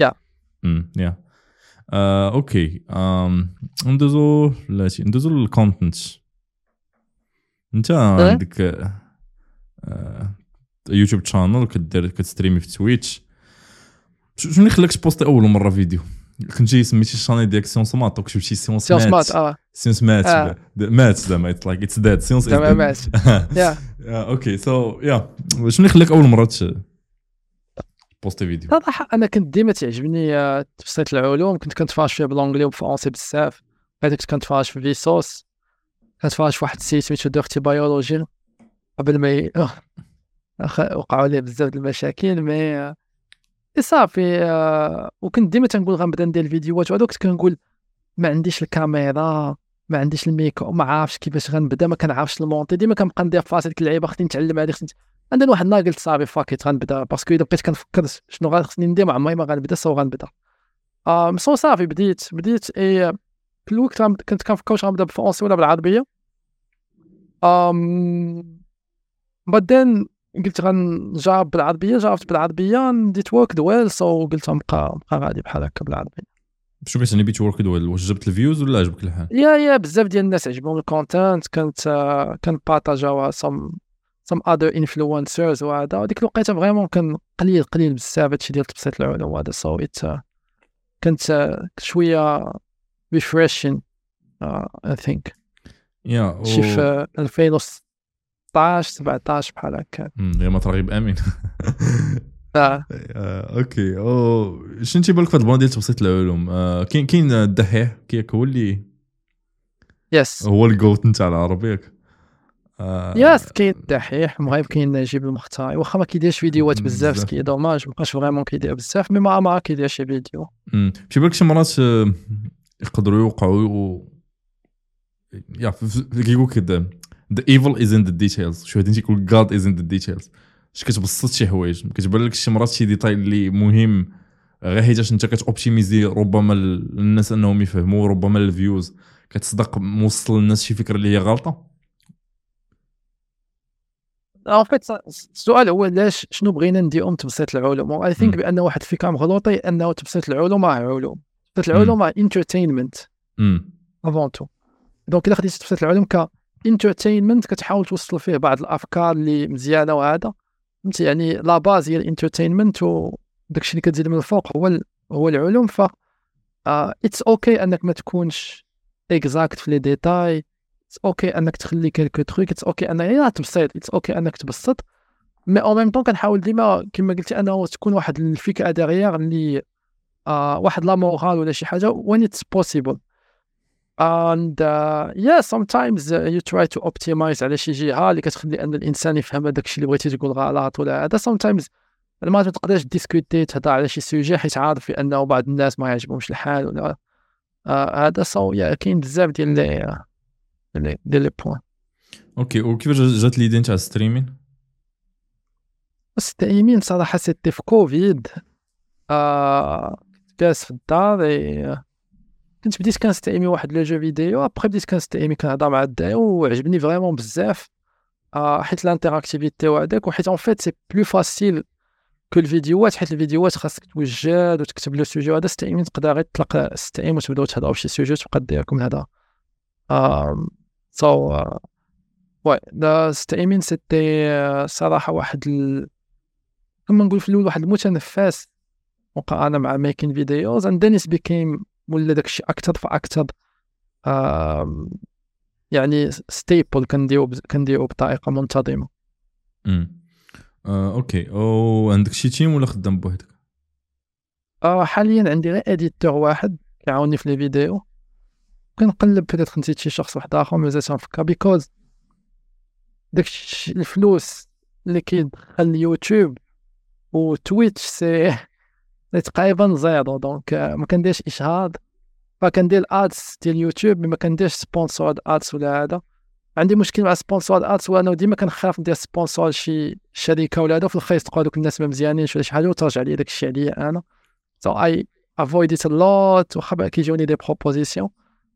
اوكي. ندوزو للكونتنت. انت عندك يوتيوب شانل كتستريمي في تويتش. شنو اللي خلاك تبوستي اول مره فيديو؟ كنتي سميتي الشاني ديالك سيونس مات وكتبتي سيونس مات سيونس مات مات زعما اتس لايك اتس ديد سيونس تمام مات يا اوكي سو يا شنو اللي خلاك اول مره بوستي فيديو؟ صراحه انا كنت ديما تعجبني تفسير العلوم، كنت كنتفرج فيها بالانجلي وبالفرنسي بزاف. كنت كنتفرج في فيسوس، كنتفرج في واحد السيت سميتو ديرتي بيولوجي قبل ما وقعوا لي بزاف د المشاكل مي صافي. وكنت ديما تنقول غنبدا ندير الفيديوهات وهذا، كنت كنقول ما عنديش الكاميرا ما عنديش الميكرو ما عارفش كيفاش غنبدا، ما كنعرفش المونتي، ديما كنبقى ندير في راسي ديك اللعيبه خصني نتعلم هذه عندنا واحد النهار قلت صافي فاكيت غنبدا، باسكو الا بقيت كنفكر شنو خصني ندير ما عمري ما غنبدا غنبدا. مصو صافي بديت في الوقت كنت كنفكر واش غنبدا بالفرنسي ولا بالعربيه. بعدين قلت غنجرب بالعربيه، جربت بالعربيه نديت ورك دويل، سو قلت نبقى غادي بحال هكا بالعربيه. شنو كتعني بيت ورك دويل؟ واش جبت الفيوز ولا عجبك الحال؟ يا بزاف ديال الناس عجبهم الكونتنت، كنبارطاجاو some other influencers وهذا، وديك الوقيته فريمون كان قليل بزاف هادشي ديال تبسيط العلوم وهذا، سو كنت شويه refreshing I think شي في 2016 17 بحال هكا. يا ما ترغيب امين. اوكي شنو تيبان لك في هاد البلان ديال تبسيط العلوم؟ كاين الدحيح كياك هو اللي هو الجوت نتاع العربيه. ياس كاين الدحيح المغرب، كاين نجيب المختاري، واخا ما كيديرش فيديوهات بزاف سكي دوماج مابقاش فريمون كيدير بزاف، مي ما كيدير شي فيديو. شي بالك شي مرات يقدروا يوقعوا يا كيقول كده the evil is in the details. شو هادي تيقول God is in the details. اش كتبسط شي حوايج كتبان لك شي مرات شي ديتاي اللي مهم غير حيتاش انت كتوبتيميزي ربما الناس انهم يفهموا، ربما الفيوز كتصدق موصل للناس شي فكره اللي هي غلطه. فيت السؤال هو علاش شنو بغينا نديرو تبسيط العلوم؟ اي ثينك بان واحد الفكره مغلوطه انه تبسيط العلوم علوم، تبسيط العلوم انترتينمنت افون تو. دونك الا خديتي تبسيط العلوم ك انترتينمنت كتحاول توصل فيه بعض الافكار اللي مزيانه وهذا فهمتي، يعني لا باز هي الانترتينمنت وداكشي اللي كتزيد من الفوق هو العلوم. ف اتس اوكي انك ما تكونش اكزاكت في لي ديتاي، اتس اوكي انك تخلي كلكو تروك، اتس اوكي انك تبسط، اتس اوكي انك تبسط، مي او ميم طون كنحاول ديما كما قلتي انه تكون واحد الفكره ديغيغ اللي واحد لا مورال ولا شي حاجه when it's possible. and sometimes you try to optimize على شي جهه اللي كتخلي ان الانسان يفهم هذاك الشيء اللي بغيتي تقول غلط ولا هذا. sometimes ما تقدرش ديسكوتي تهضر على شي سوجي حيت عارف انه بعض الناس ما يعجبهمش الحال ولا هذا. سو كاين بزاف ديال لي بوين. اوكي وكيفاش جات ليدي نتاع ستريمين؟ الستريمين صراحه سيتي في كوفيد، جالس في الدار كنت بديت كنستعمي واحد لو جو فيديو، ابري بديت كنستعمي كنهضر مع الدراري وعجبني فريمون بزاف حيت لانتيراكتيفيتي وهذاك، وحيت اون فيت سي بلو فاسيل كو الفيديوهات، حيت الفيديوهات خاصك توجد وتكتب له سوجي وهذا. ستريمين تقدر غير تطلق الستريم وتبداو تهضروا بشي سوجي وتبقى دير لكم هذا. سو واي ذا ستريمين سيتي صراحه واحد كما نقول في الاول واحد المتنفس مقارنه مع ميكين فيديوز اند دينيس بيكيم ولا داكشي اكثر فاكثر يعني ستيبل كنديرو بطريقه منتظمه. اوكي عندك شي تيم ولا خدام بوحدك؟ حاليا عندي غير اديتور واحد كيعاوني في لي فيديو، كنقلب بيتيت نسيت شي شخص واحد اخر مازال تنفكر بيكوز داكشي الفلوس اللي كيدخل اليوتيوب وتويتش سي تقريبا زيرو، دونك ما كنديرش اشهار، فكندير ادز ديال يوتيوب ما كنديرش سبونسور ادز ولا هذا. عندي مشكل مع سبونسور ادز وانا ديما كنخاف ندير سبونسور شي شركه ولا هذا، في الاخر يتقوا دوك الناس ما مزيانينش ولا شي حاجه وترجع لي داك الشيء عليا انا. سو اي افويد ات لوت وخا كيجوني دي بروبوزيسيون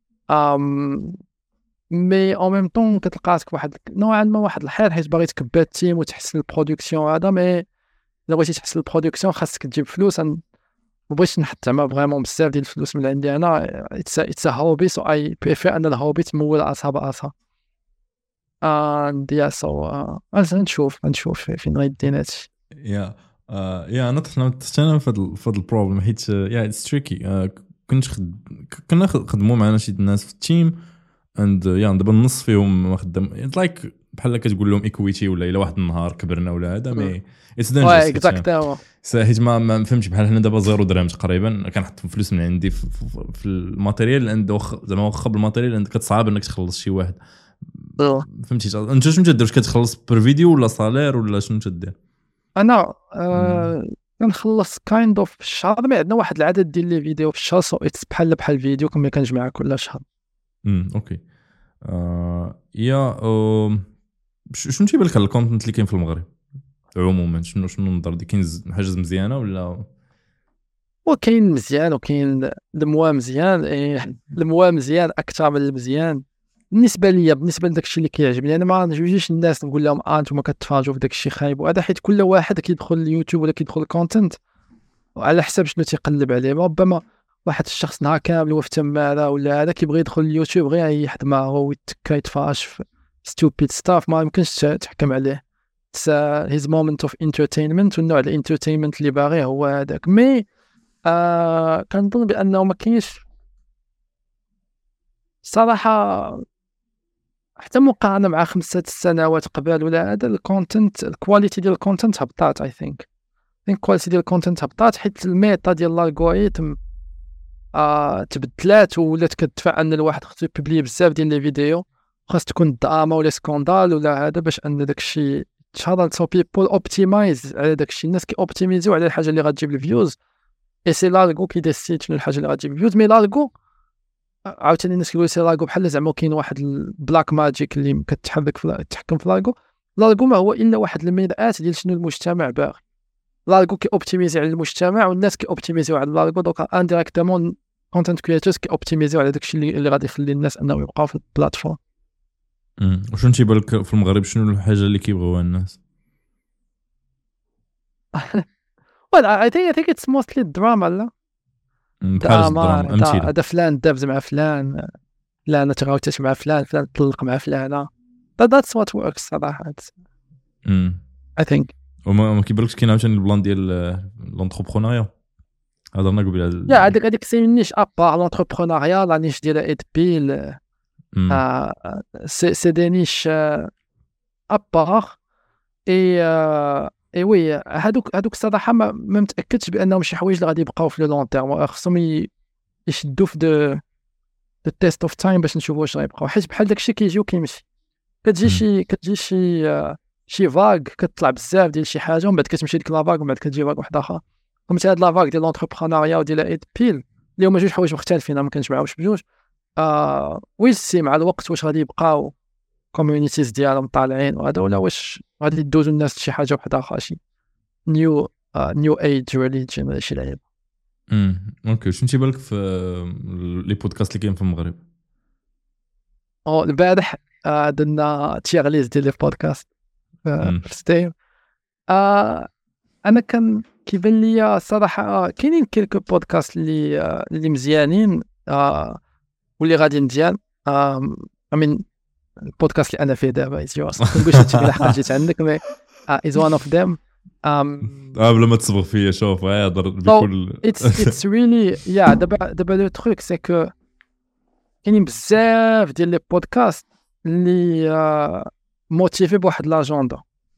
مي او ميم طون كتلقى راسك واحد نوعا ما واحد الحال حيت باغي تكبر التيم وتحسن البرودكسيون هذا. مي الا بغيتي تحسن البرودكسيون خاصك تجيب فلوس، مبغيتش نحط زعما فريمون بزاف ديال الفلوس من عندي انا. اتس هوبي، سو اي بريفير ان الهوبي تمول راسها براسها. اند يا سو نشوف فين غيدينا هادشي. يا يا انا طحت انا في هذا البروبلم حيت يا اتس تريكي. كنا خدموا معنا شي ناس في التيم اند يا دابا النص فيهم ما خدام لايك بحال كتقول لهم ايكويتي ولا الا واحد النهار كبرنا ولا هذا مي اتس واه دينجرس اكزاكتومون. حيت ما فهمتش بحال هنا دابا 0 درهم تقريبا كنحط فلوس من عندي في الماتيريال عند زعما واخا بالماتيريال عندك كتصعب انك تخلص شي واحد فهمتي انت شنو تدير واش كتخلص بير فيديو ولا صالير ولا شنو تدير انا كنخلص كايند اوف في الشهر. ما عندنا واحد العدد ديال لي فيديو في الشهر سو اتس بحال فيديو كما كنجمعها كل شهر. اوكي. يا شنو تيبان لك الكونتنت اللي كاين في المغرب عموما شنو النظر دي كاين حاجه مزيانه ولا وكاين مزيان وكاين الموا مزيان الموا مزيان اكثر من المزيان بالنسبه ليا. بالنسبه لداك الشيء اللي كيعجبني انا ما نجوجيش الناس نقول لهم انتم كتفرجوا في داك الشيء خايب وهذا حيت كل واحد كيدخل اليوتيوب ولا كيدخل الكونتنت وعلى حسب شنو تيقلب عليه. ربما واحد الشخص نهار كامل هو في تماره ولا هذا كيبغي يدخل اليوتيوب غير يريح دماغه ويتكا يتفرج في ستوبيد ستاف ما يمكنش تحكم عليه. هيز مومنت اوف انترتينمنت والنوع الانترتينمنت اللي باغي هو هذاك. مي كنظن بانه ما كاينش صراحه حتى مقارنه مع 5 سنوات قبل ولا هذا الكونتنت الكواليتي ديال الكونتنت هبطات. اي ثينك الكواليتي ديال الكونتنت هبطات حيت الميتا ديال الالغوريثم تبدلات ولات كتدفع ان الواحد خصو يبوبلي بزاف ديال لي فيديو خاص تكون دراما ولا سكوندال ولا هذا باش ان داك الشيء تشهر. سو بيبول اوبتيمايز على داك الشيء. الناس كي اوبتيميزيو على الحاجه اللي غتجيب الفيوز اي سي لارغو كيديسيد شنو الحاجه اللي غتجيب الفيوز. مي لارغو عاوتاني الناس كيقولوا سي لارغو بحال زعما كاين واحد البلاك ماجيك اللي تحكم في لارغو. لارغو ما هو الا واحد المرآة ديال شنو المجتمع باغي. لارغو كي اوبتيميزي على المجتمع والناس كي اوبتيميزيو على لارغو دوكا انديريكتومون كونتنت كرياتورز كي اوبتيميزيو على داك الشيء اللي غادي يخلي الناس انهم يبقاو في البلاتفورم. وشنو تيبان لك في المغرب شنو الحاجه اللي كيبغيوها الناس؟ Well, I think it's mostly drama لا دراما امثله هذا فلان دابز مع فلان لا انا تغاوتش مع فلان طلق مع فلانه. That's what works صراحه. I think وما كيبانلكش كاين عاوتاني البلان ديال لونتربرونيا هضرنا قبل يا هذيك سي نيش ابار لونتربرونيا لا نيش ديال ايد بيل سي دي نيش ابار اي وي هادوك الصراحه ما متاكدش بانهم شي حوايج اللي غادي يبقاو في لو لون تيرم. خصهم يشدوا في دو تيست اوف تايم باش نشوفوا واش غيبقاو حيت بحال داكشي كيجي وكيمشي. كتجي شي فاغ كتطلع بزاف ديال شي حاجه ومن بعد كتمشي ديك لا فاغ ومن بعد كتجي فاغ واحده اخرى. فهمتي هاد لا فاغ ديال لونتربرونيا وديال ايد بيل اللي هما جوج حوايج مختلفين ما كنجمعوش بجوج. ويسي مع الوقت واش غادي يبقاو كوميونيتيز ديالهم طالعين وهذا ولا واش غادي يدوزوا الناس لشي حاجه وحده اخرى شي نيو ايج ريليجن ولا شي لعيب. اوكي. شنو تيبان لك في لي بودكاست اللي كاين في المغرب؟ البارح درنا تيغ ليست ديال لي بودكاست في ستيم. انا كان كيبان لي صراحه كاينين كيلكو بودكاست اللي مزيانين واللي غادي مزيان. امين البودكاست اللي انا فيه دابا كنقولش هادشي لحقاش جيت عندك مي از وان اوف ذيم. بلا ما تصبغ فيا شوف هضر بكل اتس ريلي يا دابا لو تروك سي كو كاينين بزاف ديال لي بودكاست اللي موتيفي بواحد لاجوندا.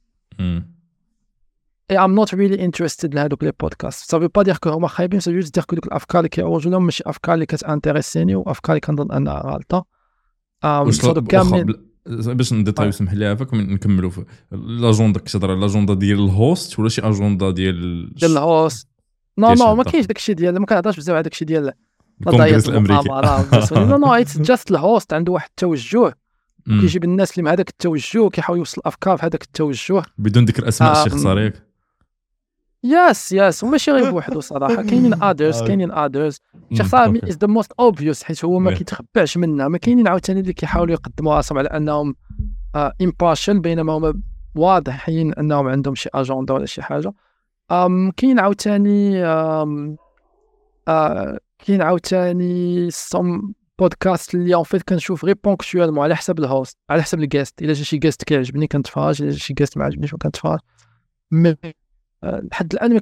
I'm not really interested لهادوك لي بودكاست. سا با دير كو هما خايبين سا جوست دير كو دوك الافكار اللي كيعوجوا لهم ماشي افكار اللي كتانتريسيني وافكار اللي كنظن انها غلطه. باش نديطايو سمح لي عافاك نكملوا في لاجوندا. كتهضر على لاجوندا ديال الهوست ولا شي اجوندا ديال الهوست؟ نو ما كاينش داكشي ديال ما كنهضرش بزاف على داكشي ديال الكونغرس الامريكي. نو اتس جاست الهوست عنده واحد التوجه كيجيب الناس اللي مع هذاك التوجه كيحاول يوصل الافكار في هذاك التوجه بدون ذكر اسماء الشخص صاريك. يس وماشي غير بوحدو صراحه كاينين ادرز شي صار از ذا موست اوبفيوس حيت هو ما كيتخبعش منها. ما كاينين عاوتاني اللي كيحاولوا يقدموا راسهم على انهم امبارشال بينما هما واضحين انهم عندهم شي اجنده ولا شي حاجه. كاين عاوتاني سم بودكاست اللي اون فيت كنشوف غير بونكتوالمون على حسب الهوست على حسب الجيست. الا جا شي جيست كيعجبني كنتفرج الا جا شي جيست ما عجبنيش ما كنتفرج. لحد الان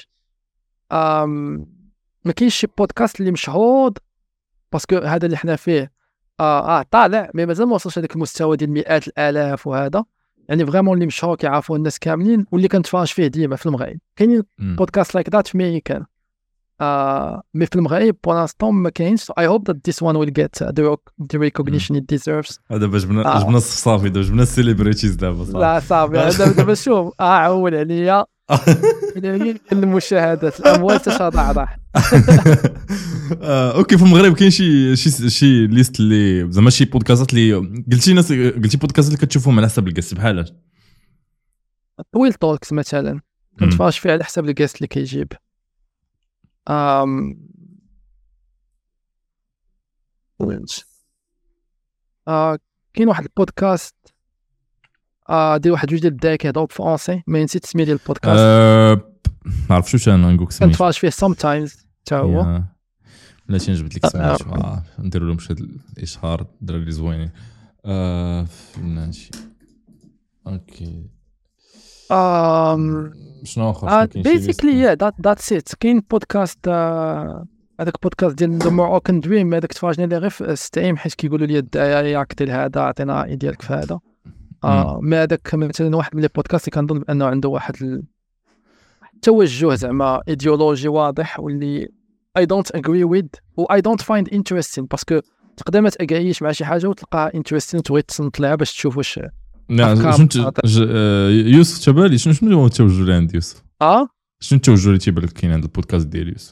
ما كاينش شي بودكاست اللي مشهور باسكو هذا اللي حنا فيه طالع مي مازال ما وصلش هذاك المستوى ديال مئات الالاف وهذا يعني فريمون اللي مشهور كيعرفوا الناس كاملين واللي كنتفرج فيه ديما في المغرب كاينين بودكاست لايك ذات في ميريكان مي في المغرب بولانستون ما كاينش I hope that this one will get the recognition it deserves. هذا باش جبنا الصافي دابا جبنا السيليبريتيز دابا لا صافي هذا دابا شوف عول عليا المشاهدات الاموال تتضاعف. اوكي في المغرب كاين شي ليست اللي زعما شي بودكاستات اللي قلتي بودكاست اللي كتشوفهم على حسب القست بحال طويل توكس مثلا كنتفرج فيه على حسب القست اللي كيجيب. كاين واحد البودكاست ديال واحد جوج ديال الدراري كيهضروا بالفرونسي ما نسيت السميه ديال البودكاست ما عرفتش واش انا نقولك سميتو كنتفرج فيه sometimes حتى هو لا شي نجبد لك سميتو نديروا لهم شي الاشهار الدراري زوينين ماشي اوكي شنو اخر بيسيكلي ذاتس ات. كاين بودكاست هذاك بودكاست ديال ذا موروكان دريم هذاك تفرجنا ليه غير في ستريم حيت كيقولوا لي ياك ديال هذا عطينا راي ديالك في هذا. ما هذاك مثلا واحد من لي بودكاست اللي كنظن بانه عنده واحد التوجه زعما ايديولوجي واضح واللي I don't agree with و I don't find interesting باسكو تقدر ما تاغريش مع شي حاجه وتلقاها interesting وتبغي تصنت لها باش تشوف واش يوسف تبالي شنو هو التوجه اللي عند يوسف شنو التوجه اللي تيبان لك كاين عند البودكاست ديال يوسف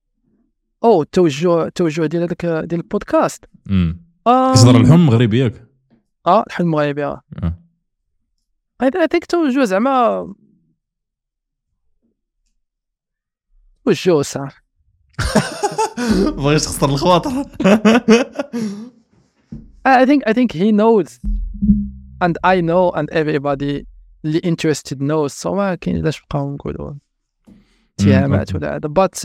التوجه ديال هذاك ديال البودكاست كيصدر الحلم مغربي ياك الحلم مغربي هذاك توجه زعما توجه صح بغيتش تخسر الخواطر. I think he knows and I know and everybody اللي interested knows so ما كاين علاش نبقاو نقولوا اتهامات ولا هذا but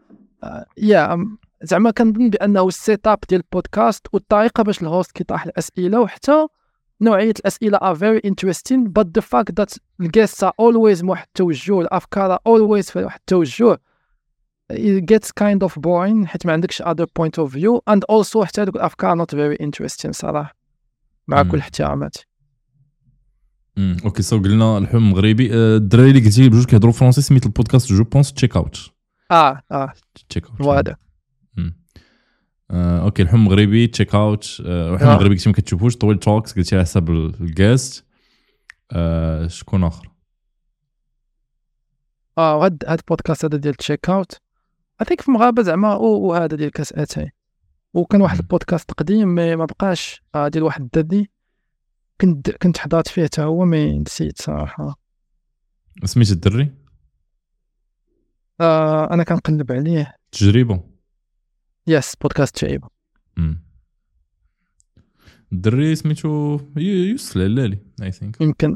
زعما كنظن بانه السيت اب ديال البودكاست والطريقه باش الهوست كيطرح الاسئله وحتى نوعيه الاسئله are very interesting but the fact that the guests are always واحد التوجه الافكار always في واحد التوجه it gets kind of boring حيت ما عندكش other point of view and also حتى هذوك الافكار not very interesting صراحه مع كل احترامات. اوكي سو قلنا الحلم مغربي. الدراري اللي قلتي بجوج كيهضروا فرونسي سميت البودكاست جو بونس تشيك اوت تشيك اوت وهذا اوكي الحلم مغربي تشيك اوت. الحلم مغربي كنتي ما كتشوفوش طويل توكس قلتي على حسب الجاست. شكون اخر هاد البودكاست هذا ديال تشيك اوت اثيك في المغاربه زعما وهذا ديال كاس اتاي وكان واحد البودكاست قديم ما بقاش ديال واحد الدري كنت حضرت فيه حتى هو ما نسيت صراحه سميت الدري. انا كنقلب عليه تجربه يس بودكاست تجربه. الدري سميتو يوسف العلالي اي ثينك يمكن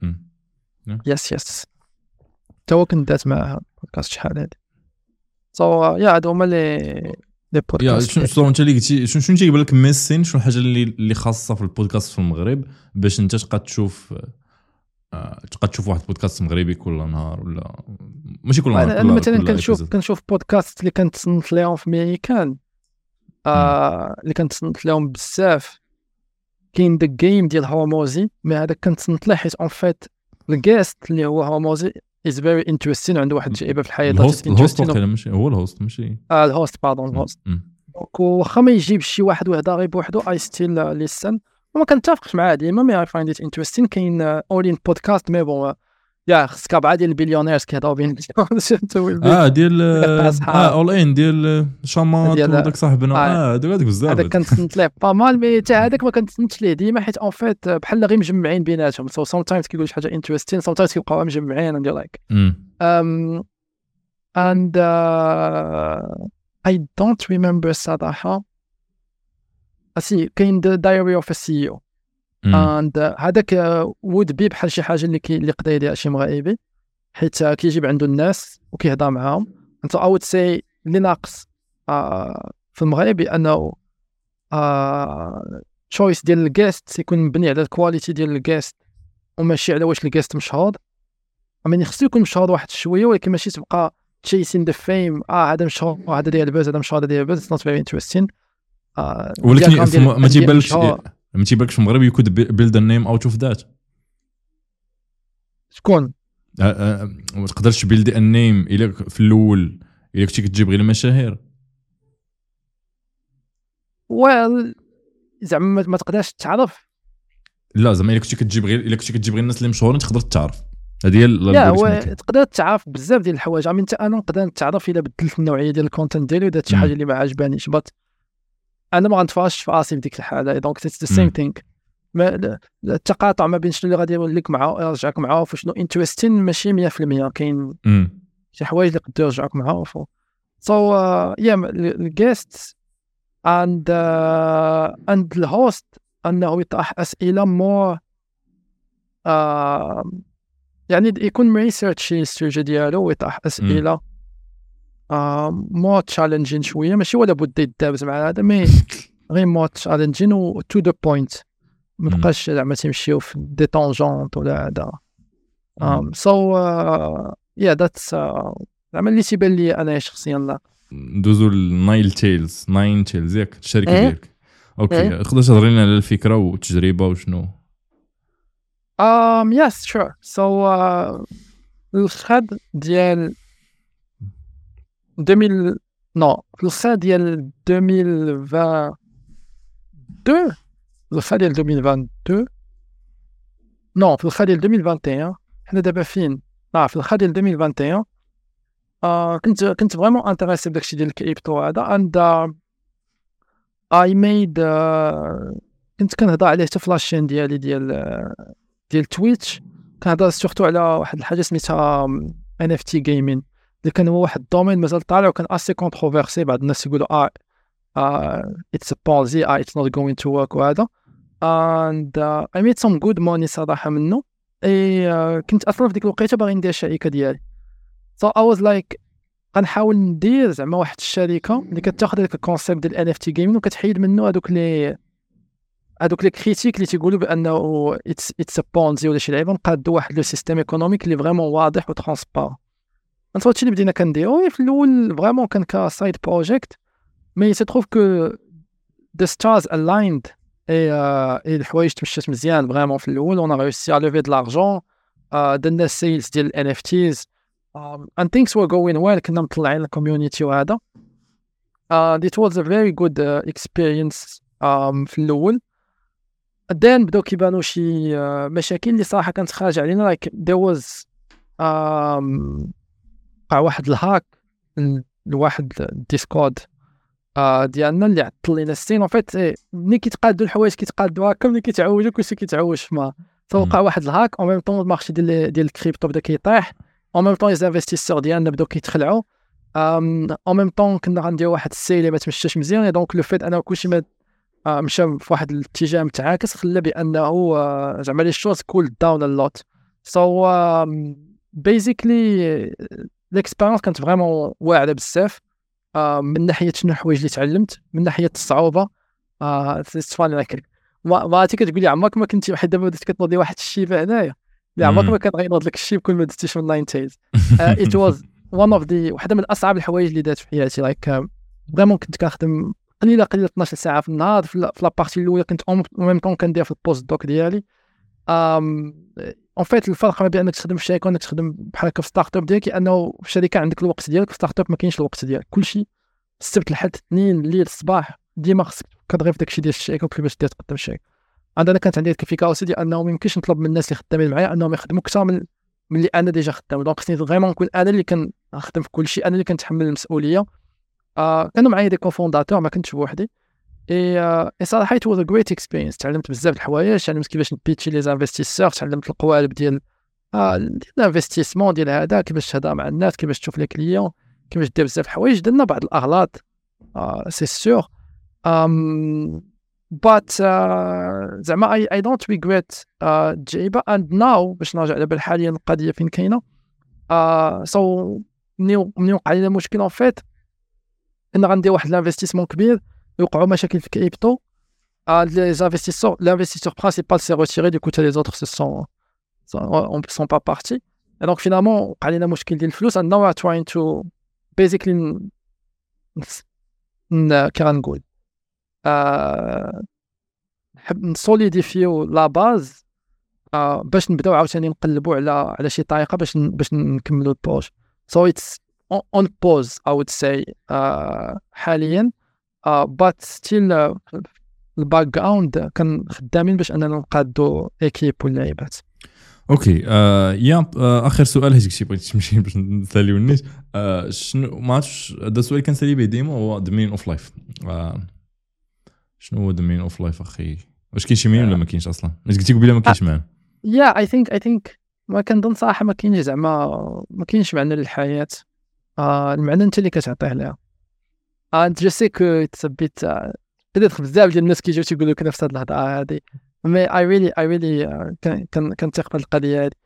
يس تو كنت دات مع بودكاست شحال هادي هادو هما لي بودكاست. شنو انت اللي قلتي شنو تيبان لك ميسين شنو الحاجه اللي خاصه في البودكاست في المغرب باش انت تبقى تشوف واحد بودكاست مغربي كل نهار ولا ماشي كل نهار انا مثلا كنشوف بودكاست اللي كنتصنت لهم في ميريكان اللي كنتصنت لهم بزاف. كاين ذا جيم ديال هورموزي ما هذا كنتصنت له حيت اون فيت الجيست اللي هو هورموزي is very interesting عنده واحد التجربه في الحياه الهوست ماشي هو الهوست ماشي الهوست الهوست واخا ما يجيبش شي واحد ويهضر غير بوحدو اي ستيل ليسن وما كنتفقش معاه ديما مي اي فايند ات انتريستين. كاين اولين بودكاست مي بون خصك 4 ديال البليونيرز كيهضروا بين ديال اول ان ديال شامات وداك صاحبنا هذاك بزاف هذاك كنتصنت ليه با مال مي حتى هذاك ما كنتصنتش ليه ديما حيت اون فيت بحال غير مجمعين بيناتهم سو سام تايمز كيقولوا شي حاجه انتريستين سام تايمز كيبقاو مجمعين اند لايك and I don't remember صراحه اسي كاين The Diary of a CEO and هذاك would be بحال شي حاجه اللي قدر يدير شي مغاربي حيت كيجيب عنده الناس وكيهضر معاهم. انت I would say اللي ناقص في المغرب انه choice ديال الجيست يكون مبني على الكواليتي ديال الجيست وماشي على واش الجيست مشهور امين خصو يكون مشهور واحد شويه ولكن ماشي تبقى chasing the fame هذا مشهور هذا ديال البوز هذا مشهور هذا ديال البوز. it's not very interesting. ولكن ما تيبانلكش في المغرب you could build a name out of that. شكون ما تقدرش build a name الا في الاول الا كنتي كتجيب غير المشاهير. زعما ما تقدرش تعرف. لا زعما الا كنتي كتجيب غير الناس اللي مشهورين تقدر تعرف. هذه هي تقدر تعرف بزاف ديال الحوايج. عمين انا نقدر نتعرف الا بدلت النوعيه ديال الكونتنت ديالي ودات شي حاجه اللي ما عجبانيش بط انا ما غنتفاش في راسي في ديك الحاله. دونك اتس ذا سيم ثينك. التقاطع ما بين شنو اللي غادي يقول لك معاه يرجعك معاه وشنو انتريستين ماشي 100%. كاين شي حوايج اللي يقدروا يرجعوك معاه so the guests and the host انه يطرح اسئله more يعني يكون ريسيرش الاستراتيجي ديالو ويطرح اسئله more challenging شويه ماشي ولا بد يدابز مع هذا مي غير more challenging و to the point ما بقاش زعما تمشيو في دي طونجونت ولا هذا. that's زعما اللي تيبان لي انا شخصيا. لا ندوزو الناين تيلز ياك الشركه ديالك. اوكي تقدر تهضر لنا على الفكره والتجربه وشنو؟ yes sure. so الخد ديال 2000 نو الخد ديال 2022 الخد ديال 2022 نو في الخد ديال 2021 حنا دابا فين في الخد ديال 2021 كنت فريمون انتريسي بداكشي ديال الكريبتو هذا and I made كنت كنهضر عليه حتى في لاشين ديالي ديال تويتش. كنهضر سورتو على واحد الحاجه سميتها NFT gaming اللي كان هو واحد الدومين مازال طالع وكان اسي كونتروفيرسي. بعض الناس يقولوا it's a Ponzi it's not going to work وهذا and I made some good money صراحه منه. كنت اصلا في ديك الوقيته باغي ندير الشركه ديالي so I was like غنحاول ندير زعما واحد الشركه اللي كتاخذ داك الكونسيبت ديال NFT gaming وكتحيد منه هذوك لي كريتيك اللي تيقولوا بانه it's a Ponzi ولا شي لعيبه. نقادوا واحد لو سيستيم ايكونوميك اللي فريمون واضح وترانسبارون. انت هادشي اللي بدينا كنديرو في الاول فريمون كان كسايد بروجيكت مي سي تروف كو the stars aligned الحوايج تمشات مزيان فريمون في الاول. on a réussi à lever de l'argent درنا سيلز ديال NFTs and things were going well. كنا مطلعين الكوميونيتي وهذا it was a very good experience في الاول. then بداو كيبانوا شي مشاكل اللي صراحه كانت خارجه علينا like there was وقع واحد الهاك لواحد الديسكورد ديالنا اللي عطل لينا السين. اون فيت ملي كيتقادوا الحوايج كيتقادوا هكا ملي كيتعوجوا كلشي كيتعوج فما توقع واحد الهاك. اون ميم طون المارشي ديال الكريبتو بدا كيطيح. اون ميم طون ليزانفستيسور ديالنا بداو كيتخلعوا. اون ميم طون كنا غنديروا واحد السيل اللي ما تمشاش مزيان. دونك لو فيت انه كلشي ما مشى في واحد الاتجاه متعاكس خلى بانه زعما لي شوز كول داون ا لوت. سو بيزيكلي الاكسبيرينس كانت فريمون واعره بزاف من ناحيه شنو الحوايج اللي تعلمت من ناحيه الصعوبه. فاني لك ما كتقول لي عمرك ما كنتي واحد دابا بديت كتنوضي واحد الشيبه هنايا لا عمرك ما كان غينوض لك الشيب كل ما دزتيش من لاين تيلز. ات واز وان اوف ذا واحده من اصعب الحوايج اللي دارت في حياتي. لايك فريمون كنت كنخدم قليله 12 ساعه في النهار. في لابارتي الاولى كنت اون ميم طون كندير في البوست دوك ديالي. اون فيت الفرق ما بين انك تخدم في شركه وانك تخدم بحال هكا في ستارت اب ديالك انه في الشركه عندك الوقت ديالك، في ستارت اب ما كاينش الوقت ديالك. كلشي السبت الحد الاثنين الليل الصباح ديما خصك كتغير في داكشي ديال الشركه وكيفاش دير تقدم الشركه. انا كانت عندي الفكره ديال انه ما يمكنش نطلب من الناس اللي خدامين معايا انهم يخدموا اكثر من اللي انا ديجا خدام. دونك خصني فريمون نكون انا اللي كنخدم في كل شيء، انا اللي كنتحمل المسؤوليه. كانوا معايا دي كوفونداتور ما كنتش بوحدي. صراحه it was a great experience. تعلمت بزاف د الحوايج، تعلمت كيفاش نبيتشي لي زانفستيسور، تعلمت القوالب ديال الانفستيسمون ديال هذا، كيفاش تهضر مع الناس، كيفاش تشوف لي كليون، كيفاش دير بزاف الحوايج. درنا بعض الاغلاط سي سور but زعما I don't regret جايبه. and now باش نرجع دابا حاليا القضيه فين كاينه. so مني وقع لي مشكل ان فيت ان غندير واحد الانفستيسمون كبير يوقعوا مشاكل في كريبتو. les investisseurs, l'investisseur principal s'est retiré, du coup les autres sont pas partis. دونك فينالمون وقع لنا مشكل ديال الفلوس and now we're trying to basically كي غنقول نحب نسوليديفيو لا باز باش نبداو عاوتاني نقلبوا على شي طريقه باش نكملوا البروج. So it's on pause I would say حاليا but still الباك جراوند كان خدامين باش اننا نقادو ايكيب واللعيبات. اوكي اخر سؤال هيك شي بغيت تمشي باش نساليو الناس شنو ما عرفتش هذا السؤال كنسالي به ديما هو the meaning of life. شنو هو the meaning of life اخي؟ واش كاين شي مين ولا ما كاينش اصلا؟ واش قلتي قبيله ما كاينش معنى؟ I think ما كنظن صراحه ما كاينش زعما ما كاينش معنى للحياه. المعنى انت اللي كتعطيه لها. انت جو سي كو تثبت بدات بزاف ديال الناس كيجيو تيقولوا لك نفس هاد الهضره هادي مي I really كنثق بهاد القضيه هادي.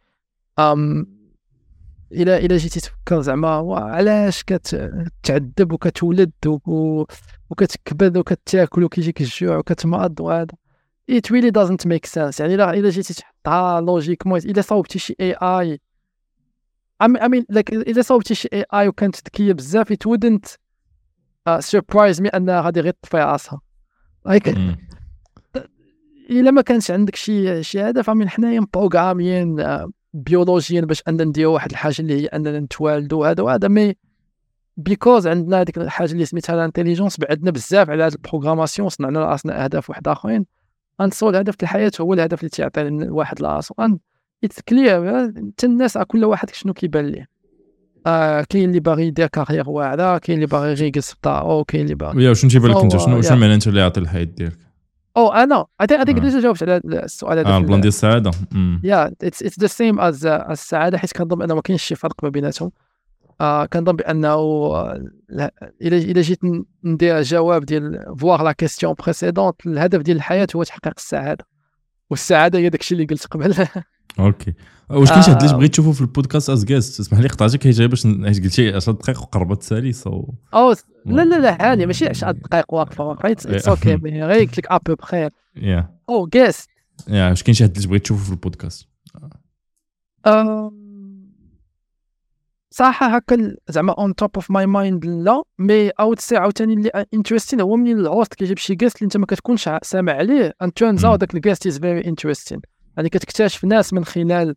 الى جيتي تفكر زعما علاش كتعذب وكتولد وكتكبد وكتاكل وكيجيك الجوع وكتمرض وهذا it really doesn't make sense. يعني الى جيتي تحطها لوجيكمون الى صوبتي شي AI I mean like الى صوبتي شي AI وكانت ذكيه بزاف it wouldn't surprise me انها غادي غير تطفي راسها like الا ما كانش عندك شي هدف. من حنايا بروغراميين بيولوجيا باش اننا نديرو واحد الحاجه اللي هي اننا نتوالدوا هذا مي بيكوز عندنا هذيك الحاجه اللي سميتها الانتيليجنس بعدنا بزاف على هذه البروغراماسيون صنعنا لراسنا اهداف واحد اخرين غنتصور الهدف في الحياه هو الهدف اللي تيعطي الواحد لراسو اتس كلير. حتى الناس كل واحد شنو كيبان ليه. كاين اللي باغي يدير كارير واعره كاين اللي باغي غير يجلس في دارو كاين اللي باغي ويا شنو تيبان لك انت شنو المعنى انت اللي يعطي الحياه ديالك؟ انا هذيك ديجا جاوبت على السؤال هذا البلان ديال السعاده. اتس ذا سيم از السعاده حيت كنظن انه ما كاينش شي فرق ما بيناتهم. كنظن بانه الا جيت ندير جواب ديال فوار لا كيسيون بريسيدونت الهدف ديال الحياه هو تحقيق السعاده والسعاده هي داكشي اللي قلت قبل. اوكي واش كاين شي حد اللي بغيت تشوفو في البودكاست از جيست؟ اسمح لي قطعتك هي جاي باش قلتي 10 دقائق وقربت تسالي لا عادي ماشي 10 دقائق واقفه اتس اوكي غير قلت لك ابو بخير جيست واش كاين شي حد اللي بغيت تشوفو في البودكاست؟ صراحه هكا زعما اون توب اوف ماي مايند لا مي اوت سي عاوتاني اللي انتريستين هو من الهوست كيجيب شي جيست اللي انت ما كتكونش سامع عليه ان تيرنز اوت داك الجيست از فيري انتريستين. يعني كتكتشف ناس من خلال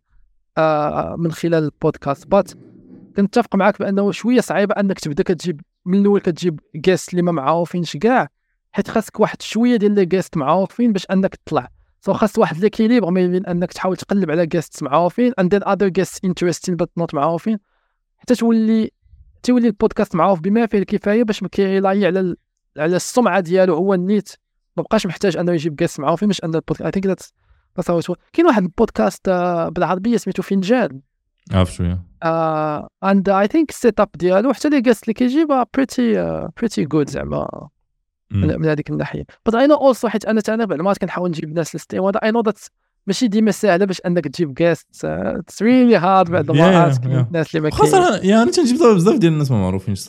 البودكاست. بات كنتفق معاك بانه شويه صعيبه انك تبدا كتجيب من الاول كتجيب جيست اللي ما معروفينش كاع حيت خاصك واحد شويه ديال لي جيست معروفين باش انك تطلع. خاص واحد ليكيليبر ما بين انك تحاول تقلب على جيست معروفين and then other guests interesting but not معروفين حتى تولي البودكاست معروف بما فيه الكفايه باش ما كيلاي على السمعه ديالو هو النيت ما بقاش محتاج انه يجيب جيست معروفين باش ان البودكاست. I think that's كاين واحد البودكاست بالعربيه سميتو فنجان عارف شويه and I think السيت اب ديالو حتى لي جيست اللي كيجيبها pretty good زعما من هذيك الناحيه. but I know also حيت انا بعد ما كنحاول نجيب ناس للستيم هذا I know that ماشي ديما سهله باش انك تجيب جيست it's really hard بعد ما الناس اللي ما كاين خاصه يعني تنجيب بزاف ديال الناس ما معروفينش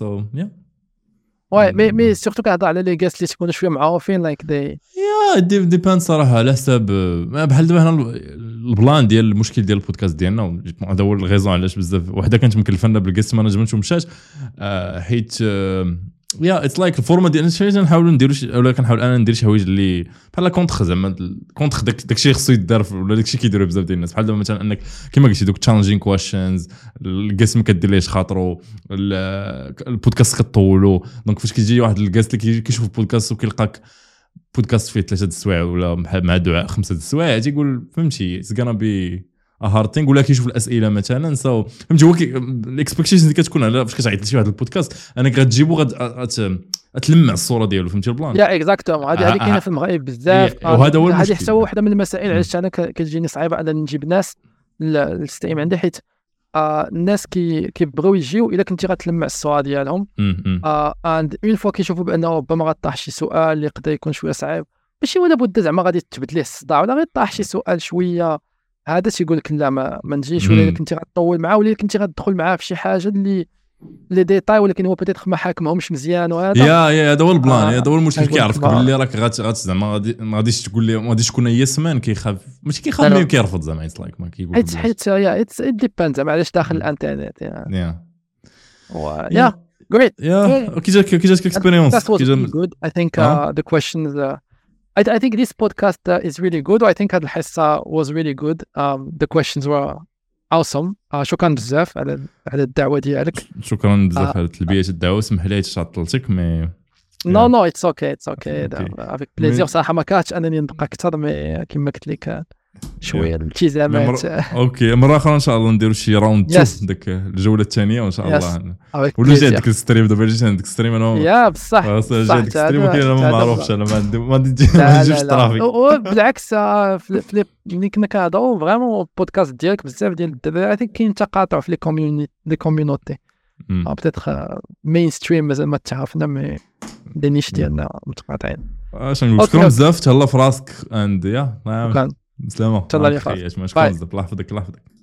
واي مي سورتو كنهضر على لي جيست اللي تكونوا شويه معروفين لايك دي ديبان صراحه على حساب بحال دابا هنا البلان ديال المشكل ديال البودكاست ديالنا هذا هو الغيزون علاش بزاف وحده كانت مكلفنا بالجيست ما نجمتش ومشات حيت اتس لايك الفورما ديال شي نحاولوا نديروا ولا كنحاول انا ندير شي حوايج اللي بحال كونطخ زعما كونطخ داكشي خصو يدار ولا داكشي كيديروا بزاف ديال الناس بحال دابا مثلا انك كما قلتي دوك تشالنجين كويشنز الجيست ما كديرليش خاطرو البودكاست كطولو دونك فاش كيجي واحد الجيست اللي كيشوف البودكاست وكيلقاك بودكاست فيه 3 السوايع ولا مع دعاء 5 السوايع تيقول فهمتي اتس غانا بي هارتينغ ولا كيشوف الاسئله مثلا فهمتي هو الاكسبكتيشنز اللي كتكون على فاش كتعيط لشي واحد البودكاست انك غتجيبو تلمع الصوره ديالو فهمتي البلان اكزاكتومون هذه كاينه في المغرب بزاف وهذا هو هذه حتى واحده من المسائل علاش انا كتجيني صعيبه انني نجيب ناس للستيم عندي حيت الناس كيبغيو يجيو الا كنتي غتلمع الصوره ديالهم اند اون فوا كيشوفوا بانه ربما غطاح شي سؤال اللي يقدر يكون شويه صعيب ماشي ولا بد زعما غادي تثبت ليه الصداع ولا غير طاح شي سؤال شويه هذا تيقول لك لا ما نجيش ولا كنتي غتطول معاه ولا كنتي غتدخل معاه في شي حاجه اللي لي ديتاي ولكن هو بيتيتر ما حاكمهمش مزيان وهذا يا هذا هو البلان هذا هو المشكل. أقول كيعرفك لك باللي راك زعما ما غاديش تقول لي ما غاديش تكون يسمان كيخاف ماشي كيخاف لا. مي كيرفض زعما اتس لايك ما كيقول حيت يا ات ديباند زعما علاش داخل الانترنت يا يا great يا كي جاك اكسبيريونس that was really good I think the questions I think this podcast is really good I think هاد الحصة was really good the questions were awesome شكرا بزاف على الدعوة ديالك. شكرا بزاف على تلبية الدعوة. سمح لي عطلتك مي نو it's okay avec plaisir صراحة ما كانتش انني نبقى اكثر مي كما قلت لك شويه الالتزامات. اوكي مره اخرى ان شاء الله نديروا شي راوند 2 داك الجوله الثانيه وان شاء الله ولا جا عندك الستريم دابا جيت عندك الستريم انا يا بصح جا عندك الستريم انا ما معروفش انا ما نجيبش الترافيك بالعكس ملي كنا كنهضروا فريمون البودكاست ديالك بزاف ديال الدراري اي ثينك كاين تقاطع في لي كوميونيتي بيتيتر مين ستريم مازال ما تعرفنا مي لي نيش ديالنا متقاطعين. اش نقول شكرا بزاف تهلا في راسك اند يا شكرا سلامة. تهلا لي شكرا الله يحفظك.